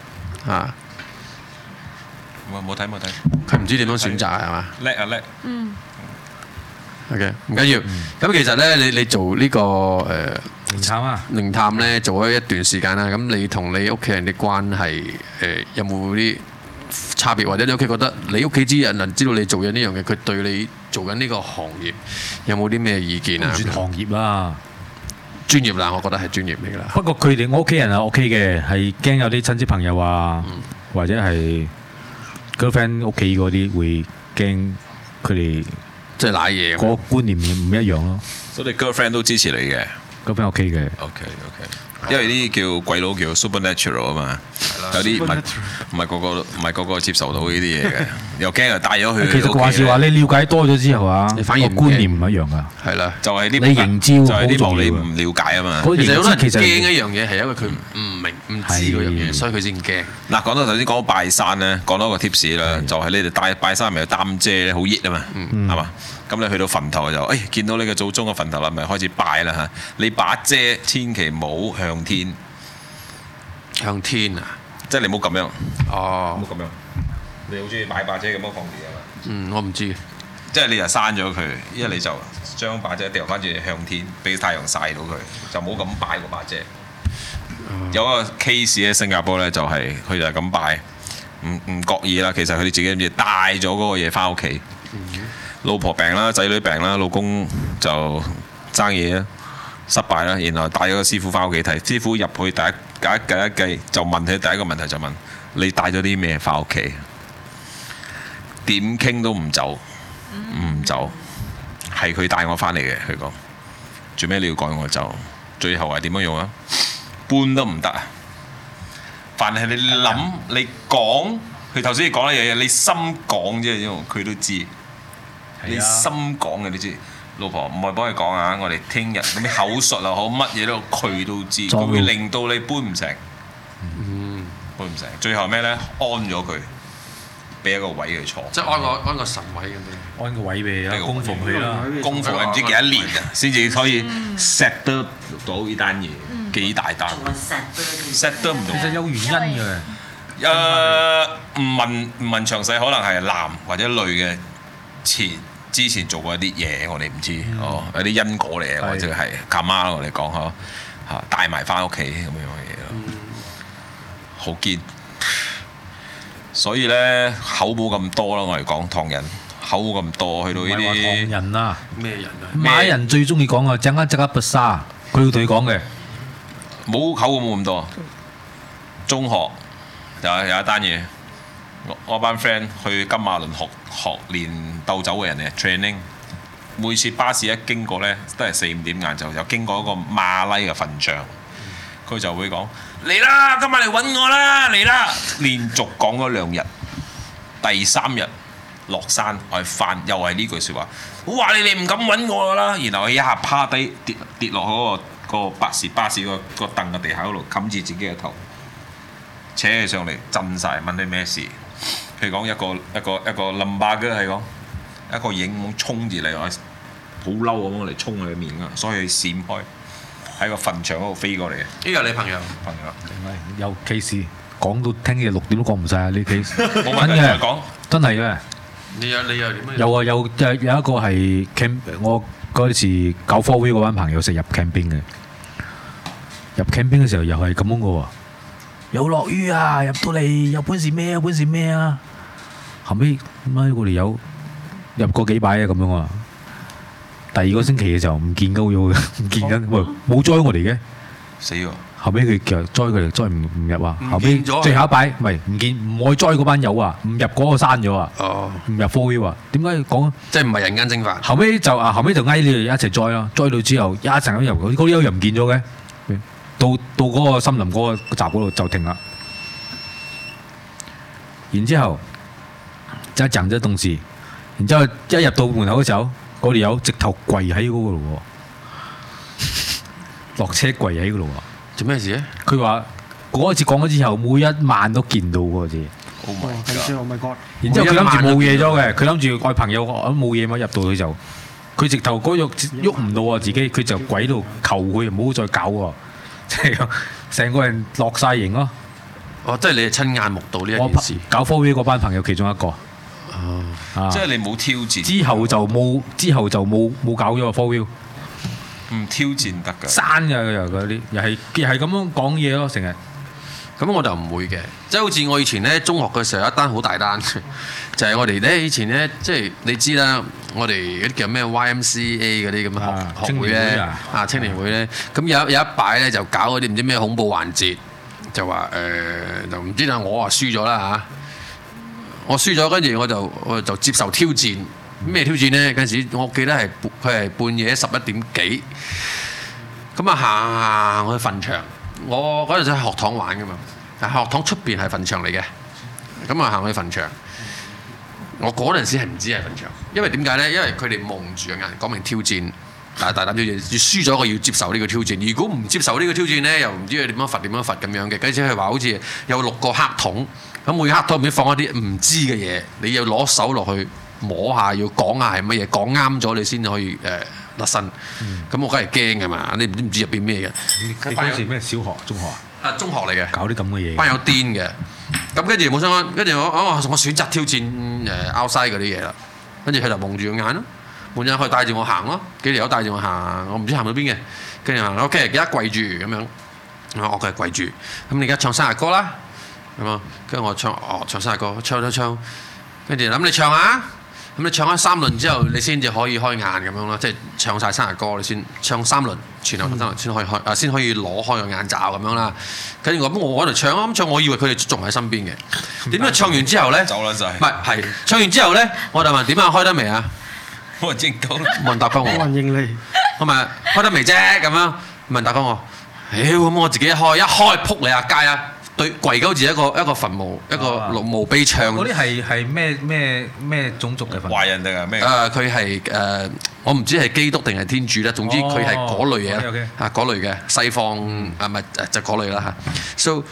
冇睇。 佢唔知點樣選擇係嘛？ 叻。 OK， 唔緊要。咁其實咧，你做呢個靈探咧，做咗一段時間啦。咁你同你屋企人啲關係有冇啲差別，或者你屋企覺得你屋企之人能知道你做緊呢樣嘢，佢對你做緊呢個行業有冇啲咩意見啊？ 唔算行業啦， 專業啦，我覺得係專業嚟㗎啦。 不過佢哋我屋企人係 OK嘅，係驚有啲親戚朋友啊，或者係 girlfriend 屋企嗰啲會驚佢哋。 即係賴嘢， 個觀念唔一樣咯。 所以你 girlfriend 都支持你嘅 ，girlfriend OK 嘅。 OK，因為呢啲叫鬼佬叫 supernatural 啊嘛，有啲唔係個個接受到呢啲嘢嘅，又驚又帶咗佢。 其實話是話你了解多咗之後啊， 你反而觀念唔一樣㗎。 係啦， 就係啲你營招， 就係啲無理唔了解啊嘛。 其實好多人驚一樣嘢係因為佢唔明唔知嗰樣嘢，所以佢先驚。 嗱，講到頭先講拜山咧，講多個 tips 啦，就係你哋拜山咪有擔遮咧，好熱啊嘛，係嘛？咁你去到墳頭就，見到你嘅祖宗嘅墳頭啦，咪開始拜啦嚇。你把遮千祈唔好向天， 向天啊！ 即係你唔好咁樣。 哦， 唔好咁樣。你好中意買把遮咁樣放住啊嘛？ 我唔知。 即係你就刪咗佢，一你就將把遮掉翻轉向天，俾太陽曬到佢，就冇咁拜嗰把遮。有一個 case 喺新加坡咧，就係佢就係咁拜，唔覺意啦。其實佢哋自己唔知帶咗嗰個嘢翻屋企。老婆病啦，仔女病啦，老公就爭嘢啦，失敗啦，然後帶咗個師傅翻屋企睇，師傅入去第一計就問佢第一個問題就問你帶咗啲咩翻屋企？點傾都唔走，係佢帶我翻嚟嘅。佢講做咩你要趕我走？最後係點樣用啊？搬都唔得啊！凡係你諗你講，佢頭先你講嘅嘢，你心講啫，因為佢都知。你心講嘅，你知，老婆唔係幫佢講啊！我哋聽日咁啲口述又好，乜嘢都佢都知，佢會令到你搬唔成，搬唔成。最後咩咧？安咗佢，俾一個位佢坐。 即係安個神位咁樣。 安個位俾啊，供奉佢啦。 供奉唔知幾多年啊，先至可以 set 得到呢單嘢，幾大單 ？set 得唔到。 其實有原因嘅。 唔問詳細，可能係男或者女嘅之前做過一啲嘢，我哋唔知有啲因果嚟嘅，或者係卡媽我哋講嚇帶埋翻屋企咁樣嘅嘢咯，好堅。所以咧口冇咁多啦，我哋講唐人口冇咁多，去到呢啲唐人啊， 咩人啊？ 馬人最中意講啊，陣間即刻不沙，佢會同你講嘅， 冇口冇咁多。中學有一單嘢。我班 friend 去金馬倫學練鬥酒嘅人嚟 training， 每次巴士一經過呢，都係4-5點晏晝，就經過一個馬拉嘅墳場，佢就會講嚟啦，今晚嚟揾我啦，嚟啦！連續講咗2日，第3日落山我係翻，又係呢句説話，我話你哋唔敢揾我啦，然後佢一下趴低跌落嗰個巴士個凳嘅地下嗰度，冚住自己嘅頭，扯起上嚟震晒，問你咩事？佢講一個冧巴嘅係講一個影衝住嚟，好嬲咁嚟衝佢面㗎，所以佢閃開喺個墳場嗰度飛過嚟嘅。 呢個你朋友？ 朋友有 case 講到聽日6點都講唔晒啊！呢 case 冇問題再講， 真係嘅。 你又點樣？ 有啊，有一個係 camp， 我嗰時搞 4V 嗰班朋友成日入 camping 嘅，入 camping 嘅時候又係咁樣嘅喎。有落雨啊！入到嚟有本事咩啊？本事咩啊？後尾我哋有入過幾擺啊咁樣啊！ 第二個星期嘅時候唔見鳩咗嘅，唔見緊，喂冇載我哋嘅， 死喎！ 後尾佢其實載佢哋載唔入啊，後尾唔見咗最後一擺唔係唔見，唔愛載嗰班友啊，唔入嗰個刪咗啊，唔入 4 wheel 啊，點解講？ 即係唔係人間蒸發？ 後尾就嗌你哋一齊載咯，載到之後一陣間入嗰啲友又唔見咗嘅，到嗰個森林嗰個閘嗰度就停啦，然之後就講咗東西，然之後一入到門口嘅時候，嗰條友直頭跪喺嗰個度喎，落車跪喺嗰度喎。 做咩事咧？ 佢話嗰一次講咗之後，每一晚都見到嗰次。 Oh my god！ 然之後佢諗住冇嘢咗嘅，佢諗住愛朋友我冇嘢嘛，入到去就佢直頭嗰肉喐唔到啊自己，佢就跪喺度求佢唔好再搞喎，即係成個人落晒型咯。 哦，即係你係親眼目睹呢一件事。 搞 4 wheel 嗰班朋友其中一個。 即係你冇挑戰。 之後就冇搞咗個 4 wheel。 唔挑戰得㗎， 刪㗎又嗰啲，又係咁樣講嘢咯，成日。 咁我就唔會嘅，即係好似我以前咧中學嘅時候有一單好大單，就係我哋咧以前咧，即係你知啦，我哋嗰啲叫咩 YMCA 嗰啲咁嘅學會咧，青年會咧，咁有一擺咧就搞嗰啲唔知咩恐怖環節，就話就唔知啦，我話輸咗啦嚇，我輸咗，跟住我就接受挑戰。咩挑戰呢？嗰陣時我記得佢係半夜11點幾，咁啊行去墳場。我嗰陣時喺學堂玩噶嘛，但學堂出邊係墳場嚟嘅。咁啊行去墳場，我嗰陣時係唔知係墳場，因為點解呢？因為佢哋蒙住個眼，講明挑戰，大膽挑戰，要輸咗個要接受呢個挑戰。如果唔接受呢個挑戰呢，又唔知佢點樣罰咁樣嘅。跟住佢話好似有6個黑桶，咁每個黑桶入面放一啲唔知嘅嘢，你要攞手落去。摸下要講下係乜嘢，講啱咗你先可以甩身。咁我梗係驚㗎嘛，你唔知入邊咩嘅。 你嗰時咩小學、中學啊？ 中學嚟嘅。搞啲咁嘅嘢。 班友癲嘅。咁跟住冇相干，跟住我選擇挑戰outside 嗰啲嘢啦。跟住佢就蒙住個眼咯，蒙住眼佢帶住我行咯，幾條友帶住我行，我唔知行到邊嘅。跟住行 OK，而家跪住咁樣，我佢係跪住。咁你而家唱生日歌啦，咁啊，跟住我唱生日歌，唱。跟住諗你唱下。咁你唱咗3輪之後，你先至可以開眼咁樣咯，即係唱晒生日歌，你先唱3輪，前後3輪先可以開，先可以攞開個眼罩咁樣啦。跟住我喺度唱啊，咁唱，我以為佢哋仲喺身邊嘅。點解唱完之後咧？走啦就係。唔係唱完之後咧，我就問點啊？開得未啊？冇人應到，冇人答翻我。 冇人應你。 我問開得未啫？咁樣冇人答翻我。咁我自己一開撲你啊街啊！對跪鳩住一個墳墓，一個墓碑唱。 嗰啲係咩種族嘅墳墓？ 華人定係咩？ 佢係我唔知係基督定係天主啦。總之佢係嗰類嘢啦，嗰類嘅西方唔係就嗰類啦嚇。So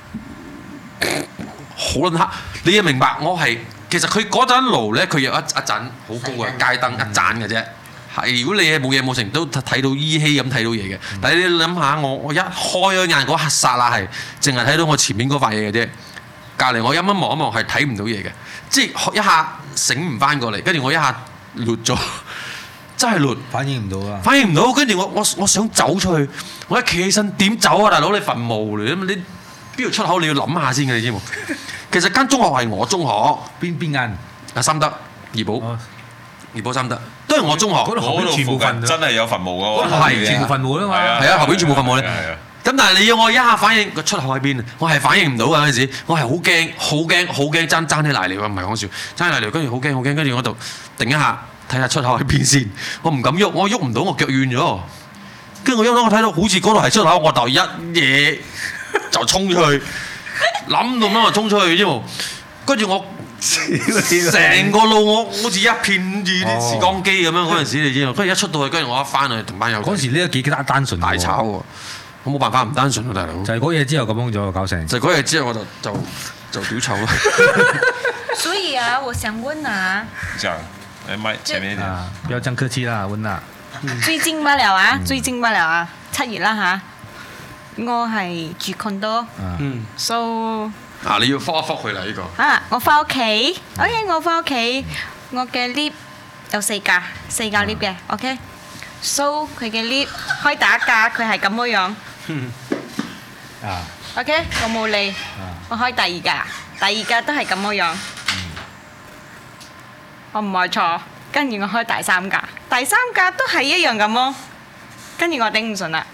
好撚黑，你要明白我係其實佢嗰盞爐咧，佢有一盞好高嘅街燈一盞嘅啫。係如果你係冇嘢冇成都睇到依稀咁睇到嘢嘅，但係你諗下我一開咗眼嗰刻剎那係淨係睇到我前面嗰塊嘢嘅啫，隔離我一望一望係睇唔到嘢嘅，即係一下醒唔翻過嚟，跟住我一下攣咗，真係攣， 反應唔到啊！ 反應唔到，跟住我想走出去，我一企起身點走啊大佬？你墳墓嚟，你邊度出口你要諗下先嘅，你知冇？其實間中學係我中學， 邊間？ 三德怡保。怡保三德都係我中學， 嗰度全部墳真係有墳墓㗎喎， 係全部墳墓啊嘛， 係啊，後邊全部墳墓咧。咁但係你要我一下反應個出口喺邊，我係反應唔到㗎嗰陣時，我係好驚，爭啲瀨尿啊！唔係講笑，爭啲瀨尿，跟住好驚，跟住我就定一下睇下出口喺邊先，我唔敢喐，我喐唔到，我腳軟咗。跟住我睇到好似嗰度係出口，我就一嘢就衝出去，諗到乜就衝出去啫喎，跟住我。成個路我好似一片住啲時光機咁樣嗰陣時，你知道？跟住一出到去，跟住我一翻去同班友。 嗰時呢個幾單純， 大炒喎！我冇辦法唔單純啊，大佬。 就係嗰嘢之後咁樣咗搞成。 就嗰嘢之後我就屌臭啦。 所以啊，我想問啊。 這樣，麥前面一點。 不要這樣客氣啦，溫娜。 最近乜了啊？7月啦嚇。我係住 condo。so。 你要科一科佢啦呢個。 我翻屋企 ，OK， 我翻屋企，我嘅 lift 有4架lift 嘅 ，OK，so 佢嘅 lift 開第一架佢係咁樣，OK， 我冇理，我開第二架都係咁樣，我唔愛坐，跟住我開第3架。 第三架都係一樣咁咯。跟住我頂唔順啦。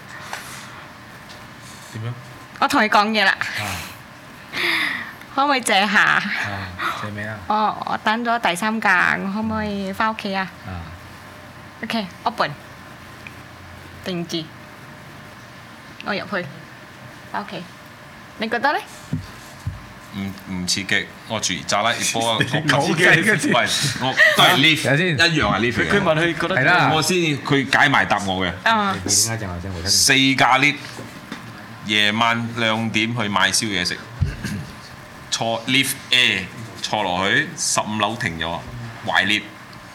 點樣？ 我同佢講嘢啦。可唔可以借下？ 借咩啊？ 我等咗第三架，我可唔可以翻屋企啊？OK，open， 定住，我入去，翻屋企。你覺得咧？ 唔刺激，我住炸拉熱波，我刺激嘅， 喂，我都係 lift， 先一樣係 lift。 佢問佢覺得係啦， 我先佢解埋答我嘅。4架 lift，夜晚2點去買宵夜食，坐 lift A 坐落去15樓停咗，壞 lift。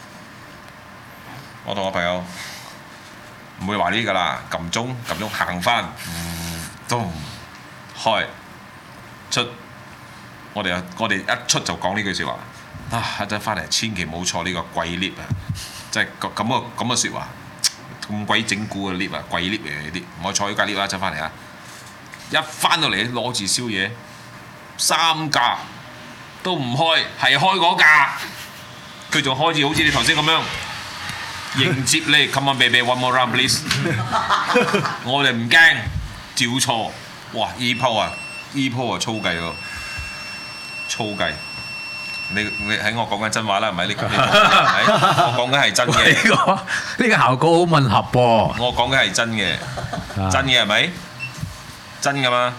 我同我朋友唔會壞 lift 㗎啦，撳鐘行翻，都唔開出。我哋一出就講呢句説話，一陣翻嚟千祈唔好坐呢個貴 lift 啊！即係咁嘅説話，咁鬼整蠱嘅 lift 啊，貴 lift 嚟嘅呢啲，唔好坐呢架 lift 啊！一陣翻嚟啊！一翻到嚟攞住宵夜，3架都唔開，係開嗰架，佢仲開住好似你頭先咁樣迎接你 ，Come on baby one more round please 。我哋唔驚，照錯，哇！呢鋪啊粗計喎！粗計，你喺我講緊真話啦，唔係你講係咪？我講緊係真嘅。 呢個效果好吻合噃。 我講緊係真嘅，真嘅係咪？真㗎嘛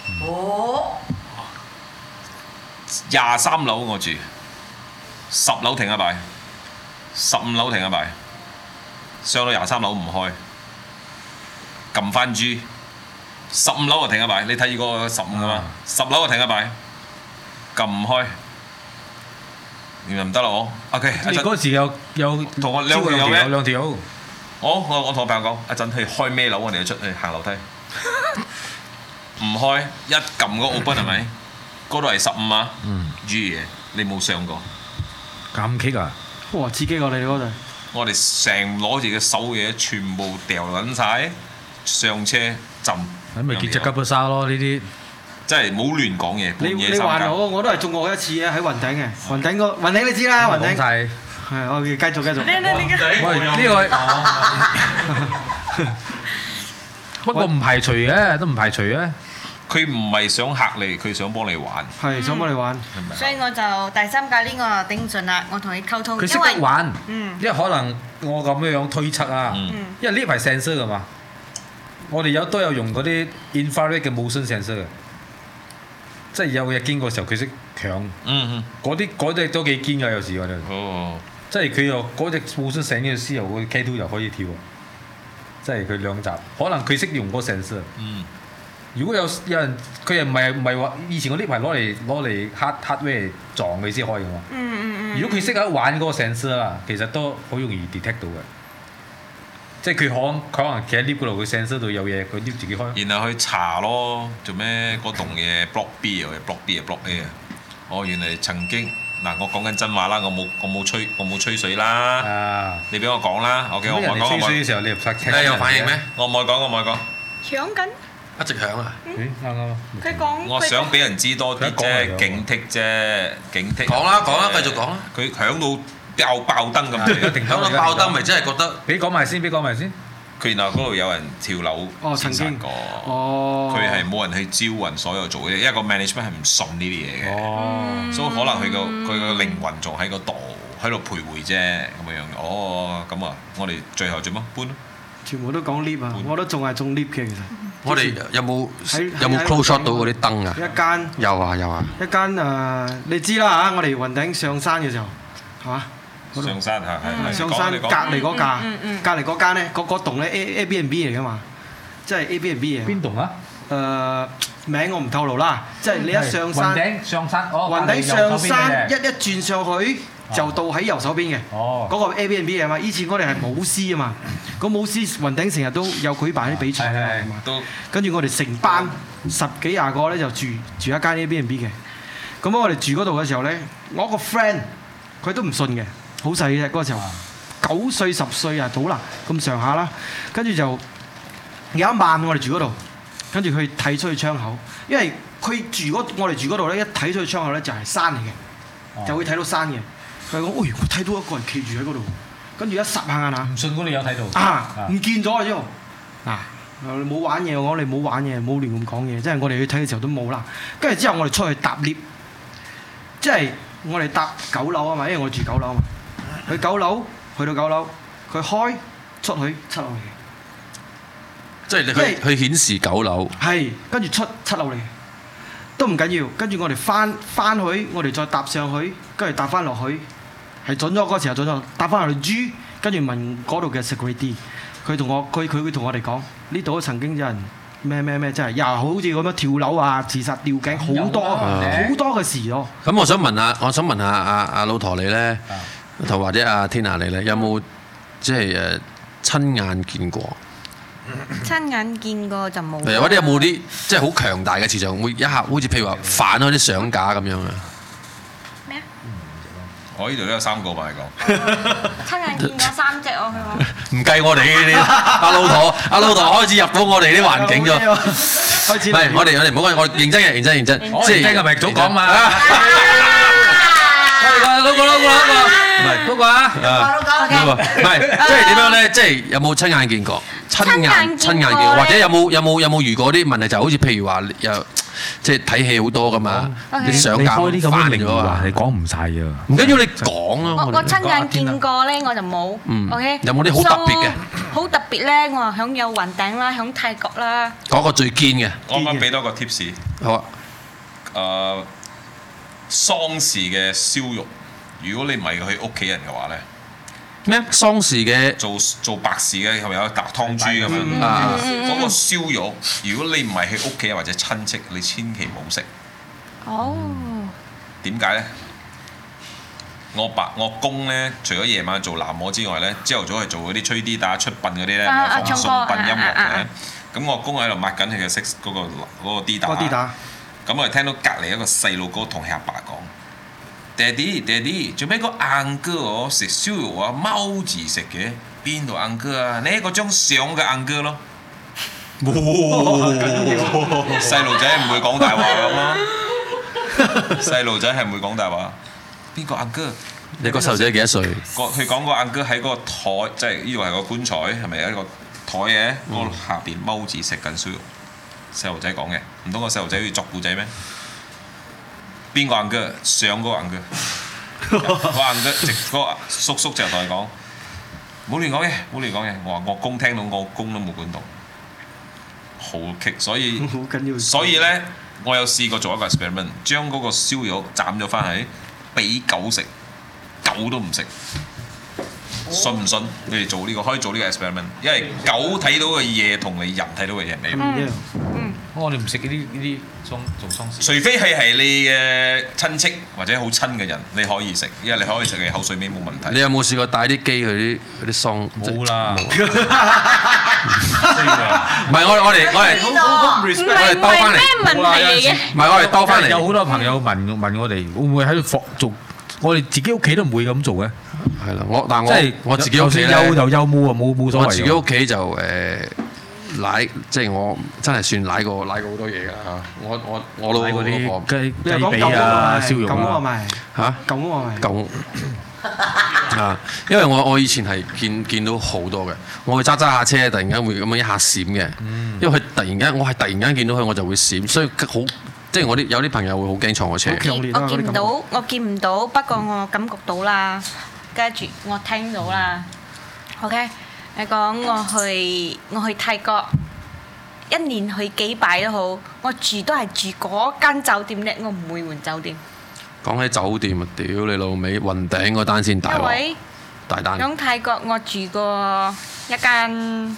？23樓我住，10樓停一排，15樓停一排，上到23樓唔開，撳翻 G， 15樓就停一排，你睇住個15㗎嘛，10樓就停一排。撳唔開，原來唔得啦我。OK， 你嗰時有同我兩條友咩？ 兩條。 我同我朋友講，一陣去開咩樓，我哋就出去行樓梯。唔開，一撳個 open 係咪？嗰度係15啊。G 嘢，你冇上過。 咁棘啊！ 哇！刺激我哋嗰陣。 我哋成攞住嘅手嘢全部掉撚晒，上車浸。 咁咪結隻吉普沙咯呢啲。 真係冇亂講嘢， 你還我都係中過一次嘅喺雲頂嘅，雲頂你知啦，雲頂。係，我繼續。 喂，呢個不過唔排除嘅，都唔排除嘅。 佢唔係想嚇你，佢想幫你玩。 係想幫你玩。 所以我就第三架呢個頂唔順啦，我同佢溝通。 佢識得玩，因為可能我咁樣推測啊，因為呢排 sensor 㗎嘛，我哋都有用嗰啲 infrared 嘅 motion sensor 嘅。即係有嘢經過嘅時候，佢識搶。嗰啲都幾堅㗎，有時我哋。即係佢又嗰隻互相醒嘅時候，個 K2 又可以跳。即係佢兩集，可能佢識用嗰 sensor。如果有人，佢又唔係話以前嗰啲係攞嚟 hardware 撞佢先可以㗎嘛。如果佢識得玩嗰個 sensor 啦，其實都好容易 detect 到嘅。即係佢可能企喺 lift 嗰度，佢 sensor 度有嘢，佢 lift 自己開。 然後去查咯，做咩嗰棟嘢 block B 啊 ，block B 啊 block A 啊？原來曾經嗱，我講緊真話啦，我冇吹水啦。你俾我講啦，OK，我講。 吹水嘅時候你又唔聽。 你有反應咩？ 我唔愛講。 搶緊。 一直響啊！ 啱。 佢講。 我想俾人知多啲啫，警惕啫，警惕。 講啦，繼續講啦。 佢響到。爆燈咁， 響到爆燈咪真係覺得。 俾講埋先。 佢然後嗰度有人跳樓自殺過。佢係冇人去招魂，所有做嘅，因為個 management 係唔信呢啲嘢嘅。所以可能佢個靈魂仲喺個度，喺度徘徊啫咁樣。咁啊，我哋最後做乜搬咯？ 全部都講 lift 啊！我都仲係中 lift 嘅其實。 我哋有冇 close shot 到嗰啲燈啊？ 一間。有啊。一間你知啦嚇，我哋雲頂上山嘅時候，係嘛？ 上山係上山隔離嗰架，隔離嗰間咧，嗰棟咧 Airbnb 嚟噶嘛，即係 Airbnb 嘅。邊棟啊？名我唔透露啦，即係你一上山。雲頂上山，一轉上去就到喺右手邊嘅。嗰個 Airbnb 係嘛？以前我哋係舞獅啊嘛，個舞獅雲頂成日都有舉辦啲比賽啊嘛。跟住我哋成班10幾20個咧就住一間 Airbnb 嘅。咁我哋住嗰度嘅時候咧，我個 friend 佢都唔信嘅。好細嘅嗰個時候，9歲10歲啊，到啦咁上下啦。跟住就有一晚我哋住嗰度，跟住佢睇出去窗口，因為我哋住嗰度咧，一睇出去窗口咧就係山嚟嘅，就會睇到山嘅。佢講：我睇到一個人企住喺嗰度， 跟住一霎下眼啊！ 唔信我哋有睇到唔見咗啊！之後你冇玩嘢，我哋冇玩嘢，冇亂咁講嘢，即係我哋去睇嘅時候都冇啦。跟住之後我哋出去搭 lift，即係我哋搭9樓啊嘛，因為我住9樓啊嘛。去9樓，去到9樓，佢開出去7樓嚟嘅。 即係你去顯示9樓。 係，跟住出7樓嚟嘅，都唔緊要。跟住我哋翻去，我哋再搭上去，跟住搭翻落去，係準咗嗰時候準咗，搭翻落去 G，跟住問嗰度嘅 security，佢會同我哋講，呢度曾經有人咩，真係又好似咁樣跳樓啊、自殺吊頸，好多嘅事咯。 咁我想問下阿老陀你咧，同或者阿 Tina 你咧，有冇即係親眼見過？ 親眼見過就冇。 或者有冇啲即係好強大嘅磁場，會一下好似譬如話反開啲相架咁樣啊？ 咩啊？ 我呢度都有3個吧，你講。 親眼見過3隻我佢話。 唔計我哋呢啲，阿老陀開始入到我哋啲環境咗。開始。唔係，我哋唔好講，我認真嘅，認真。即係嘅咪早講嘛。嗰個，唔係嗰個啊。唔係，即係點樣咧？即係有冇親眼見過？親眼見過，或者有冇遇過啲問題？就好似譬如話又即係睇戲好多噶嘛，啲相架開啲咁嘅靈話，你講唔晒啊！ 唔緊要，你講咯。 我親眼見過咧，我就冇。OK。 有冇啲好特別嘅？ 好特別咧，我話響有雲頂啦，響泰國啦。 嗰個最堅嘅。 我啱俾多個 tips。 好啊。 喪事嘅燒肉，如果你唔係佢屋企人嘅話咧。 咩？喪事嘅做白事嘅係咪有搭湯豬咁樣？嗰個燒肉，如果你唔係佢屋企人或者親戚，你千祈唔好食。 哦。點解咧？我公咧，除咗夜晚做喃嘸之外咧，朝頭早係做嗰啲吹啲打出殯嗰啲咧，放送殯音樂嘅。咁我公喺度抹緊佢嘅嗰個啲打。咁我哋聽到隔離一個細路哥同佢阿爸講。爹哋，做咩個硬哥食燒肉啊踎住食嘅？邊度硬哥啊？呢嗰張相嘅硬哥咯。細路仔唔會講大話咁咯。細路仔係唔會講大話。邊個硬哥？ 你個細路仔幾多歲？ 佢講個硬哥喺個台，即係呢度係個棺材，係咪有一個台嘅？嗰下邊踎住食緊燒肉。細路仔講嘅，唔通個細路仔要作故仔咩？邊個硬哥？上嗰個硬哥，個硬哥直嗰個叔叔就同佢講：冇亂講嘅，冇亂講嘅。我話我公聽到，我公都冇管到，好棘。所以咧，我有試過做一個 experiment， 將嗰個燒肉斬咗翻去俾狗食，狗都唔食。信唔信？你哋做呢個可以做呢個 experiment， 因為狗睇到嘅嘢同你人睇到嘅嘢唔一樣。 我哋唔食呢啲做喪事。 除非係你嘅親戚或者好親嘅人，你可以食，因為你可以食嘅口水尾冇問題。 你有冇試過帶啲機去啲喪？ 冇啦。 唔係我哋兜翻嚟。唔係我哋兜翻嚟。 有好多朋友問我哋會唔會喺度做？我哋自己屋企都唔會咁做嘅。 係啦，但係我自己屋企咧， 休就休，冇啊冇所謂。 我自己屋企就奶，即係我真係算奶過好多嘢㗎嚇。我老嗰啲雞髀啊、燒肉啊嚇，狗啊，因為我以前係見到好多嘅，我會揸下車，突然間會咁樣一下閃嘅，因為佢突然間見到佢我就會閃，所以好。即係有啲朋友會好驚坐我車。 我見唔到，不過我感覺到啦，跟住我聽到啦。OK， 你講我去泰國，一年去幾擺都好，我都係住嗰間酒店咧，我唔會換酒店。 講起酒店啊，屌你老味，雲頂嗰單先大鑊，大單。 喺泰國我住過一間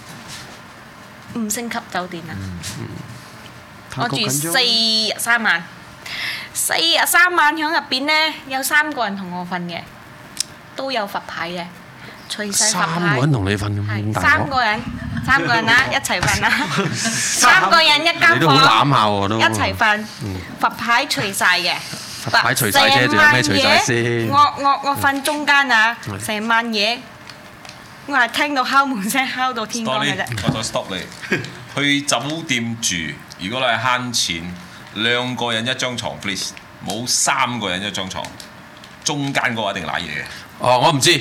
5星級酒店啊。我住4日3晚，4日3晚喺入邊咧，有3個人同我瞓嘅，都有佛牌嘅，隨世佛牌。 3個人同你瞓咁大鑊？3 個人啦，一齊瞓啦，3個人一間房， 你都好攬下喎都。 一齊瞓，佛牌除晒嘅。 佛牌除晒啫，仲有咩除晒先？ 我瞓中間啊，成晚嘢，我係聽到敲門聲敲到天光嘅啫。 我再 stop 你，去酒店住。如果你係慳錢，2個人一張床 please，冇3個人一張床，中間嗰個一定賴嘢嘅。 哦，我唔知，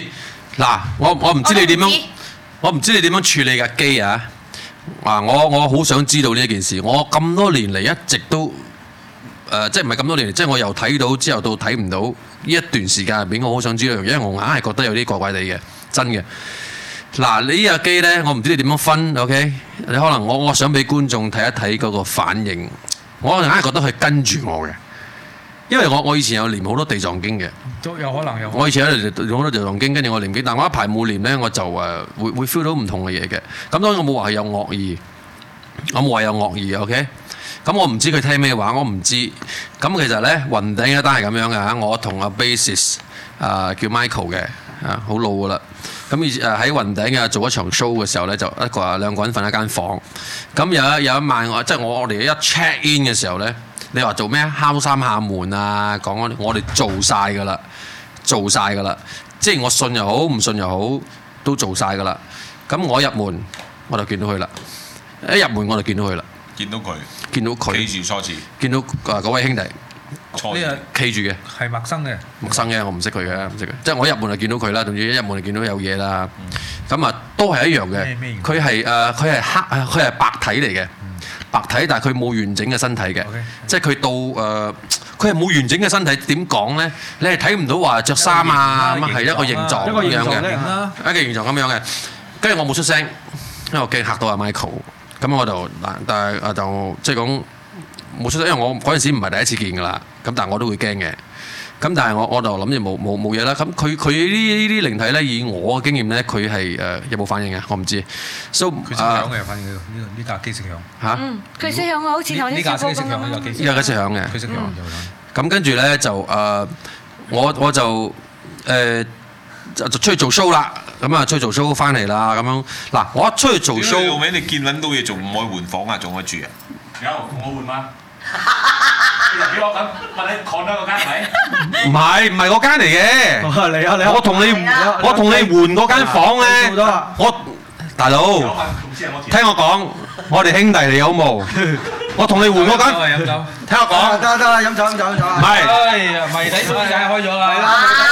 嗱，我唔知你點樣，我唔知你點樣處理架機啊！我好想知道呢一件事。我咁多年嚟一直都即係唔係咁多年嚟，即係我由睇到之後到睇唔到呢一段時間入邊，我好想知道，因為我硬係覺得有啲怪怪地嘅，真嘅。嗱，你呢架機呢，我唔知你點樣分 ，OK？ 你可能我想俾觀眾睇一睇嗰個反應。我硬係覺得佢跟住我嘅，因為我以前有練好多地藏經嘅， 都有可能有。 我以前有練好多地藏經，跟住我練經，但我一排冇練呢，我就會 feel 到唔同嘅嘢嘅。咁當然我冇話係有惡意，我冇話有惡意 ，OK？ 咁我唔知佢聽咩話，我唔知。咁其實呢，雲頂一單係咁樣嘅嚇，我同阿 bassist 叫 Michael 嘅好老噶啦。咁喺雲頂做一場 show 嘅時候咧，就兩個人瞓一間房。咁有一晚我哋一 check in 嘅時候咧，你話做咩？敲三下門啊，講我哋做晒㗎啦，做晒㗎啦。即係我信又好，唔信又好，都做晒㗎啦。咁我入門我就見到佢啦，一入門我就見到佢啦，見到佢，企住初次，見到嗰位兄弟。呢個企住嘅係陌生嘅，我唔識佢嘅，唔識嘅。即係我一入門就見到佢啦，總之一入門就見到有嘢啦。咁啊，都係一樣嘅。佢係佢係白體嚟嘅，白體，但係佢冇完整嘅身體嘅。即係佢到佢係冇完整嘅身體。點講咧？你係睇唔到話着衫啊，咁係一個形狀咁樣嘅，一個形狀咁樣嘅。跟住我冇出聲，因為我驚嚇到阿 Michael。咁我就但係就即係講。冇出聲，因為我嗰陣時唔係第一次見㗎啦，咁但係我都會驚嘅。咁但係我就諗住冇嘢啦。咁佢呢啲靈體咧，以我嘅經驗咧，佢係有冇反應嘅？我唔知。佢識響嘅，反正呢架機識響嚇。 佢識響啊，好似頭先小哥咁樣。 呢架機識響嘅。佢識響。咁跟住咧就我就出去做 show 啦。咁啊出去做 show 翻嚟啦。咁樣嗱，我一出去做 show， 後尾你見撚到嘢，仲唔可以換房啊？仲可以住啊？有，同我換嗎？你俾我咁問你看多嗰間係咪？ 唔係嗰間嚟嘅。你啊！我同你換嗰間房咧。我大佬，聽我講，我哋兄弟嚟好冇？我同你換嗰間。聽我講。得啦，飲酒。唔係。 謎底梗係開咗啦。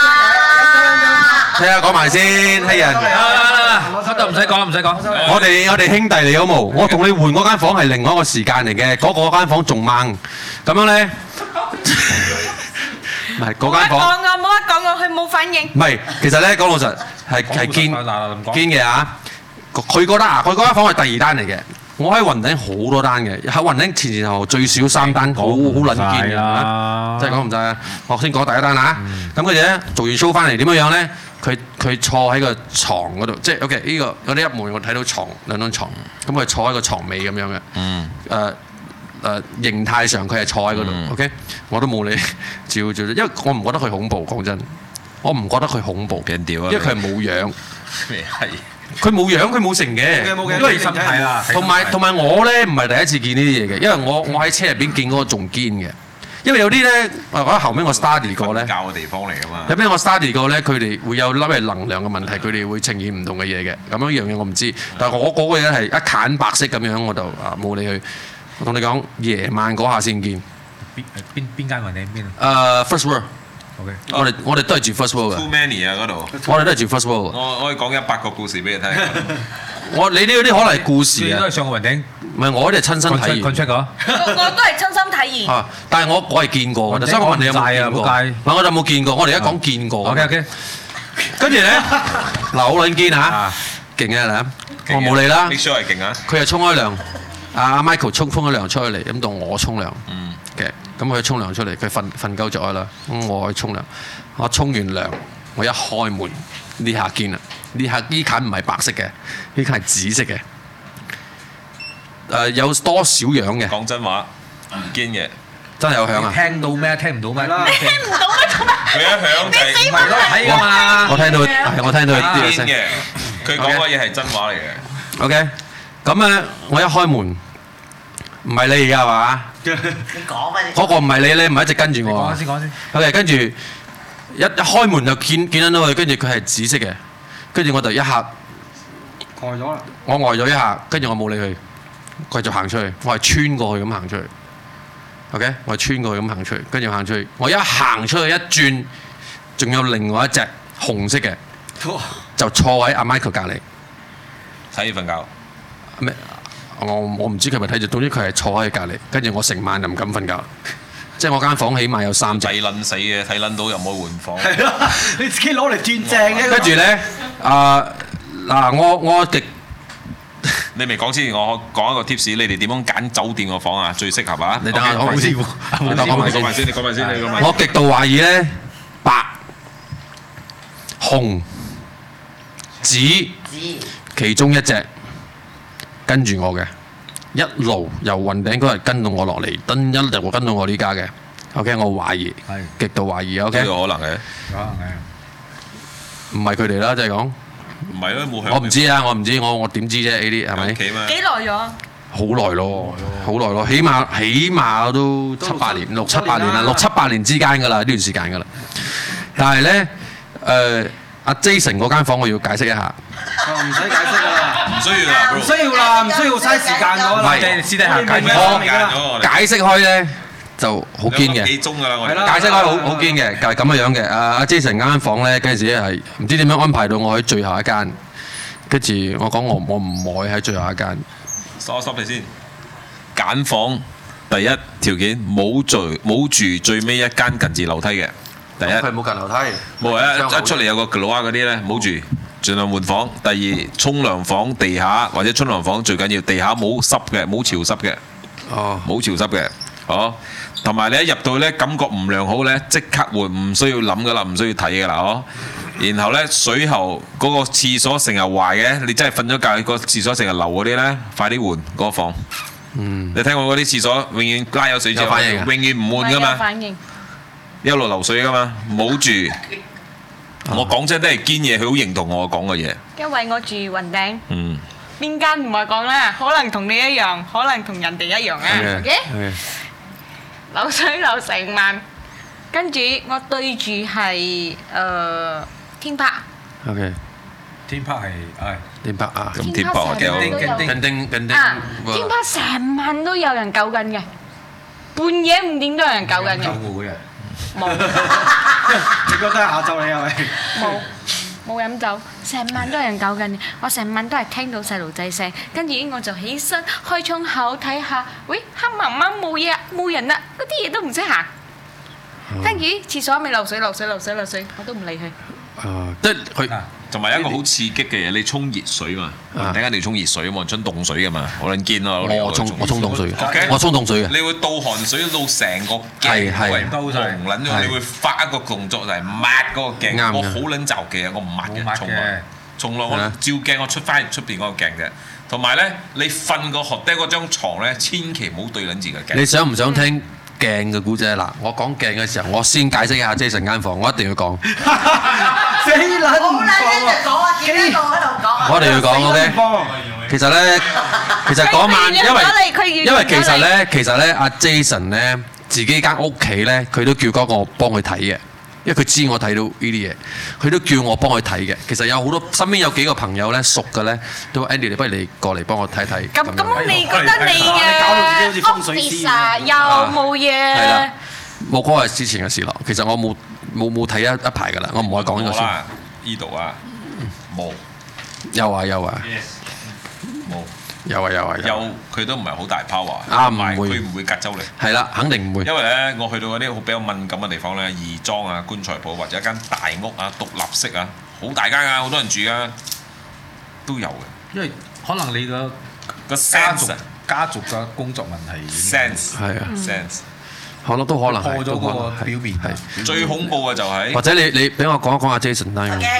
聽下講埋先，黑人。 唔使講。 我哋兄弟嚟好冇？我同你換嗰間房係另外一個時間嚟嘅，嗰間房仲掹。咁樣咧，唔係嗰間房。 冇得講㗎，佢冇反應。 唔係，其實咧講老實係堅嘅嚇。佢嗰間房係第二單嚟嘅。我喺雲頂好多單嘅，喺雲頂前後最少3單，好撚堅嘅。即係講唔晒啊！我先講第一單嚇。咁跟住咧做完 show 翻嚟點樣咧？佢坐喺個床嗰度，即係 OK 呢個我哋一門我睇到兩張床，咁佢坐喺個床尾咁樣嘅。形態上佢係坐喺嗰度 ，OK， 我都冇理照，因為我唔覺得佢恐怖，講真，我唔覺得佢恐怖，因為佢係冇樣。咩係？佢冇樣，佢冇成嘅，因為身體啦。同埋我咧唔係第一次見呢啲嘢嘅，因為我喺車入邊見嗰個仲堅嘅。因為有啲咧，我覺得後尾我 study 過咧， 教嘅地方嚟㗎嘛。 有邊我 study 過咧，佢哋會有粒係能量嘅問題，佢哋會呈現唔同嘅嘢嘅。咁樣嘢我唔知，但係我嗰個嘢係一揀白色咁樣，我就冇理佢。我同你講，夜晚嗰下先見。 邊間雲頂邊 ？First World。OK。我哋都係住 First World 嘅。 Too many 啊嗰度。 我哋都係住 First World。 我可以講100個故事俾你聽。 你呢啲可能係故事啊。 你都係上過雲頂。 唔係，我啲係親身體驗。 講出㗎。 我都係親身體驗。 但係我係見過嘅，所以我問你有冇見過？我就冇見過。我哋而家講見過。 OK。 跟住咧，嗱好撚堅嚇，勁啊嗱，我冇理啦。 你 sure 係勁啊？ 佢係沖開涼，阿 Michael 沖咗涼出去嚟，咁到我沖涼嘅，咁佢沖涼出嚟，佢瞓夠咗啦，咁我去沖涼，我沖完涼，我一開門呢下堅啦，呢間唔係白色嘅，呢間係紫色嘅，有多少樣嘅？ 講真話唔堅嘅， 真係有響啊！ 聽到咩？聽唔到咩？ 你聽唔到咩？ 佢一響就係唔係咯， 睇㗎嘛！ 我聽到啲堅嘅，佢講嘅嘢係真話嚟嘅。 OK，咁咧我一開門，唔係你而家係嘛？ 你講乜？ 嗰個唔係你唔係一直跟住我。 講先。 OK，跟住一開門就見到佢，跟住佢係紫色嘅，跟住我就一下呆咗啦。 我呆咗一下，跟住我冇理佢，繼續行出去，我係穿過去咁行出去。OK， 我係穿過去咁行出去，跟住行出去，我一行出去一轉，仲有另外一隻紅色嘅， 就坐喺阿 Michael 隔離睇瞓覺。 咩？我唔知佢咪睇住，總之佢係坐喺隔離，跟住我成晚就唔敢瞓覺。即係我間房起碼有3隻。 睇撚死嘅，睇撚到又冇換房。 係咯，你自己攞嚟轉正嘅。 跟住咧，我極。 你未講之前，我講一個 tips，你哋點樣揀酒店個房啊？最適合啊！ 你等下講埋先， 你講埋先，你講埋先。 我極度懷疑咧，白、紅、紫其中一隻跟住我嘅，一路由雲頂嗰日跟到我落嚟，一路跟到我呢家嘅。OK， 我懷疑，極度懷疑。OK， 呢個可能嘅， 唔係佢哋啦，即係講。 唔係咯，冇響。 我唔知啊，我點知啫？呢啲係咪？ 幾耐咗？ 好耐咯，起碼都6、7、8年啦，6、7、8年之間㗎啦，呢段時間㗎啦。但係咧，阿 Jason 嗰間房我要解釋一下。 唔使解釋啦， 唔需要啦， 唔需要嘥時間㗎啦。 唔係，私底下解釋開咧。就好堅嘅， 幾鐘㗎啦，我哋解釋開好堅嘅，就係咁樣嘅。阿 Jason 間房咧，嗰陣時係唔知點樣安排到我喺最後一間，跟住我講我唔愛喺最後一間。 stop 你先，揀房第一條件冇住最尾一間近住樓梯嘅。第一， 佢冇近樓梯， 冇一出嚟有個格魯亞嗰啲咧，冇住，盡量換房。第二，沖涼房地下或者沖涼房最緊要地下冇濕嘅，冇潮濕嘅，冇潮濕嘅，哦。同埋你一入到咧，感覺唔良好咧，即刻換，唔需要諗噶啦，唔需要睇噶啦，哦。然後咧，水喉嗰個廁所成日壞嘅，你真係瞓咗覺，個廁所成日流嗰啲咧，快啲換嗰個房。你睇我嗰啲廁所，永遠拉有水之後，永遠唔換噶嘛，一路流水噶嘛，冇住。我講真都係堅嘢，佢好認同我講嘅嘢。 因為我住雲頂。邊間唔係講啦？可能同你一樣，可能同人哋一樣啊。OK。流水流成萬，跟住我對住係天柏。 OK， 天柏係天柏啊， 咁天柏幾好。 天柏成晚都有人救緊嘅，半夜5點都有人救緊嘅。 救護嗰日冇。 你覺得係下晝你係咪？ 冇飲酒，成晚都有人救緊嘅。我成晚都係聽到細路仔聲，跟住我就起身開窗口睇下，喂，黑掹掹冇嘢，冇人啦，嗰啲嘢都唔識行。跟住廁所咪漏水，我都唔理佢。 即係佢。 同埋一個好刺激嘅嘢，你沖熱水嘛？突然間你要沖熱水啊嘛，沖凍水噶嘛，好撚堅咯！ 我沖凍水，我沖凍水嘅。 你會倒寒水到成個鏡為紅撚咗，你會發一個動作就係抹嗰個鏡。我好撚就嘅，我唔抹嘅，從來我照鏡我出翻出邊嗰個鏡嘅。同埋咧，你瞓個學爹嗰張牀咧，千祈唔好對撚住個鏡。 你想唔想聽鏡嘅故仔？嗱，我講鏡嘅時候，我先解釋一下 Jason 間房，我一定要講。 死撚唔講啊！ 幾個喺度講。 我一定要講 OK。其實嗰晚因為其實咧，阿 Jason 咧自己間屋企咧，佢都叫嗰個幫佢睇嘅，因為佢知我睇到呢啲嘢，佢都叫我幫佢睇嘅。其實有好多身邊有幾個朋友咧熟嘅咧，都 Andy， 你不如你過嚟幫我睇睇。 咁你覺得你嘅 office 又冇嘢？ 係啦，冇嗰個係之前嘅事咯。其實我冇睇一排㗎啦，我唔可以講呢個先。 呢度啊，冇。 有啊。 冇。有佢都唔係好大 power。 唔會。 佢唔會隔周嚟。 係啦，肯定唔會。 因為咧，我去到嗰啲好比較敏感嘅地方咧，義莊啊、棺材鋪或者一間大屋啊、獨立式啊，好大間啊，好多人住啊，都有嘅。 因為可能你個家族嘅工作問題。 sense 係啊 sense。 可能都可能破咗嗰個表面係最恐怖嘅就係， 或者你俾我講一講阿 Jason 單嘅。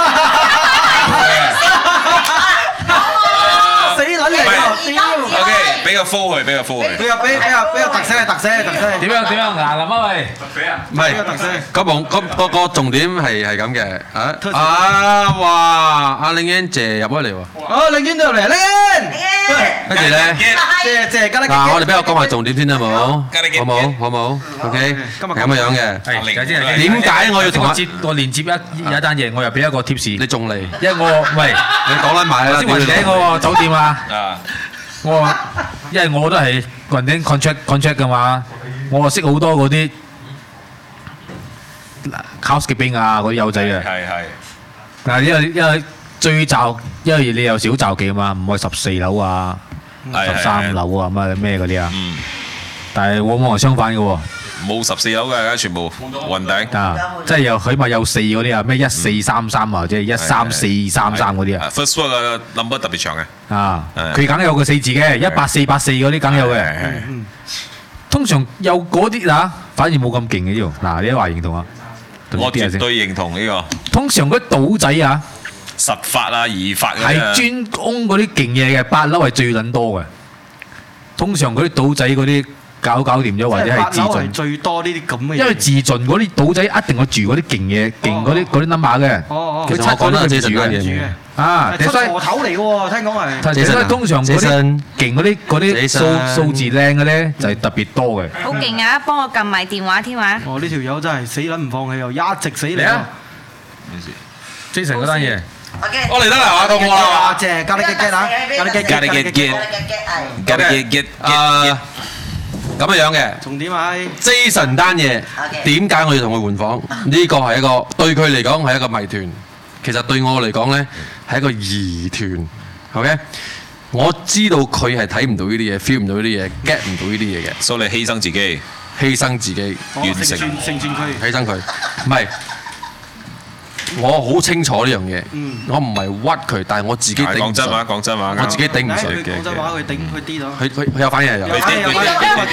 死撚嚟㗎 ！OK，俾個 full 佢，俾個特色。 點樣牙林啊喂？ 唔係個重點係咁嘅哇！阿玲英姐入咗嚟喎。 玲英都入嚟，玲英。 跟住咧， 謝嗱，我哋俾我講埋重點先啦，好冇 ？OK，咁樣嘅。點解我要同我連接有一單嘢，我又俾一個 tips。 你仲嚟？ 因為我喂， 你講得埋啦。 先雲頂嗰個酒店啊，我話，因為我都係雲頂 contract 㗎嘛，我識好多嗰啲 housekeeping 啊嗰啲友仔嘅。 係。 嗱，因為最罩，因為你有少罩忌嘛，唔可以14樓啊、13樓啊咩嗰啲啊。但係往往係相反嘅喎。 冇14樓嘅，而家全部雲頂。 啊，即係有起碼有4嗰啲啊，咩1433啊，或者13433嗰啲啊。 First floor 嘅 number 特別長嘅。 啊，佢梗有個4字嘅，18484嗰啲梗有嘅。通常有嗰啲嗱，反而冇咁勁嘅呢度。嗱，你都話認同啊？ 我絕對認同呢個。 通常嗰啲賭仔啊， 實發啊、二發嗰啲係專攻嗰啲勁嘢嘅，8樓係最撚多嘅。通常嗰啲賭仔嗰啲。搞掂咗，或者係自盡最多呢啲咁嘅嘢。 因為自盡嗰啲賭仔一定要住嗰啲勁嘢，勁嗰啲 number 嘅。 其實我講得係住嘅。 啊，出貨頭嚟嘅喎，聽講係。 所以通常嗰啲勁嗰啲數字靚嘅咧，就係特別多嘅。 好勁啊！幫我撳埋電話添啊！ 哦，呢條友真係死撚唔放棄又一直死嚟啊 ！Jason 嗰單嘢。 我嚟得啦，到我啦。 謝，加你 get 啊！加你 get。 咁樣嘅， 重點係 Jason 單嘢點解我要同佢換房？呢個係一個對佢嚟講係一個謎團，其實對我嚟講咧係一個疑團。OK， 我知道佢係睇唔到呢啲嘢 ，feel 唔到呢啲嘢 ，get 唔到呢啲嘢嘅， 所以你犧牲自己， 完成佢， 犧牲佢，唔係。我好清楚呢樣嘢，我唔係屈佢，但係我自己頂唔順。講真話，我自己頂唔順嘅。 講真話，佢頂佢啲咯。 佢有反應有。 咩撚嘢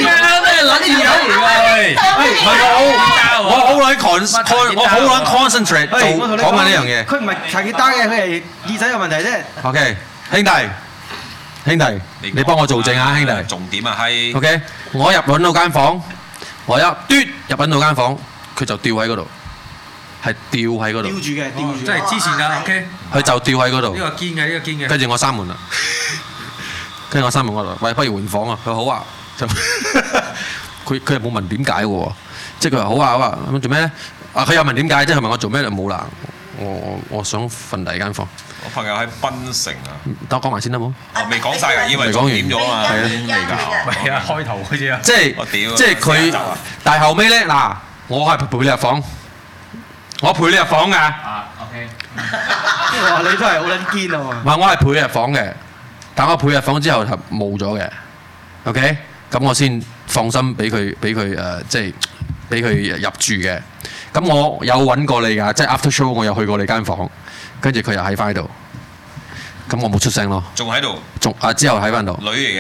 我好撚 concentrate 講緊呢樣嘢。 佢唔係查結單嘅，佢係耳仔有問題啫。 OK，兄弟，你幫我做證啊，兄弟。 重點啊係。 OK，我揾到間房，我一嘟入揾到間房，佢就吊喺嗰度。係吊喺嗰度， 吊住嘅， 即係之前㗎 ，OK。 佢就吊喺嗰度。 呢個堅嘅。 跟住我閂門啦，跟住我閂門我話：喂，不如換房啊！佢好啊，佢又冇問點解喎，即係佢話好啊，咁做咩咧？啊，佢又問點解，即係佢問我做咩就冇啦。我想瞓第二間房。 我朋友喺檳城啊。 等我講埋先得冇？ 未講晒㗎，以為講完咗啊嘛。 係啊，開頭嗰啲啊。 即係佢，但係後尾咧嗱，我係陪你入房。我陪你入房㗎。 OK。哇！你都係好撚堅啊嘛。 唔係，我係陪你入房嘅，但我陪入房之後係冇咗嘅。OK，咁我先放心俾佢即係俾佢入住嘅。咁我有揾過你㗎，即係 after show 我有去過你間房，跟住佢又喺翻度。咁我冇出聲咯。 仲喺度。 之後喺翻度。 女嚟嘅。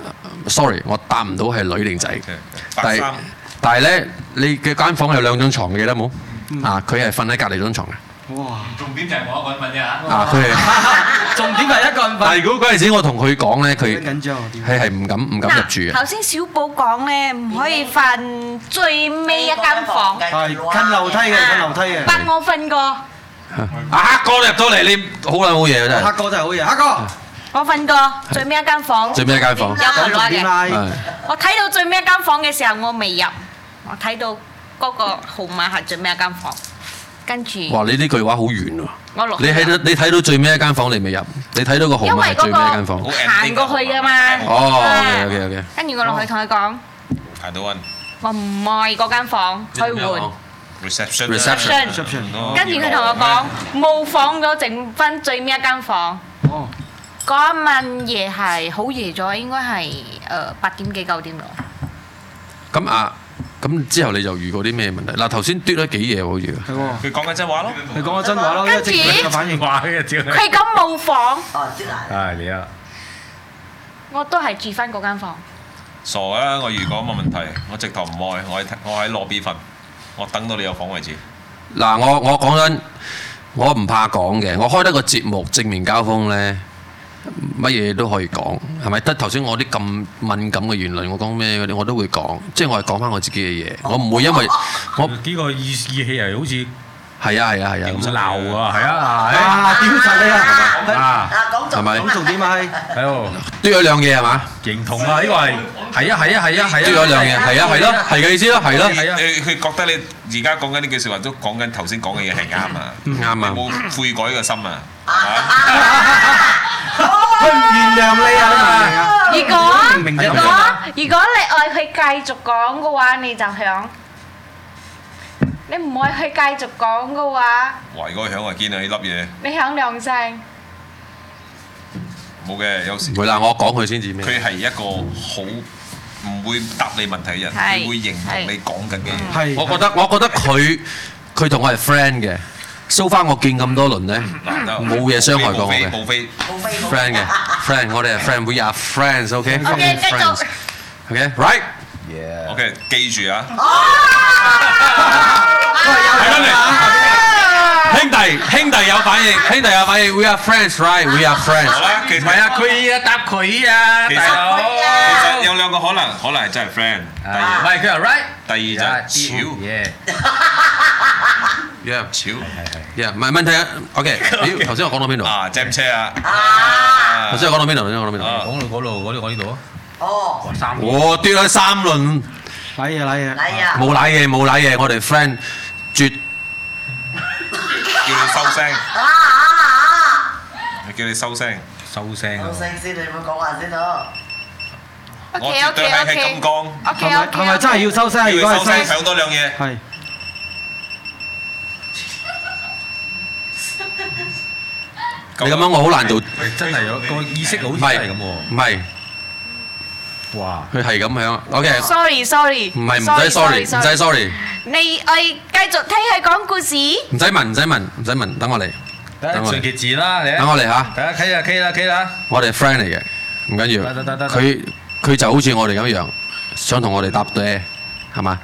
Sorry， 我答唔到係女定仔。 白衫。 但係咧，你嘅間房有2張床嘅，記得冇？佢係瞓喺隔離張床嘅。 哇！ 重點就係我一個人瞓啫嚇。 佢係重點係一個人瞓。 但係如果嗰陣時我同佢講咧，佢係唔敢入住嘅。 頭先小寶講咧，唔可以瞓最尾一間房。 係近樓梯嘅。 但我瞓過。 黑哥入到嚟，你好撚好嘢啊！真係。 黑哥真係好嘢，黑哥。 我瞓過最尾一間房。 最尾一間房。 有電話嘅。我睇到最尾一間房嘅時候，我未入。我睇到嗰個號碼係最尾一間房，跟住。哇！ 你呢句話好遠喎。 我落。 你睇到最尾一間房，你未入？你睇到個號碼係最尾一間房。 行過去㗎嘛。 哦，OK。 跟住我落去同佢講。 排到運。 我唔愛嗰間房，去換。 reception。 跟住佢同我講冇房咗，剩翻最尾一間房。哦。嗰一晚夜係好夜咗，應該係8點幾9點咯。 咁之後你就遇過啲咩問題？嗱，頭先嘟咗幾嘢喎，好似。 係喎。 佢講緊真話咯。 佢講緊真話咯。 跟住佢講冇房。 你啊。 我都係住翻嗰間房。 傻啊！我遇過咁嘅問題，我直頭唔愛，我喺lobby瞓，我等到你有房為止。 嗱，我講緊，我唔怕講嘅，我開得個節目正面交鋒咧。乜嘢都可以講，係咪？得頭先我啲咁敏感嘅言論，我講咩嗰啲我都會講，即係我係講翻我自己嘅嘢，我唔會因為我呢個意氣係好似係啊咁鬧啊，係啊， 屌柒你啊！ 係咪？ 咁重點係係喎， 嘟咗兩嘢係嘛？ 認同啊，呢個係啊， 嘟咗兩嘢係啊係咯，係嘅意思咯，係咯。 佢覺得你而家講緊呢句説話都講緊頭先講嘅嘢係啱啊， 啱啊， 冇悔改嘅心啊！ 佢唔原諒你啊！ 如果你愛佢繼續講嘅話，你就響你唔可以去繼續講嘅話。 哇！如果響係堅啊呢粒嘢。 你響兩聲。 冇嘅，有時。 唔會啦，我講佢先至咩。 佢係一個好唔會答你問題嘅人，佢會認同你講緊嘅嘢。 我覺得佢同我係 friend 嘅。So far 我見咁多輪咧，冇嘢傷害過我嘅。 無非 friend 嘅 friend， 我哋係 friend，we are friends，OK？ OK， 繼續。 OK，right？ OK， 記住啊！ 兄弟有反應 ，we are friends，right？We are friends。 唔係啊，佢啊答佢啊，大佬。其實有兩個可能係真係 friend。 唔係佢係 right。 第二就係潮。潮。 唔係問題啊。OK， 頭先我講到邊度？ 啊，jam 車啊。 頭先我講到邊度？講到呢度啊。哦。我跌咗3輪。 禮啊！ 冇賴嘢，我哋 friend 絕。 叫你收聲。叫你收聲。 收聲先，你唔好講話先咯。 我絕對係金剛。 係咪真係要收聲？如果係收聲， 響多兩嘢。 係。 你咁樣我好難做。 真係有個意識好似係咁喎。 唔係。哇！佢係咁樣。OK。 Sorry。 唔係，唔使 sorry。 你繼續聽佢講故事。 唔使問，等我嚟。 順其自然啦，你。 等我嚟嚇。 大家企啦。 我哋 friend 嚟嘅，唔緊要。得。佢就好似我哋咁樣，想同我哋搭嗲，係嘛？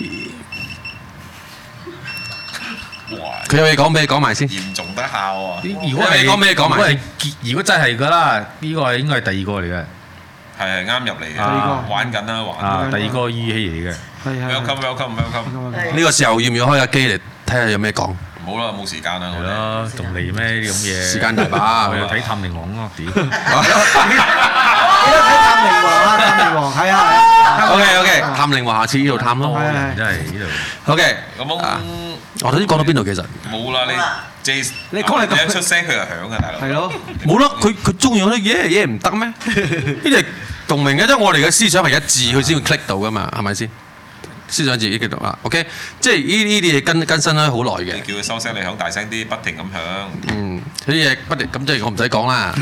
佢有嘢講俾你講埋先。 嚴重得效喎。 如果係講咩講埋先？如果真係㗎啦，呢個應該係第二個嚟嘅。 係啱入嚟嘅，玩緊啦，玩。 第二個語氣嚟嘅。 Welcome。 呢個時候要唔要開下機嚟睇下有咩講？ 冇啦，冇時間啦。 係咯，仲嚟咩啲咁嘢？ 時間大把。 我又睇探靈王咯，屌！ 記得睇探靈王啊！探靈王係啊。 OK， 探靈王下次呢度探咯。 真係呢度。 OK。 咁我頭先講到邊度其實？ 冇啦，你講嚟一出聲佢就響啊，大佬。 係咯。 冇啦，佢中意嗰啲嘢唔得咩？呢啲係共鳴嘅，即係我哋嘅思想係一致，佢先會 click 到噶嘛，係咪先？思想自己激動啊 ，OK， 即係呢啲嘢更新咗好耐嘅。 你叫佢收聲，你響大聲啲，不停咁響。 呢啲嘢不停，咁即係我唔使講啦。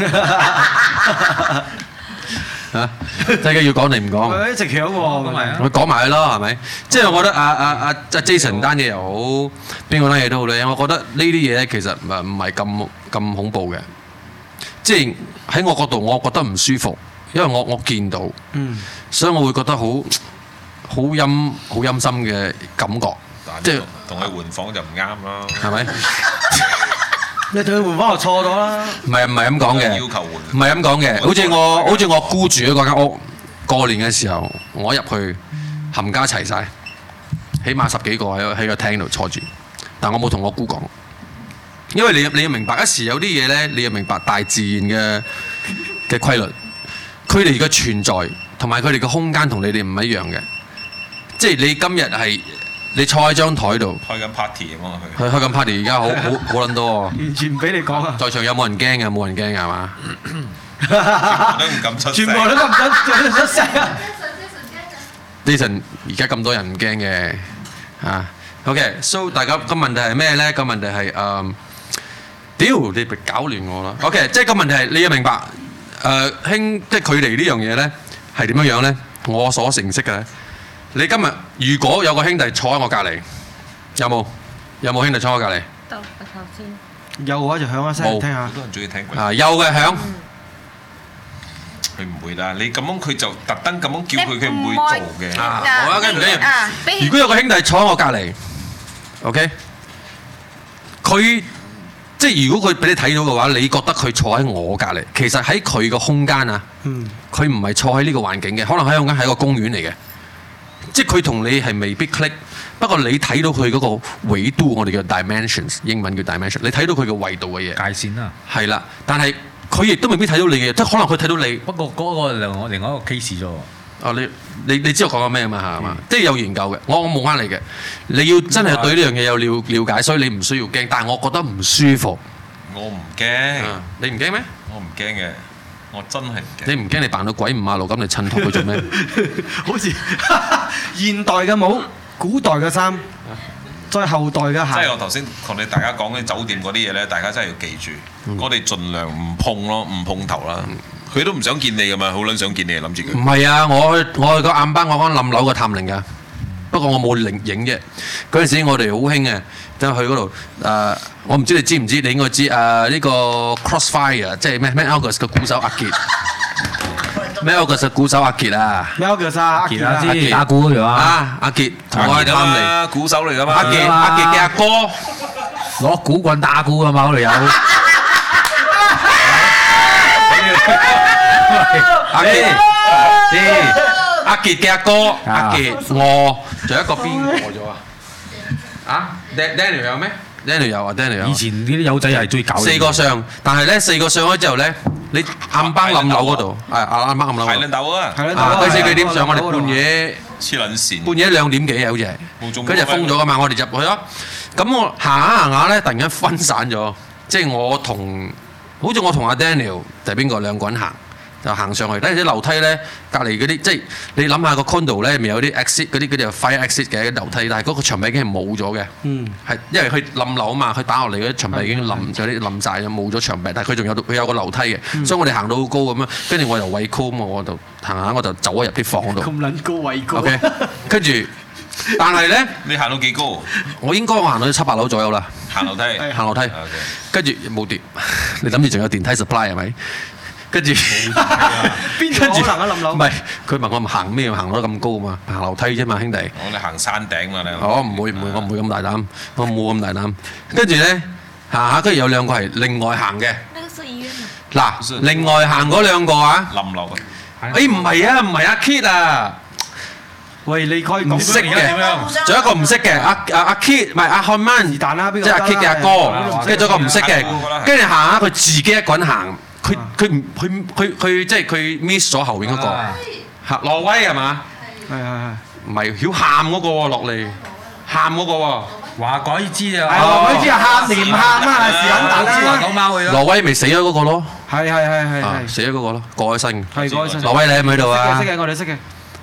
嚇，真係要講你唔講？ 佢一直響喎， 佢講埋佢咯，係咪？即係我覺得阿 Jason 單嘢又好，邊個單嘢都好咧。我覺得呢啲嘢咧其實唔係咁恐怖嘅。即係喺我角度，我覺得唔舒服，因為我見到，所以我會覺得好陰森嘅感覺。即係同佢換房就唔啱啦， 係咪？ 你同佢換房就錯咗啦。唔係咁講嘅， 要求換， 唔係咁講嘅。好似我姑住嗰間屋，過年嘅時候，我入去冚家齊晒，起碼10幾個喺個廳度坐住，但我冇同我姑講，因為你要明白，一時有啲嘢咧，你要明白大自然嘅規律，佢哋嘅存在同埋佢哋嘅空間同你哋唔一樣嘅，即係你今日係。你坐喺張台度開緊 party 咁啊！ 開緊 party， 而家好撚多喎。 完全唔俾你講啊！ 在場有冇人驚嘅？冇人驚嘅係嘛？ 都唔敢出聲。 全部都唔敢出聲啊 ！Jason 而家咁多人唔驚嘅嚇。OK，so 大家個問題係咩咧？個問題係屌你搞亂我啦。OK， 即係個問題係你要明白即係距離呢樣嘢咧係點樣咧？我所認識嘅。你今日如果有個兄弟坐喺我隔離，有冇兄弟坐喺我隔離？ 到頭先。 有嘅話就響一聲聽下。 好多人中意聽鬼。 有嘅響。 佢唔會啦，你咁樣佢就特登咁樣叫佢，佢唔會做嘅。 好啊，唔緊要。如果有個兄弟坐喺我隔離 ，OK， 佢即係如果佢俾你睇到嘅話，你覺得佢坐喺我隔離，其實喺佢個空間啊，佢唔係坐喺呢個環境嘅，可能喺空間係一個公園嚟嘅。即係佢同你係未必 click， 不過你睇到佢嗰個維度，我哋叫 dimensions， 英文叫 dimension， 你睇到佢嘅維度嘅嘢。 界線啦。係啦，但係佢亦都未必睇到你嘅嘢，即係可能佢睇到你。 不過嗰個另外一個 case 咗。 你知道我講緊咩嘛係嘛？即係有研究嘅，我冇呃你嘅。你要真係對呢樣嘢有了解，所以你唔需要驚。但係我覺得唔舒服。 我唔驚。 你唔驚咩？ 我唔驚嘅。我真係唔驚。 你唔驚你扮到鬼五馬路咁嚟襯托佢做咩？ 好似現代嘅帽，古代嘅衫， 再後代嘅行。 即係我頭先同大家講嘅酒店嗰啲嘢咧，大家真係要記住，我哋盡量唔碰咯，唔碰頭啦。佢都唔想見你噶嘛，好撚想見你，諗住佢。 唔係啊，我去個暗班，我講冧樓個探靈㗎。不過我冇影啫。嗰陣時我哋好興嘅，就去嗰度我唔知你知唔知？你應該知呢個 Crossfire 即係咩 August 嘅鼓手阿傑。咩 August 嘅鼓手阿傑啊？ 咩 August 阿傑啊？ 知打鼓嗰條啊！阿傑同我係探靈， 鼓手嚟㗎嘛。 阿傑嘅阿哥攞鼓棍打鼓㗎嘛，嗰度有。 阿傑嘅阿哥，阿傑我仲有一個邊個咗啊？Daniel 有咩 ？Daniel 有啊 ，Daniel 有。 以前呢啲友仔係最搞。 4個上，但係咧4個上咗之後咧，你暗班冧樓嗰度，暗班冧樓。 係撚豆啊！ 嗰時幾點上？我哋半夜黐撚線。 半夜2點幾啊，好似係。跟住封咗㗎嘛，我哋入去咗。咁我行下咧，突然間分散咗，即係好似我同阿 Daniel 定係邊個兩個人行。就行上去，睇啲樓梯咧，隔離嗰啲即係你諗下個 condo 咧，咪有啲 exit 嗰啲 fire exit 嘅樓梯，但係嗰個牆壁已經係冇咗嘅。係因為佢冧樓啊嘛，佢打落嚟嗰啲牆壁已經冧咗啲冧曬咗，冇咗牆壁，但係佢有個樓梯嘅，所以我哋行到好高咁樣，跟住我又畏高咁，我就行下我就走咗入啲房度。 咁撚高畏高。 OK， 跟住，但係咧， 你行到幾高？ 我應該行到7、8樓左右啦。 行樓梯。 行樓梯。跟住冇電，你諗住仲有電梯 supply 係咪？跟住邊度可能啊冧樓？ 唔係，佢問我行咩？行到咁高嘛？行樓梯啫嘛，兄弟。 我哋行山頂嘛，你。 我唔會，我唔會咁大膽，我冇咁大膽。跟住咧行下，跟住有兩個係另外行嘅。嗱，另外行嗰兩個啊， 冧樓。 唔係啊，唔係阿 Kid 啊。 喂，你可以唔識嘅，仲有一個唔識嘅，阿 Kid 唔係阿漢曼，即係阿 Kid 嘅阿哥，跟住仲有一個唔識嘅，跟住行下佢自己一個人行。佢即係佢 miss 咗後邊嗰個，挪威係嘛？ 係。 唔係曉喊嗰個喎，落嚟喊嗰個喎。 話鬼知啊！ 話鬼知啊！喊連喊啊！是撚大啦！ 講貓去咯。 挪威咪死咗嗰個咯。係。死咗嗰個咯，過咗身。 係過咗身。 挪威你喺唔喺度啊？ 識嘅，我哋識嘅。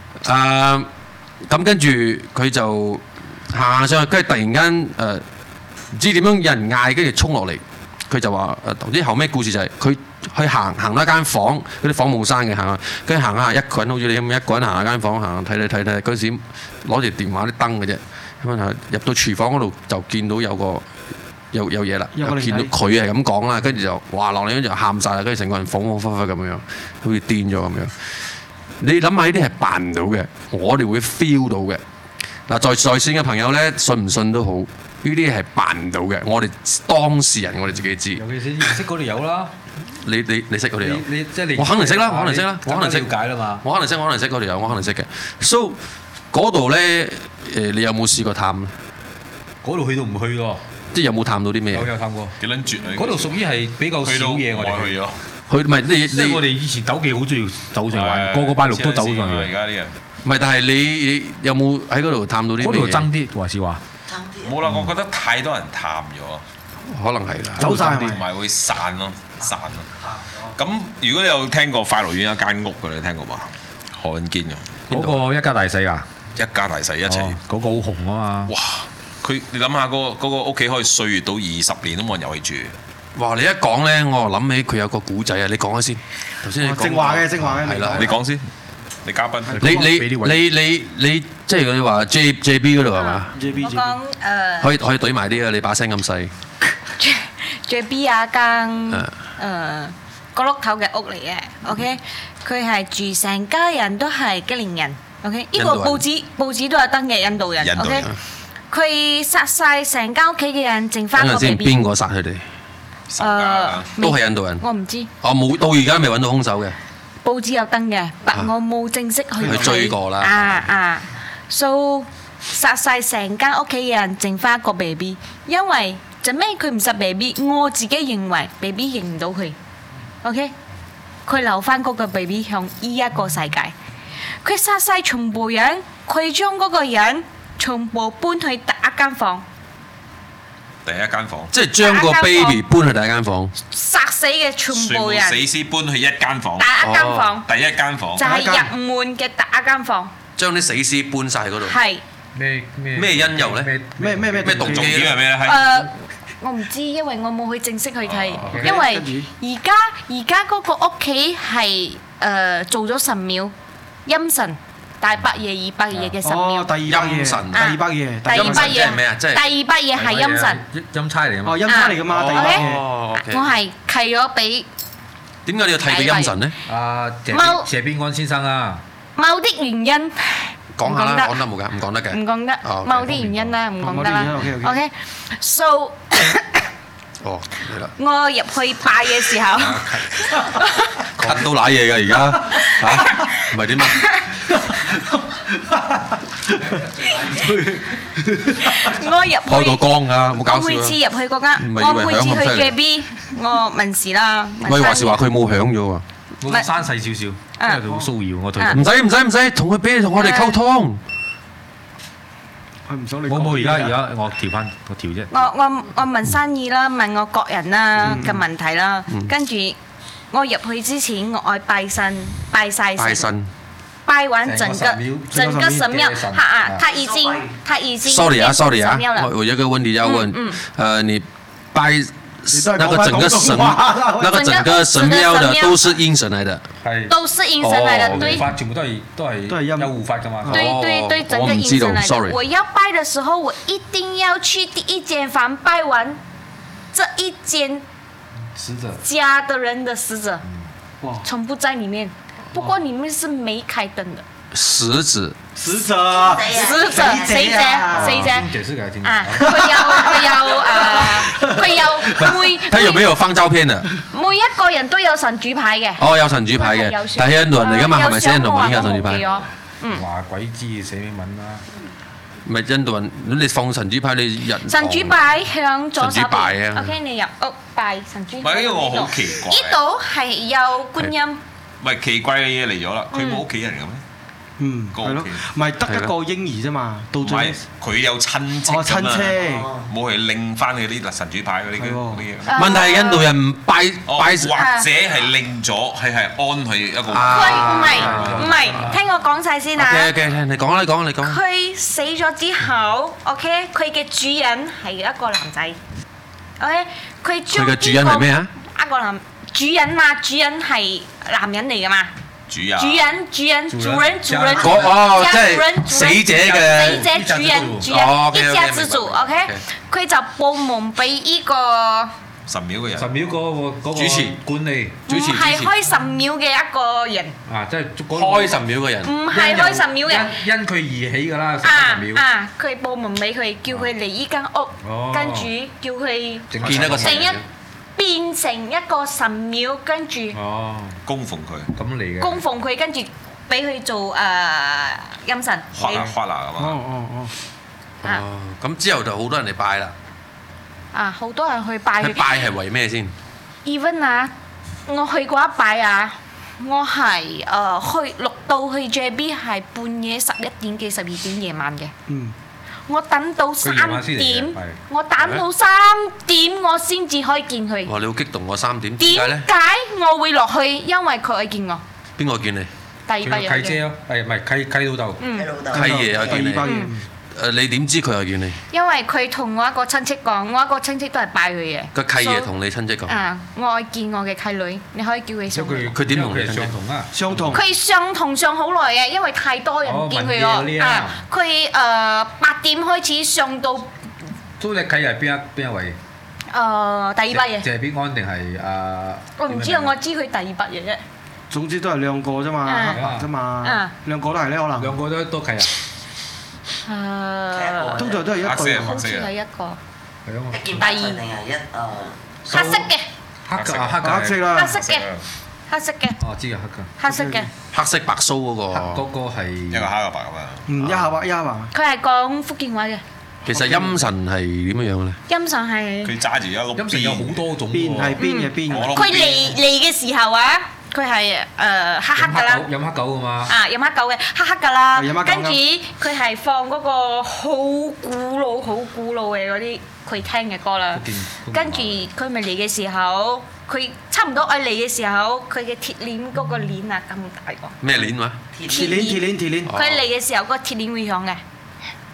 咁跟住佢就行上去，跟住突然間唔知點樣有人嗌，跟住衝落嚟。佢就話啲後尾故事就係佢去行到一間房，嗰啲房冇閂嘅行，跟住行下一個人好似你咁一個人行下間房行睇嗰時攞住電話啲燈嘅啫，咁啊入到廚房嗰度就見到有嘢啦，見到佢係咁講啦，跟住就哇落嚟跟住就喊晒啦，跟住成個人恍恍惚惚咁樣，好似癲咗咁樣。你諗下呢啲係扮唔到嘅，我哋會 feel 到嘅。嗱，在線嘅朋友咧，信唔信都好。呢啲係扮唔到嘅，我哋當事人我哋自己知。 尤其是識嗰條友啦， 你識嗰條友？ 你即係你。 我肯定識啦，我肯定識啦，我肯定識。 了解啦嘛。 我肯定識嗰條友，我肯定識嘅。So 嗰度咧，你有冇試過探咧？ 嗰度去到唔去喎？ 即係有冇探到啲咩？ 有探過。 幾撚絕啊！ 嗰度屬於係比較少嘢，我哋去咗。 佢唔係你即係我哋以前鬥記好中意走上玩，個拜六都走上去。 而家啲人。 唔係，但係你有冇喺嗰度探到啲咩？ 嗰度爭啲還是話？ 冇啦，我覺得太多人探咗， 可能係啦， 走曬同埋會散咯。咁如果你有聽過快樂園一間屋嘅，你聽過嘛？何韻堅嘅嗰個一家大細啊， 一家大細一齊。 嗰個好紅啊嘛！ 哇！你諗下嗰個屋企可以歲月到20年都冇人入去住。 哇！你一講咧，我諗起佢有個古仔啊！你講下先。頭先你講正話嘅， 係啦， 你講先。你嘉賓， 你即係佢話 JB 嗰度係嘛？ 我講可以懟埋啲啊！你把聲咁細。 JB 啊間角落頭嘅屋嚟嘅 ，OK， 佢係住成家人都係吉連人 ，OK， 呢個報紙都有登嘅印度人 ，OK， 佢殺晒成家屋企嘅人，剩翻個 BB。 邊個殺佢哋？都係印度人。 我唔知。 冇到而家未揾到兇手嘅。 報紙有登嘅，但我冇正式去追過啦。 So 殺晒成間屋企嘅人，剩翻一個 BB， 因為做咩佢唔殺 BB？ 我自己認為 BB 認唔到佢 ，OK？ 佢留翻嗰個 BB 向依一個世界。佢殺晒全部人，佢將嗰個人全部搬去第一間房。 第一間房， 即係將個 baby 搬去第一間房， 殺死嘅全部人， 死屍搬去一間房， 第一間房， 第一間房， 就係入門嘅第一間房， 將啲死屍搬晒嗰度。 係， 咩因由咧？咩動機係咩咧？ 我唔知，因為我冇去正式去睇，因為而家嗰個屋企係做咗神廟，陰神大伯爺、二伯爺嘅神廟。 陰神，第二伯爺係咩啊？即係第二伯爺係陰神。 陰差嚟㗎嘛？ 陰差嚟㗎嘛？第二伯爺。 我係契咗俾。 點解你要睇俾陰神咧？ 謝邊安先生啊。 某啲原因。 講下啦，講得冇㗎，唔講得嘅。 唔講得，某啲原因啦，唔講得啦。OK，so。 哦，嚟啦！ 我入去拜嘅時候， 咳到瀨嘢㗎而家嚇，唔係點啊？ 我入去開個光㗎，冇搞笑啊！ 我每次入去嗰間，我每次去嘅 B，我問事啦。 喂，話時話佢冇響咗喎。 我生細少少，因為佢好騷擾我對佢。 唔使，同佢俾你同我哋溝通。 佢唔想你。 冇，而家我調啫。 我問生意啦，問我個人啦嘅問題啦，跟住我入去之前，我愛拜神，拜晒神，拜完整個神廟。他已經。Sorry 啊， 我有個問題要問，你拜那個整個神廟的都是陰神來的， 都是陰神來的，對， 全部都係有護法㗎嘛。 對，整個陰神來的。我要拜的時候，我一定要去第一間房拜完這一間家的人的死者，全部在裡面。不過裡面是沒開燈的。 死者， 誰者？ 解釋給他聽。 佢有他有沒有放照片的？ 每一個人都有神主牌嘅。 哦，有神主牌嘅，但係印度人嚟㗎嘛，係咪寫印度文嘅神主牌？ 話鬼知寫咩文啦？ 唔係印度人，你放神主牌，你人神主牌向左手邊。 啊 OK， 你入屋拜神主牌。 唔係，因為我好奇怪。 呢度係有觀音。 唔係奇怪嘅嘢嚟咗啦，佢冇屋企人嘅咩？ 係咯，唔係得一個嬰兒啫嘛，到最尾佢有親戚㗎嘛，冇係拎翻佢啲神主牌嗰啲嘢。 問題係印度人唔拜， 或者係拎咗，係安佢一個。 唔係，聽我講晒先啊。 嘅，你講啦，你講。 佢死咗之後 ，OK， 佢嘅主人係一個男仔 ，OK， 佢嘅主人係咩啊？ 一個男主人嘛，主人係男人嚟㗎嘛。主人，即係死者嘅主人，一家之主 ，OK， 佢就報夢俾依個神廟嘅人， 神廟嗰個主持管理， 唔係開神廟嘅一個人， 即係開神廟嘅人， 唔係開神廟嘅， 因佢而起㗎啦，神廟。 佢報夢俾佢，叫佢嚟依間屋，跟住叫佢變成一個神廟，跟住供奉佢， 咁嚟嘅。 供奉佢，跟住俾佢做陰神。 花啦係嘛？ 咁之後就好多人嚟拜啦。 好多人去拜。 去拜係為咩先 ？Even 啊，我去過一拜啊，我係落到去 JB 係半夜11點幾12點夜晚嘅。我等到3點，我我先至可以見佢。 哇！你好激動喎，3點。 點解我會落去？因為佢見我。 邊個見你？ 第二班人。 契姐咯，唔係契老豆。 契爺又見你。你點知佢又見你？ 因為佢同我一個親戚講，我一個親戚都係拜佢嘅。 個契爺同你親戚講。 我愛見我嘅契女，你可以叫佢上嚟。 佢點同你相同啊？ 相同。 佢上好耐嘅，因為太多人見佢咯。佢8點開始上到。 都你契係邊一位？ 第二伯爺。 謝必安定係我唔知啊，我知佢第二伯爺啫。 總之都係兩個啫嘛，黑白啫嘛，兩個都係咧可能。 兩個都契啊。 通常都係一對， 好似係一個。 係啊嘛。 第二定係一黑色嘅。 黑色啦。 黑色嘅。黑色嘅。 哦，知啊， 黑嘅。黑色嘅。 黑色白鬚嗰個。 嗰個係一個黑一個白咁啊。 一下白一下白。 佢係講福建話嘅。 其實陰神係點樣樣咧？ 陰神係。 佢揸住一碌。 陰神有好多種喎。 邊係邊嘅邊？ 佢嚟嘅時候啊！佢係黑㗎啦， 飲黑狗㗎嘛？ 飲黑狗嘅黑㗎啦，跟住佢係放嗰個好古老嘅嗰啲佢聽嘅歌啦。跟住佢咪嚟嘅時候，佢差唔多嚟嘅時候，佢嘅鐵鏈嗰個鏈啊咁大個。 咩鏈話？ 鐵鏈。 佢嚟嘅時候個鐵鏈會響嘅。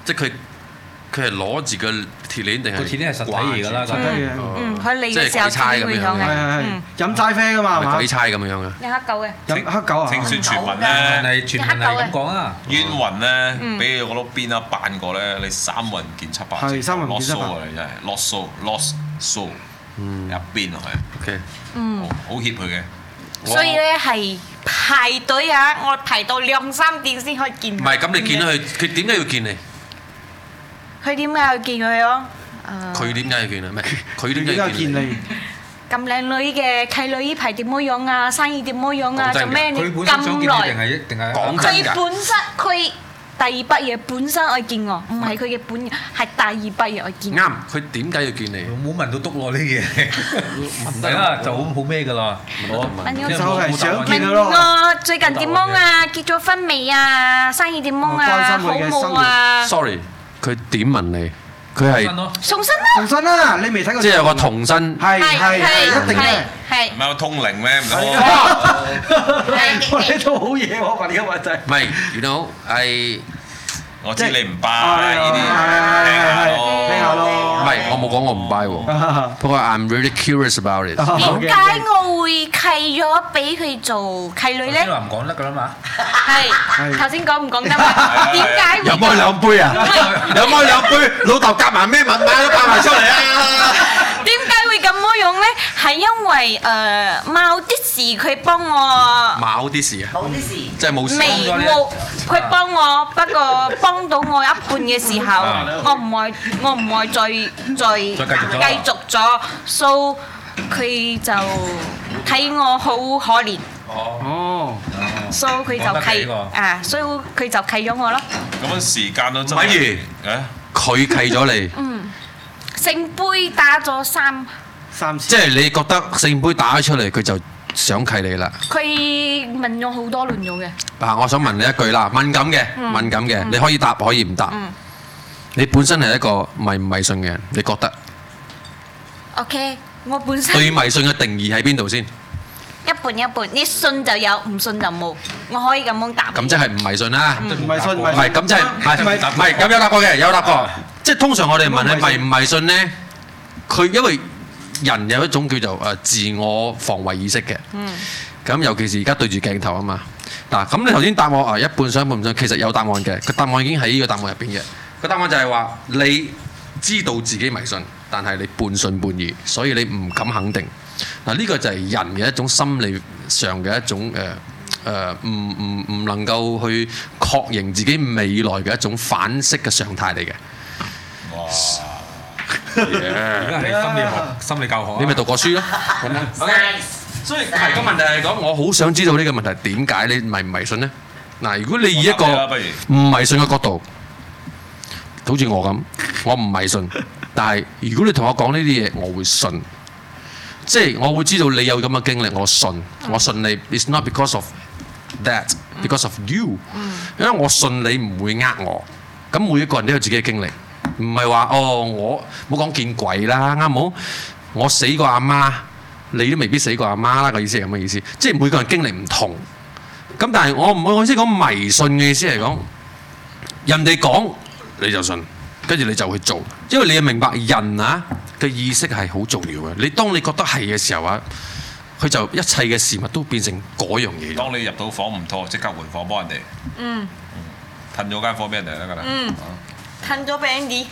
即係佢係攞住個鐵鏈定係？ 個鐵鏈係實體嚟㗎啦， 實體嘅。 佢嚟嘅時候先會響嘅。 係飲齋啡㗎嘛，係嘛？ 鬼差咁樣嘅。 有黑狗嘅。 飲黑狗啊！ 聽說傳聞咧， 傳聞係咁講啊。 冤魂咧，俾嗰碌鞭啊扮過咧，你3個人見700。 係3個人見700。 啊！你真係 lost soul，入邊落去。OK。好協佢嘅。 所以咧係排隊啊！我排到2、3點先可以見。 唔係咁，你見到佢，佢點解要見你？ 佢點解要見佢咯？ 佢點解要見啊？唔係佢點解要見你？ 咁靚女嘅契女呢排點樣啊？生意點樣啊？做咩你咁耐？ 講真㗎。 佢本身佢第二筆嘢本身愛見我，唔係佢嘅本，係第二筆嘢愛見。啱， 佢點解要見你？ 冇問到篤落呢啲嘢，問題啦就好咩㗎啦。 就係想見佢咯。 我最近點樣啊？結咗婚未啊？生意點樣啊？好冇啊 ？Sorry。佢點問你？佢係送身啦！ 送身啦！你未睇過？ 即係有個童身。 係一定嘅。 係。 唔係有通靈咩？唔得。 我呢套好嘢喎，問呢個問題。 唔係，you know，係。 我知你唔 buy 呢啲， 聽下咯。 唔係，我冇講我唔 buy 喎。不過 I'm really curious about it。 點解我會契咗俾佢做契女咧？ 唔講得㗎啦嘛。 係頭先講唔講得嘛？點解會？ 有冇兩杯啊？有冇兩杯？老豆夾埋咩密碼都擺埋出嚟啊！ 點解會咁樣咧？係因為某啲事佢幫我。 某啲事啊！ 某啲事。 即係冇事。 冇，佢幫我，不過幫到我一半嘅時候，我唔愛再繼續咗 ，so 佢就睇我好可憐。哦。so 佢就契所以佢就契咗我咯。 咁樣時間都真係。 不如佢契咗你。 聖杯打咗3次。 即係你覺得聖杯打咗出嚟，佢就想契你啦。 佢問咗好多輪咗嘅。 嗱，我想問你一句啦，敏感嘅，你可以答，可以唔答。你本身係一個迷唔迷信嘅人，你覺得 ？OK，我本身對迷信嘅定義喺邊度先？ 一半一半，你信就有，唔信就冇。我可以咁樣答。 咁即係唔迷信啦。 唔迷信， 唔係咁即係唔係咁有答過嘅，有答過。即係通常我哋問你迷唔迷信咧，佢因為人有一種叫做自我防衛意識嘅。咁尤其是而家對住鏡頭啊嘛。嗱，咁你頭先答我一半信一半唔信，其實有答案嘅。個答案已經喺呢個答案入邊嘅。個答案就係話你知道自己迷信，但係你半信半疑，所以你唔敢肯定。嗱，呢個就係人嘅一種心理上嘅一種唔能夠去確認自己未來嘅一種反式嘅常態嚟嘅。 哇！ 而家係心理教學， 你咪讀過書咯。OK，所以係個問題係講，我好想知道呢個問題點解你迷唔迷信呢？嗱，如果你以一個唔迷信嘅角度，好似我咁，我唔迷信，但係如果你同我講呢啲嘢，我會信。即係我會知道你有咁嘅經歷，我信你。It's not because of that, because of you。因為我信你唔會呃我。咁每一個人都有自己嘅經歷，唔係話我冇講見鬼啦，啱冇？我死過阿媽，你都未必死過阿媽啦。個意思係咁嘅意思，即係每個人經歷唔同。咁但係我意思講迷信嘅意思係講，人哋講你就信，跟住你就去做，因為你要明白人嘅意識係好重要嘅。你當你覺得係嘅時候佢就一切嘅事物都變成嗰樣嘢。 當你入到房唔妥，即刻換房幫人哋。褪咗間房俾人哋得㗎啦。 褪咗俾 Andy。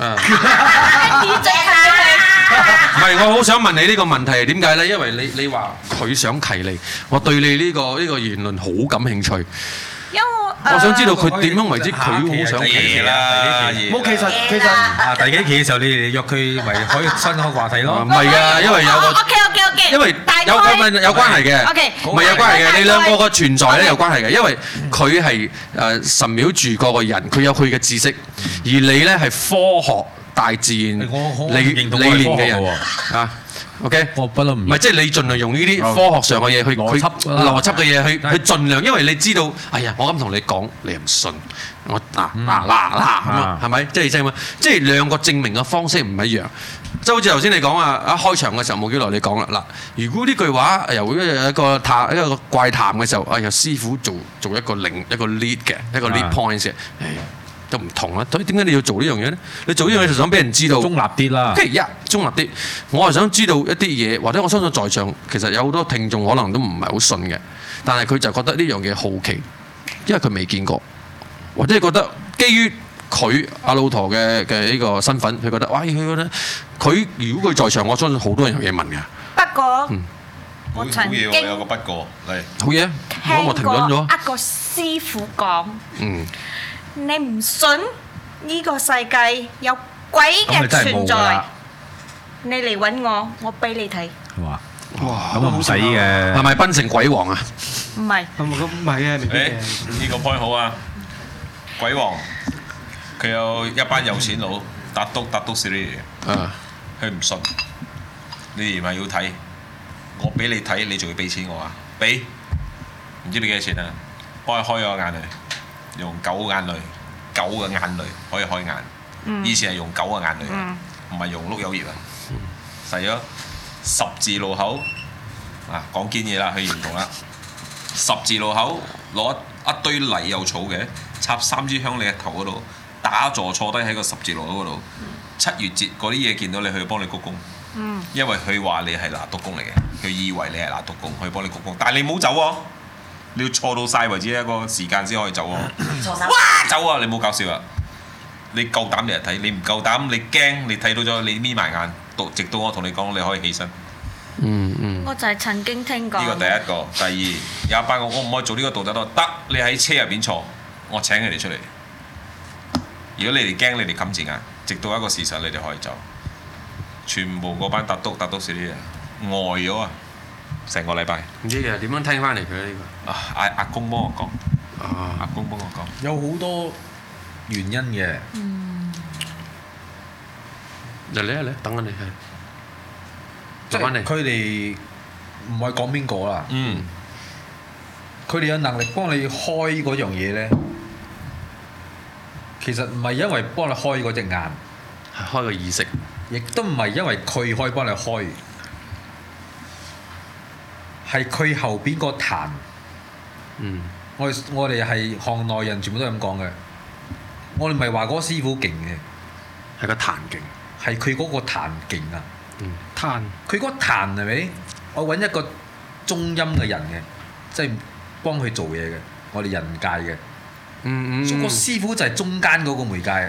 唔係，我好想問你呢個問題係點解呢？因為你話佢想契你，我對你呢個言論好感興趣。因為我想知道佢點樣為之佢好想契你啦。 冇，其實第幾期嘅時候，你哋約佢咪可以新開話題咯。 唔係㗎，因為有個 OK， 因為有關係嘅，唔係有關係嘅。你兩個個存在咧有關係嘅，因為佢係神廟住嗰個人，佢有佢嘅知識，而你咧係科學大自然理念嘅人啊。OK， 我不嬲唔係，即係你盡量用呢啲科學上嘅嘢去邏輯嘅嘢去盡量，因為你知道，哎呀，我咁同你講，你又唔信，我嗱咁啊，係咪？即係兩個證明嘅方式唔一樣。即係好似頭先你講啊，一開場嘅時候冇幾耐你講啦。嗱，如果呢句話由一個怪談嘅時候，哎呀，師傅做一個lead 嘅一個 lead point 嘅， 就唔同啦。所以點解你要做呢樣嘢咧？你做呢樣嘢就想俾人知道中立啲啦。 即係中立啲。我係想知道一啲嘢，或者我相信在場其實有好多聽眾可能都唔係好信嘅，但係佢就覺得呢樣嘢好奇，因為佢未見過，或者覺得基於佢阿老陀嘅呢個身份，佢覺得哇，佢覺得佢如果佢在場，我相信好多人有嘢問嘅。 不過我曾經有個不過嚟， 好嘢，我停頓咗。 一個師傅講，你唔信呢個世界有鬼嘅存在，你嚟揾我，我俾你睇。 哇！咁唔使嘅， 係咪檳城鬼王啊？ 唔係， 咁唔係嘅， 呢個 point 好啊！鬼王佢有一班有錢佬，達督士呢啲，佢唔信，你哋咪要睇，我俾你睇，你仲要俾錢我啊？俾，唔知俾幾多錢啊？幫佢開咗個眼淚，用狗嘅眼淚可以開眼，以前係用狗嘅眼淚，唔係用碌柚葉啊，實咗十字路口啊，講堅嘢啦，佢認同啦，十字路口攞一堆泥又草嘅，插3支香你嘅頭嗰度，打坐低喺個十字路口嗰度。7月節嗰啲嘢見到你，去幫你鞠躬。因為佢話你係拿督公嚟嘅，佢以為你係拿督公，去幫你鞠躬。但係你唔好走喎，你要錯到晒為止一個時間先可以走喎。哇！走啊！你唔好搞笑啊！你夠膽你嚟睇，你唔夠膽你驚，你睇到咗你眯埋眼，直到我同你講你可以起身。 我就係曾經聽過。 呢個第一個，第二有一班我唔可以做呢個動作都得，你喺車入邊坐，我請佢哋出嚟。如果你哋驚，你哋冚住眼，直到一個事實，你哋可以走。全部嗰班達督士啲人呆咗啊！成個禮拜。 唔知啊，點樣聽翻嚟佢呢個？ 阿公幫我講。阿公幫我講。 有好多原因嘅。 嚟，等緊你係。 即係佢哋唔係講邊個啦。佢哋有能力幫你開嗰樣嘢咧，其實唔係因為幫你開嗰隻眼， 係開個意識， 亦都唔係因為佢可以幫你開，係佢後邊個壇。我哋係行內人，全部都係咁講嘅。我哋唔係話嗰個師傅勁嘅， 係個壇勁， 係佢嗰個壇勁啊！ 壇， 佢嗰壇係咪？我揾一個中音嘅人嘅，即係幫佢做嘢嘅，我哋人界嘅。所以個師傅就係中間嗰個媒介。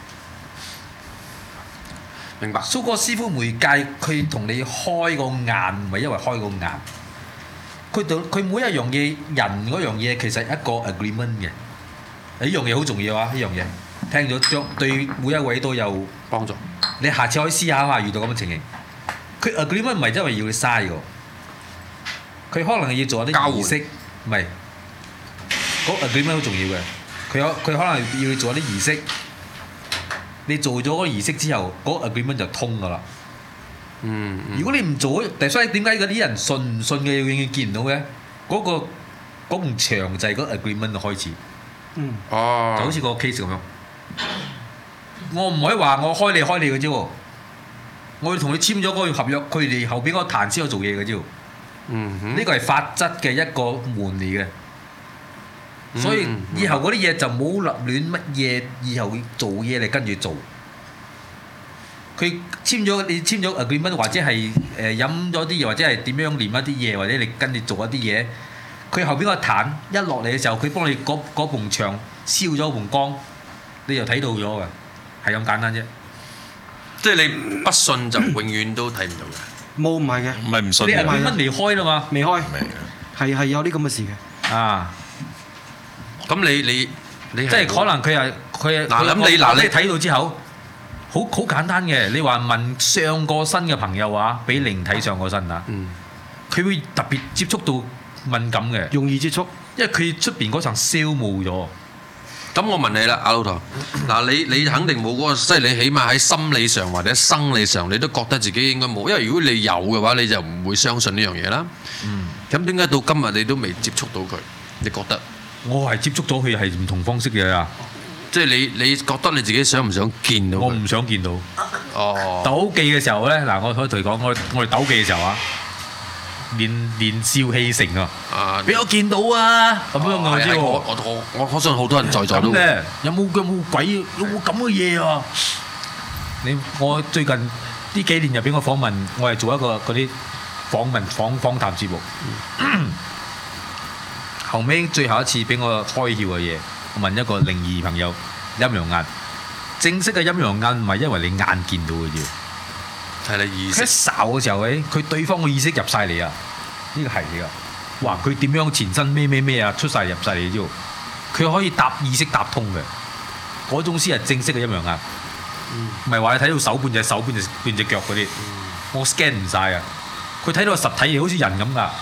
明白。 所以個師傅媒介，佢同你開個眼，唔係因為開個眼。佢每一樣嘢，人嗰樣嘢其實一個 agreement 嘅。呢樣嘢好重要啊！呢樣嘢聽咗將對每一位都有幫助。你下次可以思考下，遇到咁嘅情形，佢 agreement 唔係因為要你嘥㗎，佢可能要做一啲儀式，唔係嗰 agreement 好重要嘅。佢可能要你做一啲儀式，你做咗嗰個儀式之後，嗰 agreement 就通㗎啦。如果你唔做，所以點解嗰啲人信唔信嘅永遠見唔到嘅？嗰埲牆就係嗰 agreement 嘅開始。就好似個 case 咁樣。我唔可以話我開你嘅啫喎，我要同你簽咗嗰個合約，佢哋後邊嗰個壇先有做嘢嘅啫。呢個係法則嘅一個門嚟嘅，所以以後嗰啲嘢就冇立亂乜嘢，以後做嘢你跟住做。佢你簽咗 agreement 或者係飲咗啲嘢，或者係點樣念一啲嘢，或者你跟住做一啲嘢，佢後邊個壇一落嚟嘅時候，佢幫你嗰埲牆燒咗埲光，你就睇到咗嘅。係咁簡單啫， 即係你不信就永遠都睇唔到嘅。 冇唔係嘅， 唔係唔信。 你係點樣離開啦嘛？ 未開，係有啲咁嘅事嘅。 咁你即係可能佢你睇到之後，好簡單嘅。你話問上過身嘅朋友啊，俾靈體上過身啊，佢會特別接觸到敏感嘅， 容易接觸， 因為佢出邊嗰層消耗咗。 咁我問你啦，阿老頭，嗱你肯定冇嗰個，即係你起碼喺心理上或者生理上，你都覺得自己應該冇，因為如果你有嘅話，你就唔會相信呢樣嘢啦。咁點解到今日你都未接觸到佢？你覺得？ 我係接觸咗佢係唔同方式嘅啊！ 即係你覺得你自己想唔想見到佢？ 我唔想見到。 哦。 鬥技嘅時候咧，嗱，我可以同你講，我哋鬥技嘅時候啊， 年少氣盛啊！俾我見到啊！咁樣我知喎。 我相信好多人在座都有冇鬼？有冇咁嘅嘢啊？我最近呢幾年入邊我訪問，我係做一個嗰啲訪談節目。後尾最後一次俾我開竅嘅嘢，我問一個靈異朋友陰陽眼。正式嘅陰陽眼唔係因為你眼見到嘅啫。 係你意識。 一睄嘅時候咧，佢對方嘅意識入晒嚟啊！呢個係嚟噶。哇！佢點樣前身咩啊，出晒入晒嚟之後，佢可以意識搭通嘅。嗰種先係正式嘅陰陽眼。唔係話你睇到手半隻手半隻腳嗰啲，我 scan 唔晒啊！佢睇到實體嘢好似人咁噶。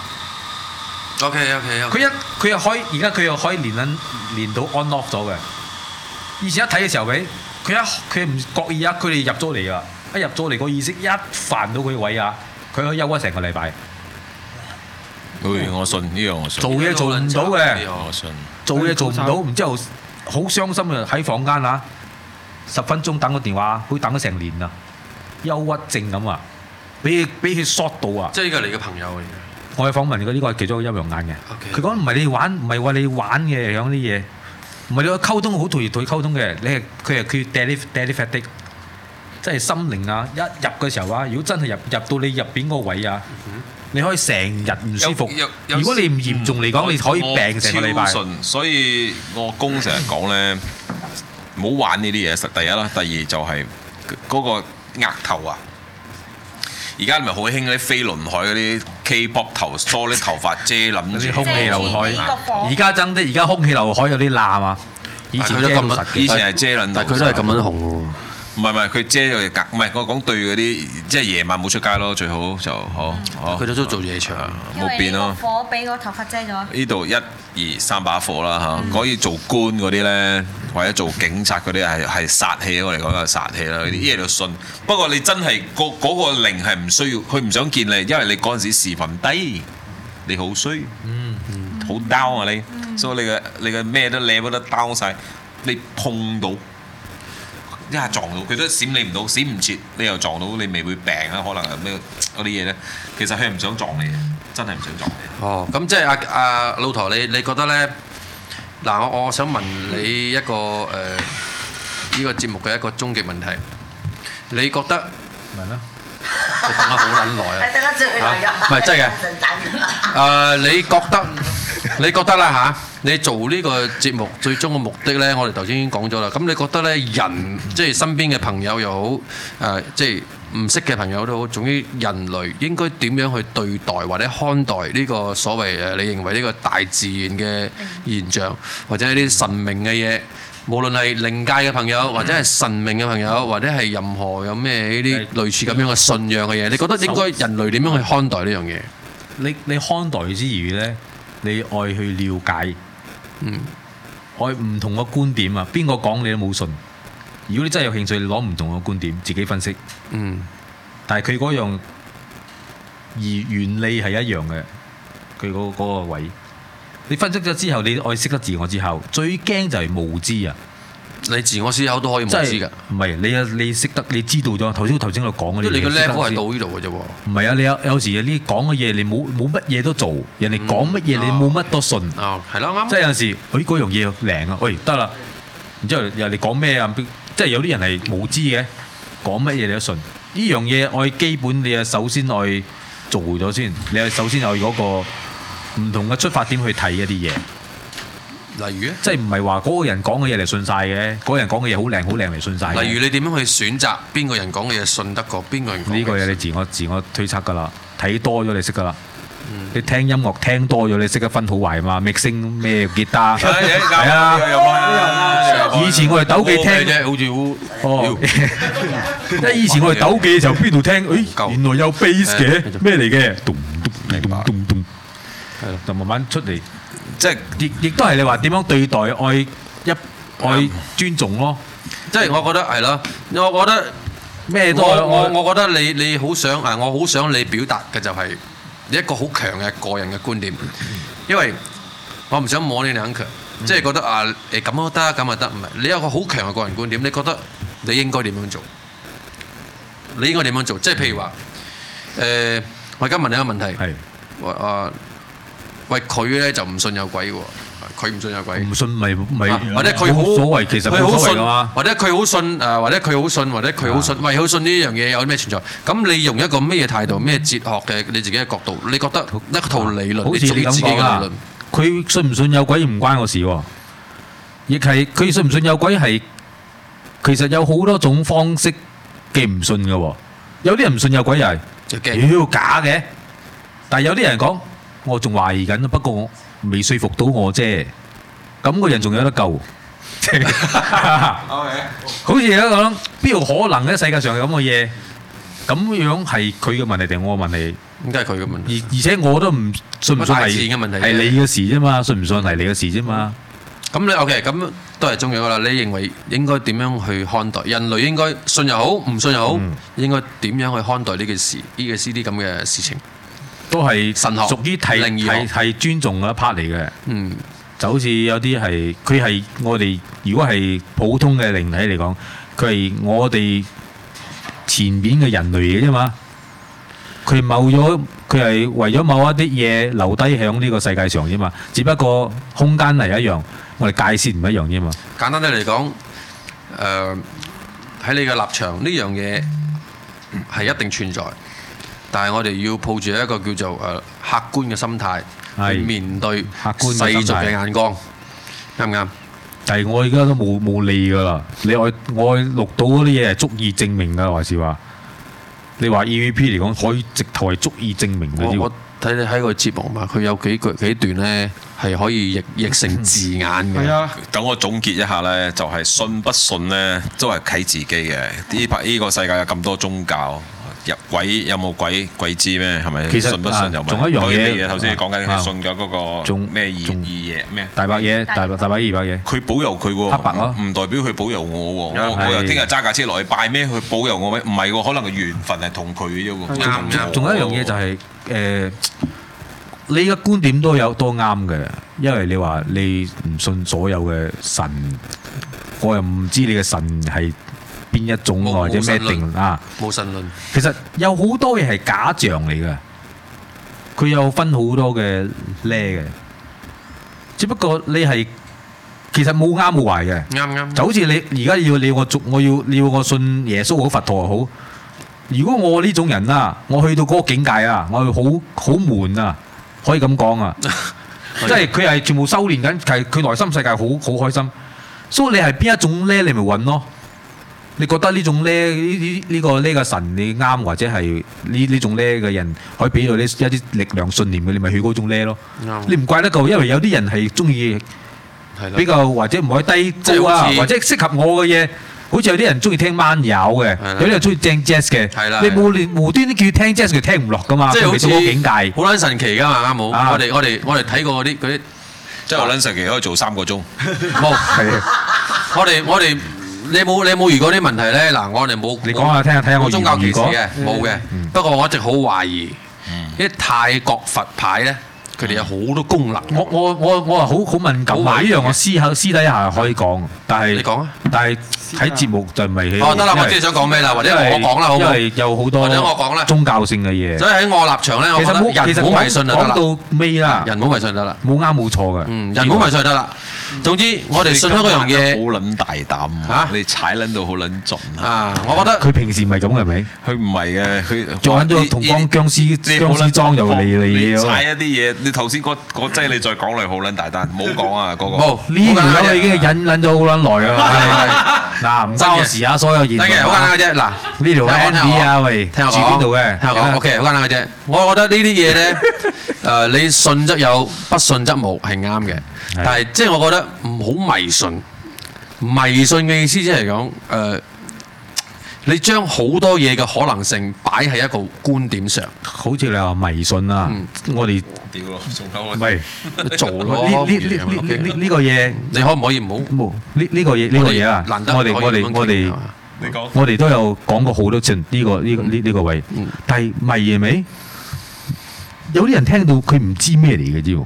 OK。 佢又可以，而家佢又可以連到 on off 咗嘅。以前一睇嘅時候佢唔覺意啊，佢哋入咗嚟啊！一入咗嚟個意識一煩到佢位啊，佢可以休咗成個禮拜。 我信呢樣我信。 做嘢做唔到嘅， 我信。 做嘢做唔到，然之後好傷心啊！喺房間啊，10分鐘等個電話，佢等咗成年啊，憂鬱症咁啊，俾佢 short 到啊！ 即係呢個你嘅朋友嚟嘅。 我去訪問佢，呢個係其中一個陰陽眼嘅。佢講唔係你玩，唔係話你玩嘅樣啲嘢，唔係你溝通好同佢溝通嘅，佢 telepathic，即係心靈啊！一入嘅時候啊，如果真係入到你入邊個位啊，你可以成日唔舒服。如果你唔嚴重嚟講，你可以病成個禮拜。 所以我公成日講咧，唔好玩呢啲嘢。第一啦，第二就係嗰個額頭啊。而家咪好興嗰啲飛輪海嗰啲 K-pop 頭梳啲頭髮遮冧住空氣劉海。而家爭啲，而家空氣劉海有啲爛啊！以前都咁實， 以前係遮撚， 但係佢都係咁樣紅喎。 唔係，佢遮咗隻格，唔係我講對嗰啲，即係夜晚冇出街咯，最好就好。 佢都做夜場， 冇變咯。 火俾個頭髮遮咗。 呢度1、2、3把火啦嚇，可以做官嗰啲咧，或者做警察嗰啲係殺氣，我嚟講係殺氣啦。呢啲嘢就信。不過你真係嗰個靈係唔需要，佢唔想見你，因為你嗰陣時時份低，你好衰，好 down 啊你，所以你嘅咩都 level 都 down 曬，你碰到。一下撞到佢都閃你唔到，閃唔切，你又撞到你未會病啊？可能係咩嗰啲嘢咧？其實佢係唔想撞你嘅，真係唔想撞你。 哦，咁即係阿老陀，你覺得咧？嗱，我想問你一個呢個節目嘅一個終極問題，你覺得問啦？ 你等咗好撚耐啊！ 係等得最耐㗎。 唔係真嘅。你覺得啦嚇？你做呢個節目最終嘅目的呢，我哋頭先已經講咗啦。咁你覺得呢，人即係身邊嘅朋友又好，即係唔識嘅朋友都好，總之人類應該點樣去對待或者看待呢個所謂你認為呢個大自然嘅現象，或者係啲神明嘅嘢，無論係靈界嘅朋友，或者係神明嘅朋友，或者係任何有咩呢啲類似咁樣嘅信仰嘅嘢，你覺得應該人類點樣去看待呢樣嘢？ 你看待之餘呢，你愛去了解。愛唔同嘅觀點啊，邊個講你都冇信。如果你真係有興趣，你攞唔同嘅觀點自己分析。但係佢嗰樣原理係一樣嘅，佢嗰個位。你分析咗之後，你愛識得自我之後，最驚就係無知啊！ 你自我思考都可以無知㗎。 唔係你識得，你知道咗頭先我講嗰啲嘢。 你個 level 係到呢度嘅啫喎。 唔係啊！你有時你講嘅嘢，你冇乜嘢都做，人哋講乜嘢你冇乜都信。 係咯，啱。 即係有時，嗰樣嘢靈啊，得啦。然之後人哋講咩啊？即係有啲人係無知嘅，講乜嘢你都信。呢樣嘢我基本你首先愛做咗先，你首先有嗰個唔同嘅出發點去睇一啲嘢。 例如咧， 即係唔係話嗰個人講嘅嘢嚟信晒嘅，嗰個人講嘅嘢好靚嚟信晒。 例如你點樣去選擇邊個人講嘅嘢信得過邊個人講？ 呢個嘢你自我推測㗎啦，睇多咗你識㗎啦。你聽音樂聽多咗，你識得分好壞嘛？mixing咩吉他係啊！以前我哋鬥記聽啫，好似因為以前我哋鬥記嘅時候邊度聽？原來有 bass 嘅咩嚟嘅？咚咚咚咚，係咯，就慢慢出嚟。即係亦都係你話點樣對待愛尊重咯。 即係我覺得係咯，我覺得咩都我覺得你好想我好想你表達嘅就係一個好強嘅個人嘅觀點，因為我唔想摸你兩強，即係覺得咁都得，咁就得，唔係你有個好強嘅個人觀點，你覺得你應該點樣做？你應該點樣做？即係譬如話我而家問你一個問題， 喂佢咧就唔信有鬼喎。佢唔信有鬼， 唔信咪或者佢好所謂，其實佢好信嘛， 或者佢好信或者佢好信，或者佢好信，喂好信呢樣嘢有咩存在？咁你用一個咩態度、咩哲學嘅你自己嘅角度，你覺得一套理論， 好似你咁講啦，佢信唔信有鬼唔關我事喎，亦係佢信唔信有鬼係其實有好多種方式嘅唔信嘅喎，有啲人唔信有鬼又係妖假嘅，但係有啲人講我仲懷疑緊，不過我未說服到我啫，咁個人仲有得救。好似而家講，邊度可能咧？世界上有咁嘅嘢，咁樣係佢嘅問題定我嘅問題？ 應該係佢嘅問題。 而且我都唔信唔信係你嘅事啫嘛，信唔信係你嘅事啫嘛。 咁你 OK，咁都係重要噶啦。你認為應該點樣去看待人類？應該信又好，唔信又好，應該點樣去看待呢件事？呢個啲咁嘅事情？都係神學，屬於係尊重嗰一 part 嚟嘅。嗯，就好似有啲係佢係我哋，如果係普通嘅靈體嚟講，佢係我哋前邊嘅人類嘅啫嘛。佢係為咗某一啲嘢留低喺呢個世界上啫嘛。只不過空間係一樣，我哋界線唔一樣啫嘛。簡單啲嚟講，喺你嘅立場呢樣嘢係一定存在。但係我哋要抱住一個叫做客觀嘅心態去面對世俗嘅眼光，啱唔啱？但係我而家都冇理㗎啦。你我錄到嗰啲嘢係足以證明㗎，還是話你話 EVP 嚟講可以直頭係足以證明嘅？我睇你喺個節目嘛，佢有幾段咧係可以譯成字眼嘅。係啊， 等我總結一下咧，就係信不信咧都係睇自己嘅。呢個世界有咁多宗教。入鬼有冇鬼知咩？係咪？其實信不信有冇？仲有一樣嘢，頭先你講緊佢信嘅嗰個咩二嘢咩？大白嘢，大白二白嘢。佢保佑佢喎，黑白咯，唔代表佢保佑我喎。我又聽日揸架車落去拜咩？佢保佑我咩？唔係喎，可能個緣分係同佢啫喎。啱。仲有一樣嘢就係你嘅觀點都啱嘅，因為你話你唔信所有嘅神，我又唔知你嘅神係邊一種或者咩定啊？冇神論。其實有好多嘢係假象嚟嘅，佢有分好多嘅咧嘅。只不過你係其實冇啱冇壞嘅。啱。就好似你而家要我信耶穌好佛陀好。如果我呢種人啦，我去到嗰個境界啊，我會好悶啊，可以咁講啊。即係佢係全部修練緊，係佢內心世界好開心。所以你係邊一種咧？你咪揾咯。你覺得呢種咧呢個神你啱，或者係呢種咧嘅人可以俾到你一啲力量信念嘅，你咪去嗰種咧咯。你唔怪得夠，因為有啲人係中意比較或者唔可以低高啊，或者適合我嘅嘢。好似有啲人中意聽慢搖嘅，有啲人中意聽 jazz 嘅。你冇無端端叫佢聽 jazz，佢聽唔落噶嘛。即係好似境界，好撚神奇噶嘛，啱冇？我哋睇過嗰啲，即係好撚神奇，可以做3個鐘。冇，我哋。你有冇遇過啲問題咧？嗱，我哋冇。你講下聽下睇下我宗教歧視嘅，冇嘅。不過我一直好懷疑，啲泰國佛牌咧，佢哋有好多功能。我係好敏感。呢樣我私底下可以講，但係你講啊。但係喺節目就唔係。哦，得啦，我知你想講咩啦，或者我講啦，好唔好？因為有好多或者我講啦，宗教性嘅嘢。所以喺我立場咧，我覺得人唔好迷信就得啦。講到尾啦，人唔好迷信就得啦，冇啱冇錯嘅。人唔好迷信就得啦。總之，我哋信咗嗰樣嘢，好撚大膽嚇，你踩撚到好撚盡啊！我覺得佢平時唔係咁嘅，係咪？佢唔係嘅，佢做緊咗同幫僵屍裝又嚟嘢。踩一啲嘢，你頭先嗰劑你再講嚟好撚大單，唔好講啊嗰個。冇呢條友已經忍撚咗好撚耐啊！嗱，唔關我事啊，所有言論。得嘅，好簡單嘅啫。嗱，呢條 Andy 啊，喂，聽我講。住邊度嘅？聽我講。OK，好簡單嘅啫。我覺得呢啲嘢咧，你信則有，不信則無，係啱嘅。但係即係我覺得唔好迷信，迷信嘅意思即係講你將好多嘢嘅可能性擺喺一個觀點上，好似你話迷信啊，我哋屌咯，唔係做咯，呢個嘢你可唔可以唔好？呢個嘢啊，我哋都有講過好多次呢個位，但係迷嘢未？有啲人聽到佢唔知咩嚟嘅啫。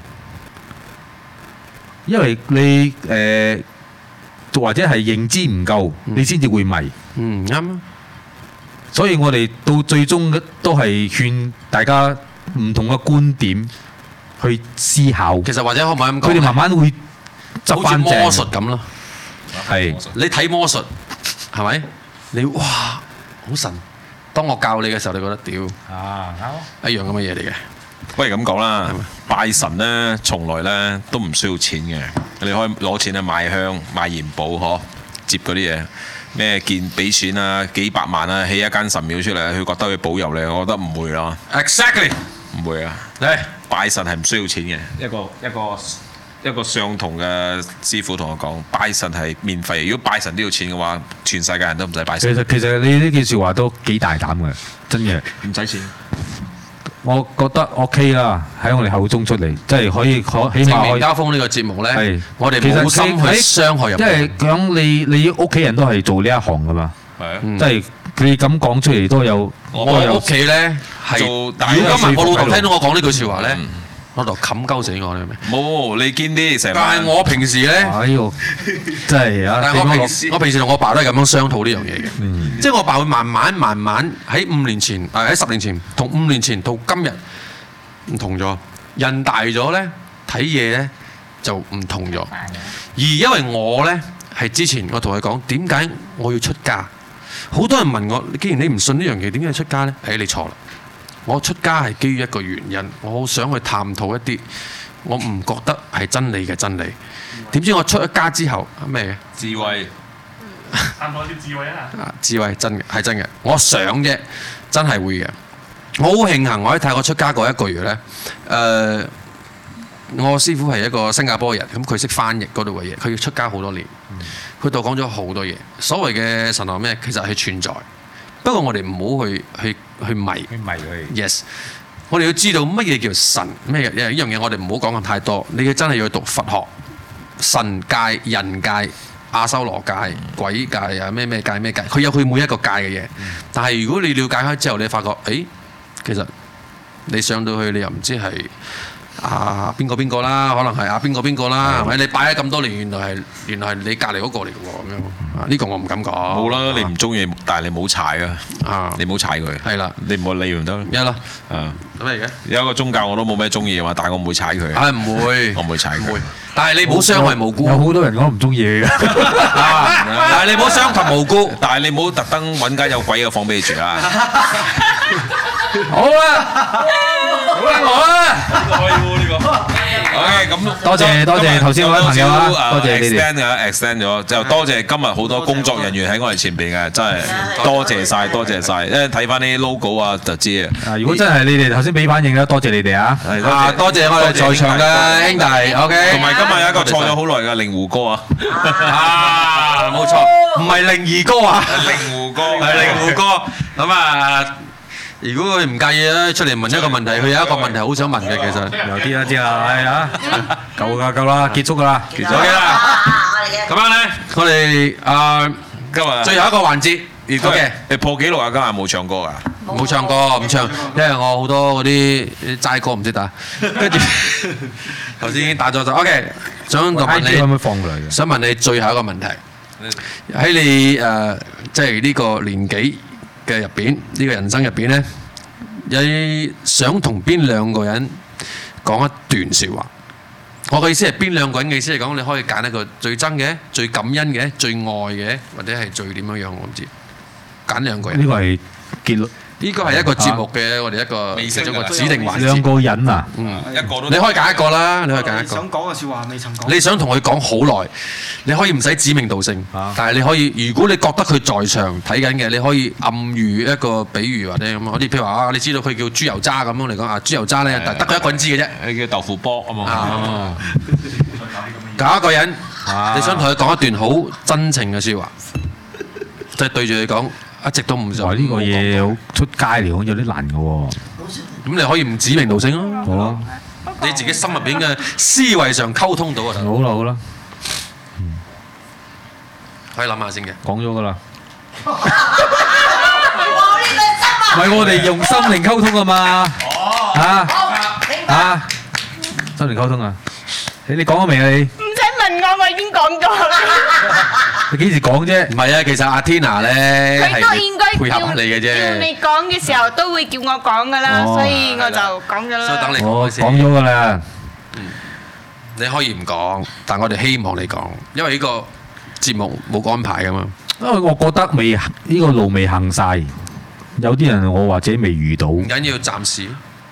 因為你或者係認知唔夠，你先至會迷。啱。所以我哋到最終都係勸大家唔同嘅觀點去思考。 其實或者可唔可以咁講？ 佢哋慢慢會執好似翻正。 魔術咁咯。 係你睇魔術係咪？你哇好神！當我教你嘅時候，你覺得屌一樣咁嘅嘢嚟嘅。 不如咁講啦，拜神咧，從來咧都唔需要錢嘅。你可以攞錢去買香、買元寶，嗬，接嗰啲嘢。咩見俾錢啊，幾百萬啊，起一間神廟出嚟，佢覺得佢保佑你，我覺得唔會咯。 Exactly， 唔會啊！拜神係唔需要錢嘅。一個相同嘅師傅同我講，拜神係免費。如果拜神都要錢嘅話，全世界人都唔使拜神。 其實你呢句説話都幾大膽嘅，真嘅。 唔使錢。 我覺得 OK 啦，喺我哋口中出嚟，即係可以起碼正面交鋒呢個節目咧，我哋冇心去傷害人。 因為講你屋企人都係做呢一行噶嘛，即係佢咁講出嚟都有。 我屋企咧係，如果今日我老豆聽到我講呢句説話咧，我就冚鳩死我，你明？ 冇，你堅啲成。 但係我平時咧， 真係啊！ 但係我平時同我爸都係咁樣商討呢樣嘢嘅，即係我爸會慢慢喺5年前，喺10年前同5年前到今日唔同咗。人大咗咧，睇嘢咧就唔同咗。而因為我咧係之前我同佢講點解我要出家，好多人問我，既然你唔信呢樣嘢，點解要出家咧？你錯啦。我出家係基於一個原因，我好想去探討一啲我唔覺得係真理嘅真理。點知我出咗家之後咩嘅？ 智慧， 探討啲智慧啊！ 智慧真嘅係真嘅，我想啫，真係會嘅。我好慶幸我喺泰國出家嗰1個月呢。我師傅係一個新加坡人，咁佢識翻譯嗰度嘅嘢，佢要出家好多年，佢度講咗好多嘢。所謂嘅神學咩？其實係存在。不過我哋唔好去迷佢。Yes， 我哋要知道乜嘢叫神，咩嘢呢樣嘢我哋唔好講咁太多。你嘅真係要去讀佛學、神界、人界、阿修羅界、鬼界啊，咩界咩界，佢有佢每一個界嘅嘢。但係如果你了解開之後，你發覺，其實你上到去你又唔知係邊個啦，可能係邊個啦，係咪？你擺咗咁多年，原來係你隔離嗰個嚟嘅喎，咁樣呢個我唔敢講。 冇啦，你唔中意，但係你冇踩啊，你唔好踩佢。係啦，你唔好理唔得。 一啦， 咩嚟嘅？有一個宗教我都冇咩中意嘅話，但係我唔會踩佢。 唔會， 我唔會踩佢。 但係你唔好傷害無辜。 有好多人講唔中意嘅， 但係你唔好傷及無辜。 但係你唔好特登揾間有鬼嘅房俾你住啊！ 好啦，我啦， 呢個可以喎，呢個。OK，咁多謝頭先嗰位朋友啊，多謝你哋 extend 咗，就多謝今日好多工作人員喺我哋前邊嘅，真係多謝晒，因為睇翻啲 logo 啊就知啊。 如果真係你哋頭先俾反應咧，多謝你哋啊！ 多謝我哋在場嘅兄弟，OK。同埋今日有一個錯咗好耐嘅令狐哥啊， 冇錯，唔係令兒哥啊， 令狐哥係令狐哥。咁啊，如果佢唔介意咧，出嚟問一個問題，佢有一個問題好想問嘅，其實有啲啦，知啦，係啊，夠啦，結束㗎啦， 結束啦。咁樣咧，我哋今日最後一個環節，如果嘅你破紀錄啊，今日冇唱歌啊？ 冇唱歌，唔唱，因為我好多嗰啲齋歌唔識打，跟住頭先已經打咗就 OK。想問你，想問你最後一個問題，喺你即係呢個年紀嘅入邊，呢個人生入邊咧，你想同邊兩個人講一段説話？我嘅意思係邊兩個人嘅意思係講，你可以揀一個最憎嘅、最感恩嘅、最愛嘅，或者係最點樣樣，我唔知。揀兩個人。 呢個係結論。 呢個係一個節目嘅，我哋一個其中一個指定環節。 兩個人啊， 一個都你可以揀一個啦，你可以揀一個。 想講嘅説話未曾講。 你想同佢講好耐，你可以唔使指名道姓，但係你可以，如果你覺得佢在場睇緊嘅，你可以暗喻一個比喻或者咁，好似譬如話你知道佢叫豬油渣咁樣嚟講啊，豬油渣咧得佢一個人知嘅啫。 你叫豆腐波啊嘛。 揀一個人，你想同佢講一段好真情嘅説話，就係對住佢講。一直都唔做呢個嘢好出街嚟講有啲難嘅喎。 咁你可以唔指名道姓咯。 好啦， 你自己心入邊嘅思維上溝通到啊。 好啦， 可以諗下先嘅。 講咗㗎啦。唔係我哋用心靈溝通啊嘛。心靈溝通啊。你講咗未啊你？ 唔使問問我已經講咗啦。 你幾時講啫？ 唔係啊，其實阿 Tina 咧佢都應該配合下你嘅啫。 叫你講嘅時候都會叫我講噶啦，所以我就講咗啦。 所以等你我講先。 講咗㗎啦。 你可以唔講，但我哋希望你講，因為呢個節目冇安排噶嘛。 因為我覺得呢個路未行晒，有啲人我或者未遇到。 唔緊要，暫時。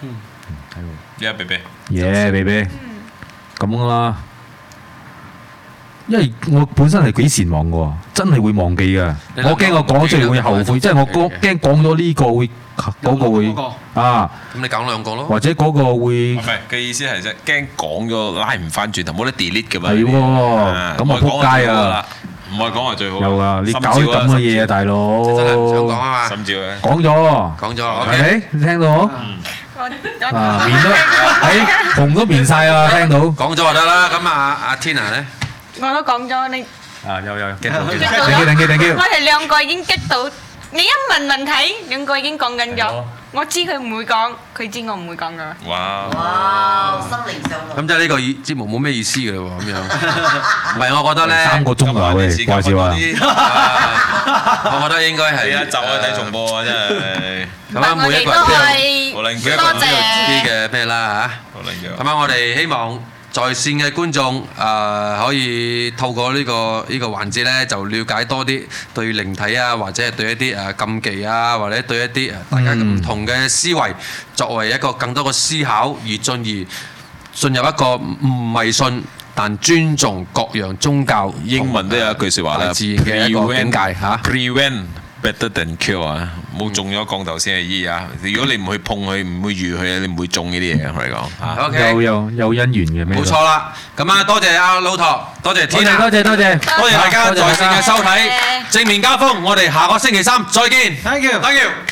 BB。 BB。咁啦。因為我本身係幾善忘嘅喎，真係會忘記嘅。我驚我講出嚟會後悔，即係我驚講咗呢個會嗰個會啊。 咁你講兩個咯。 或者嗰個會唔係嘅意思係啫，驚講咗拉唔翻轉頭，冇得 delete 嘅嘛。 係喎，咁我撲街啊！ 唔係講係最好。 有啊，你搞啲咁嘅嘢啊，大佬。 真係唔想講啊嘛。 心照嘅。 講咗。 講咗。 係咪？你聽到？面都紅都面晒啊！聽到。 講咗就得啦。咁阿 Tina 咧？ 我都講咗你。 有 get 到。 我哋兩個已經激到，你一問問題，兩個已經講緊咗。我知佢唔會講，佢知我唔會講噶。 哇！心靈上路。 咁即係呢個節目冇咩意思嘅喎，咁樣。唔係，我覺得咧 3個鐘啊，喂，掛住啊！ 我覺得應該係一集去睇重播啊，真係。 咁啊，每一個人都有自己嘅咩啦嚇。咁啊，我哋希望在線嘅觀眾可以透過呢個環節咧，就了解多啲對靈體啊，或者係對一啲禁忌啊，或者對一啲大家唔同嘅思維，作為一個更多嘅思考，而進入一個唔迷信但尊重各樣宗教。 英文都有一句説話啦， 自然嘅一個境界嚇。 Prevent better than cure 啊！冇中咗降頭先係醫啊！如果你唔去碰佢，唔會遇佢，你唔會中呢啲嘢。我哋講 OK， 有姻緣嘅咩？ 冇錯啦。咁啊，多謝阿老陀，多謝 Tina， 多謝大家在線嘅收睇，正面交鋒。我哋下個星期三再見。 Thank you。